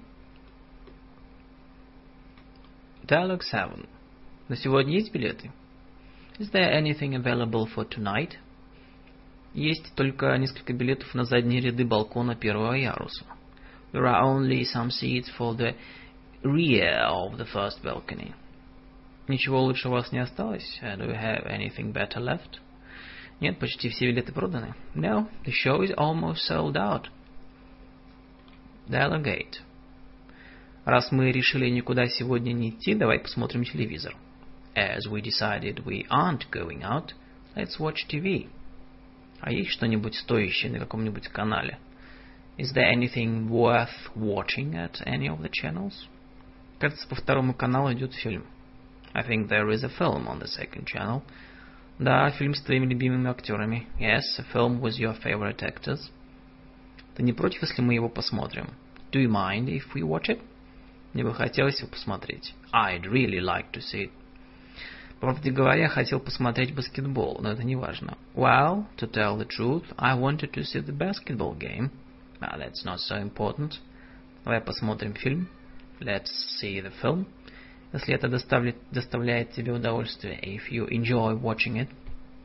Dialogue 7. На сегодня есть билеты? Is there anything available for tonight? Есть только несколько билетов на задние ряды балкона первого яруса. There are only some seats for the rear of the first balcony. Ничего лучше у вас не осталось? Do you have anything better left? Нет, почти все билеты проданы. No, the show is almost sold out. Dialogue 8. Раз мы решили никуда сегодня не идти, давай посмотрим телевизор. As we decided we aren't going out, let's watch TV. А есть что-нибудь стоящее на каком-нибудь канале? Is there anything worth watching at any of the channels? Кажется, по второму каналу идет фильм. I think there is a film on the second channel. Да, фильм с твоими любимыми актерами. Yes, a film with your favorite actors. Ты не против, если мы его посмотрим? Do you mind if we watch it? Мне бы хотелось его посмотреть. I'd really like to see it. По правде говоря, хотел посмотреть баскетбол, но это не важно. Well, to tell the truth, I wanted to see the basketball game. But that's not so important. Давай посмотрим фильм. Let's see the film. Если это доставляет тебе удовольствие. If you enjoy watching it.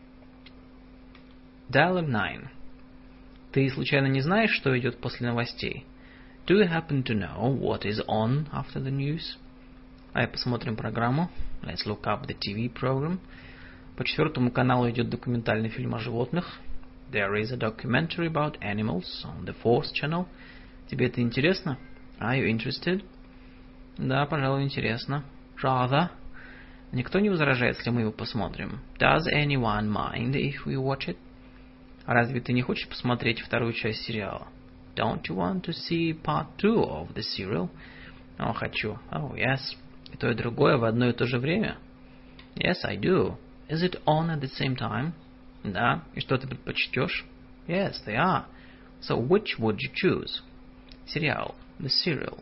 Dialogue 9. Ты случайно не знаешь, что идет после новостей? Do you happen to know what is on after the news? Давай посмотрим программу. Let's look up the TV program. По 4 каналу идет документальный фильм о животных. There is a documentary about animals on the 4th channel. Тебе это интересно? Are you interested? Да, пожалуй, интересно. Rather. Никто не возражает, если мы его посмотрим. Does anyone mind if we watch it? А разве ты не хочешь посмотреть вторую часть сериала? Don't you want to see part 2 of the serial? О, хочу. Oh, yes. И то, и другое в одно и то же время? Yes, I do. Is it on at the same time? Да. И что ты предпочтешь? Yes, they are. So which would you choose? Сериал. The serial.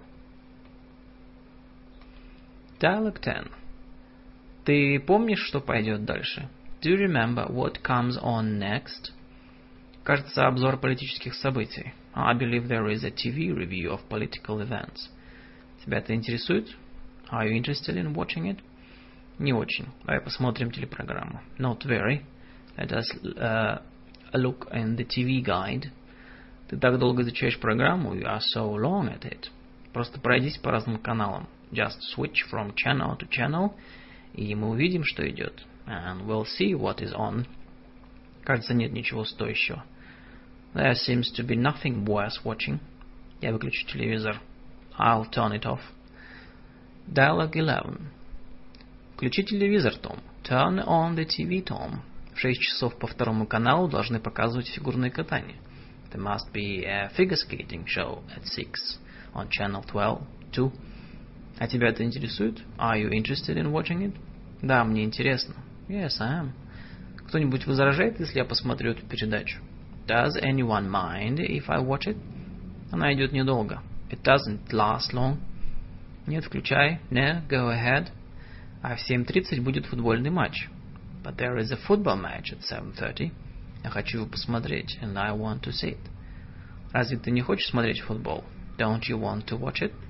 Dialogue 10. Ты помнишь, что пойдет дальше? Do you remember what comes on next? Кажется, обзор политических событий. I believe there is a TV review of political events. Тебя это интересует? Are you interested in watching it? Не очень. Давай посмотрим телепрограмму. Not very. Let us look in the TV guide. Ты так долго изучаешь программу. You are so long at it. Просто пройдись по разным каналам. Just switch from channel to channel. И мы увидим, что идет. And we'll see what is on. Кажется, нет ничего стоящего. There seems to be nothing worth watching. Я выключу телевизор. I'll turn it off. Dialogue 11. Включи телевизор, Том. Turn on the TV, Tom. В 6 часов по второму каналу должны показывать фигурное катание. There must be a figure skating show at 6 on channel 12, too. А тебя это интересует? Are you interested in watching it? Да, мне интересно. Yes, I am. Кто-нибудь возражает, если я посмотрю эту передачу? Does anyone mind if I watch it? Она идет недолго. It doesn't last long. Нет, включай. Не, go ahead. А в 7:30 будет футбольный матч. But there is a football match at 7:30. Я хочу его посмотреть, and I want to see it. Разве ты не хочешь смотреть футбол? Don't you want to watch it?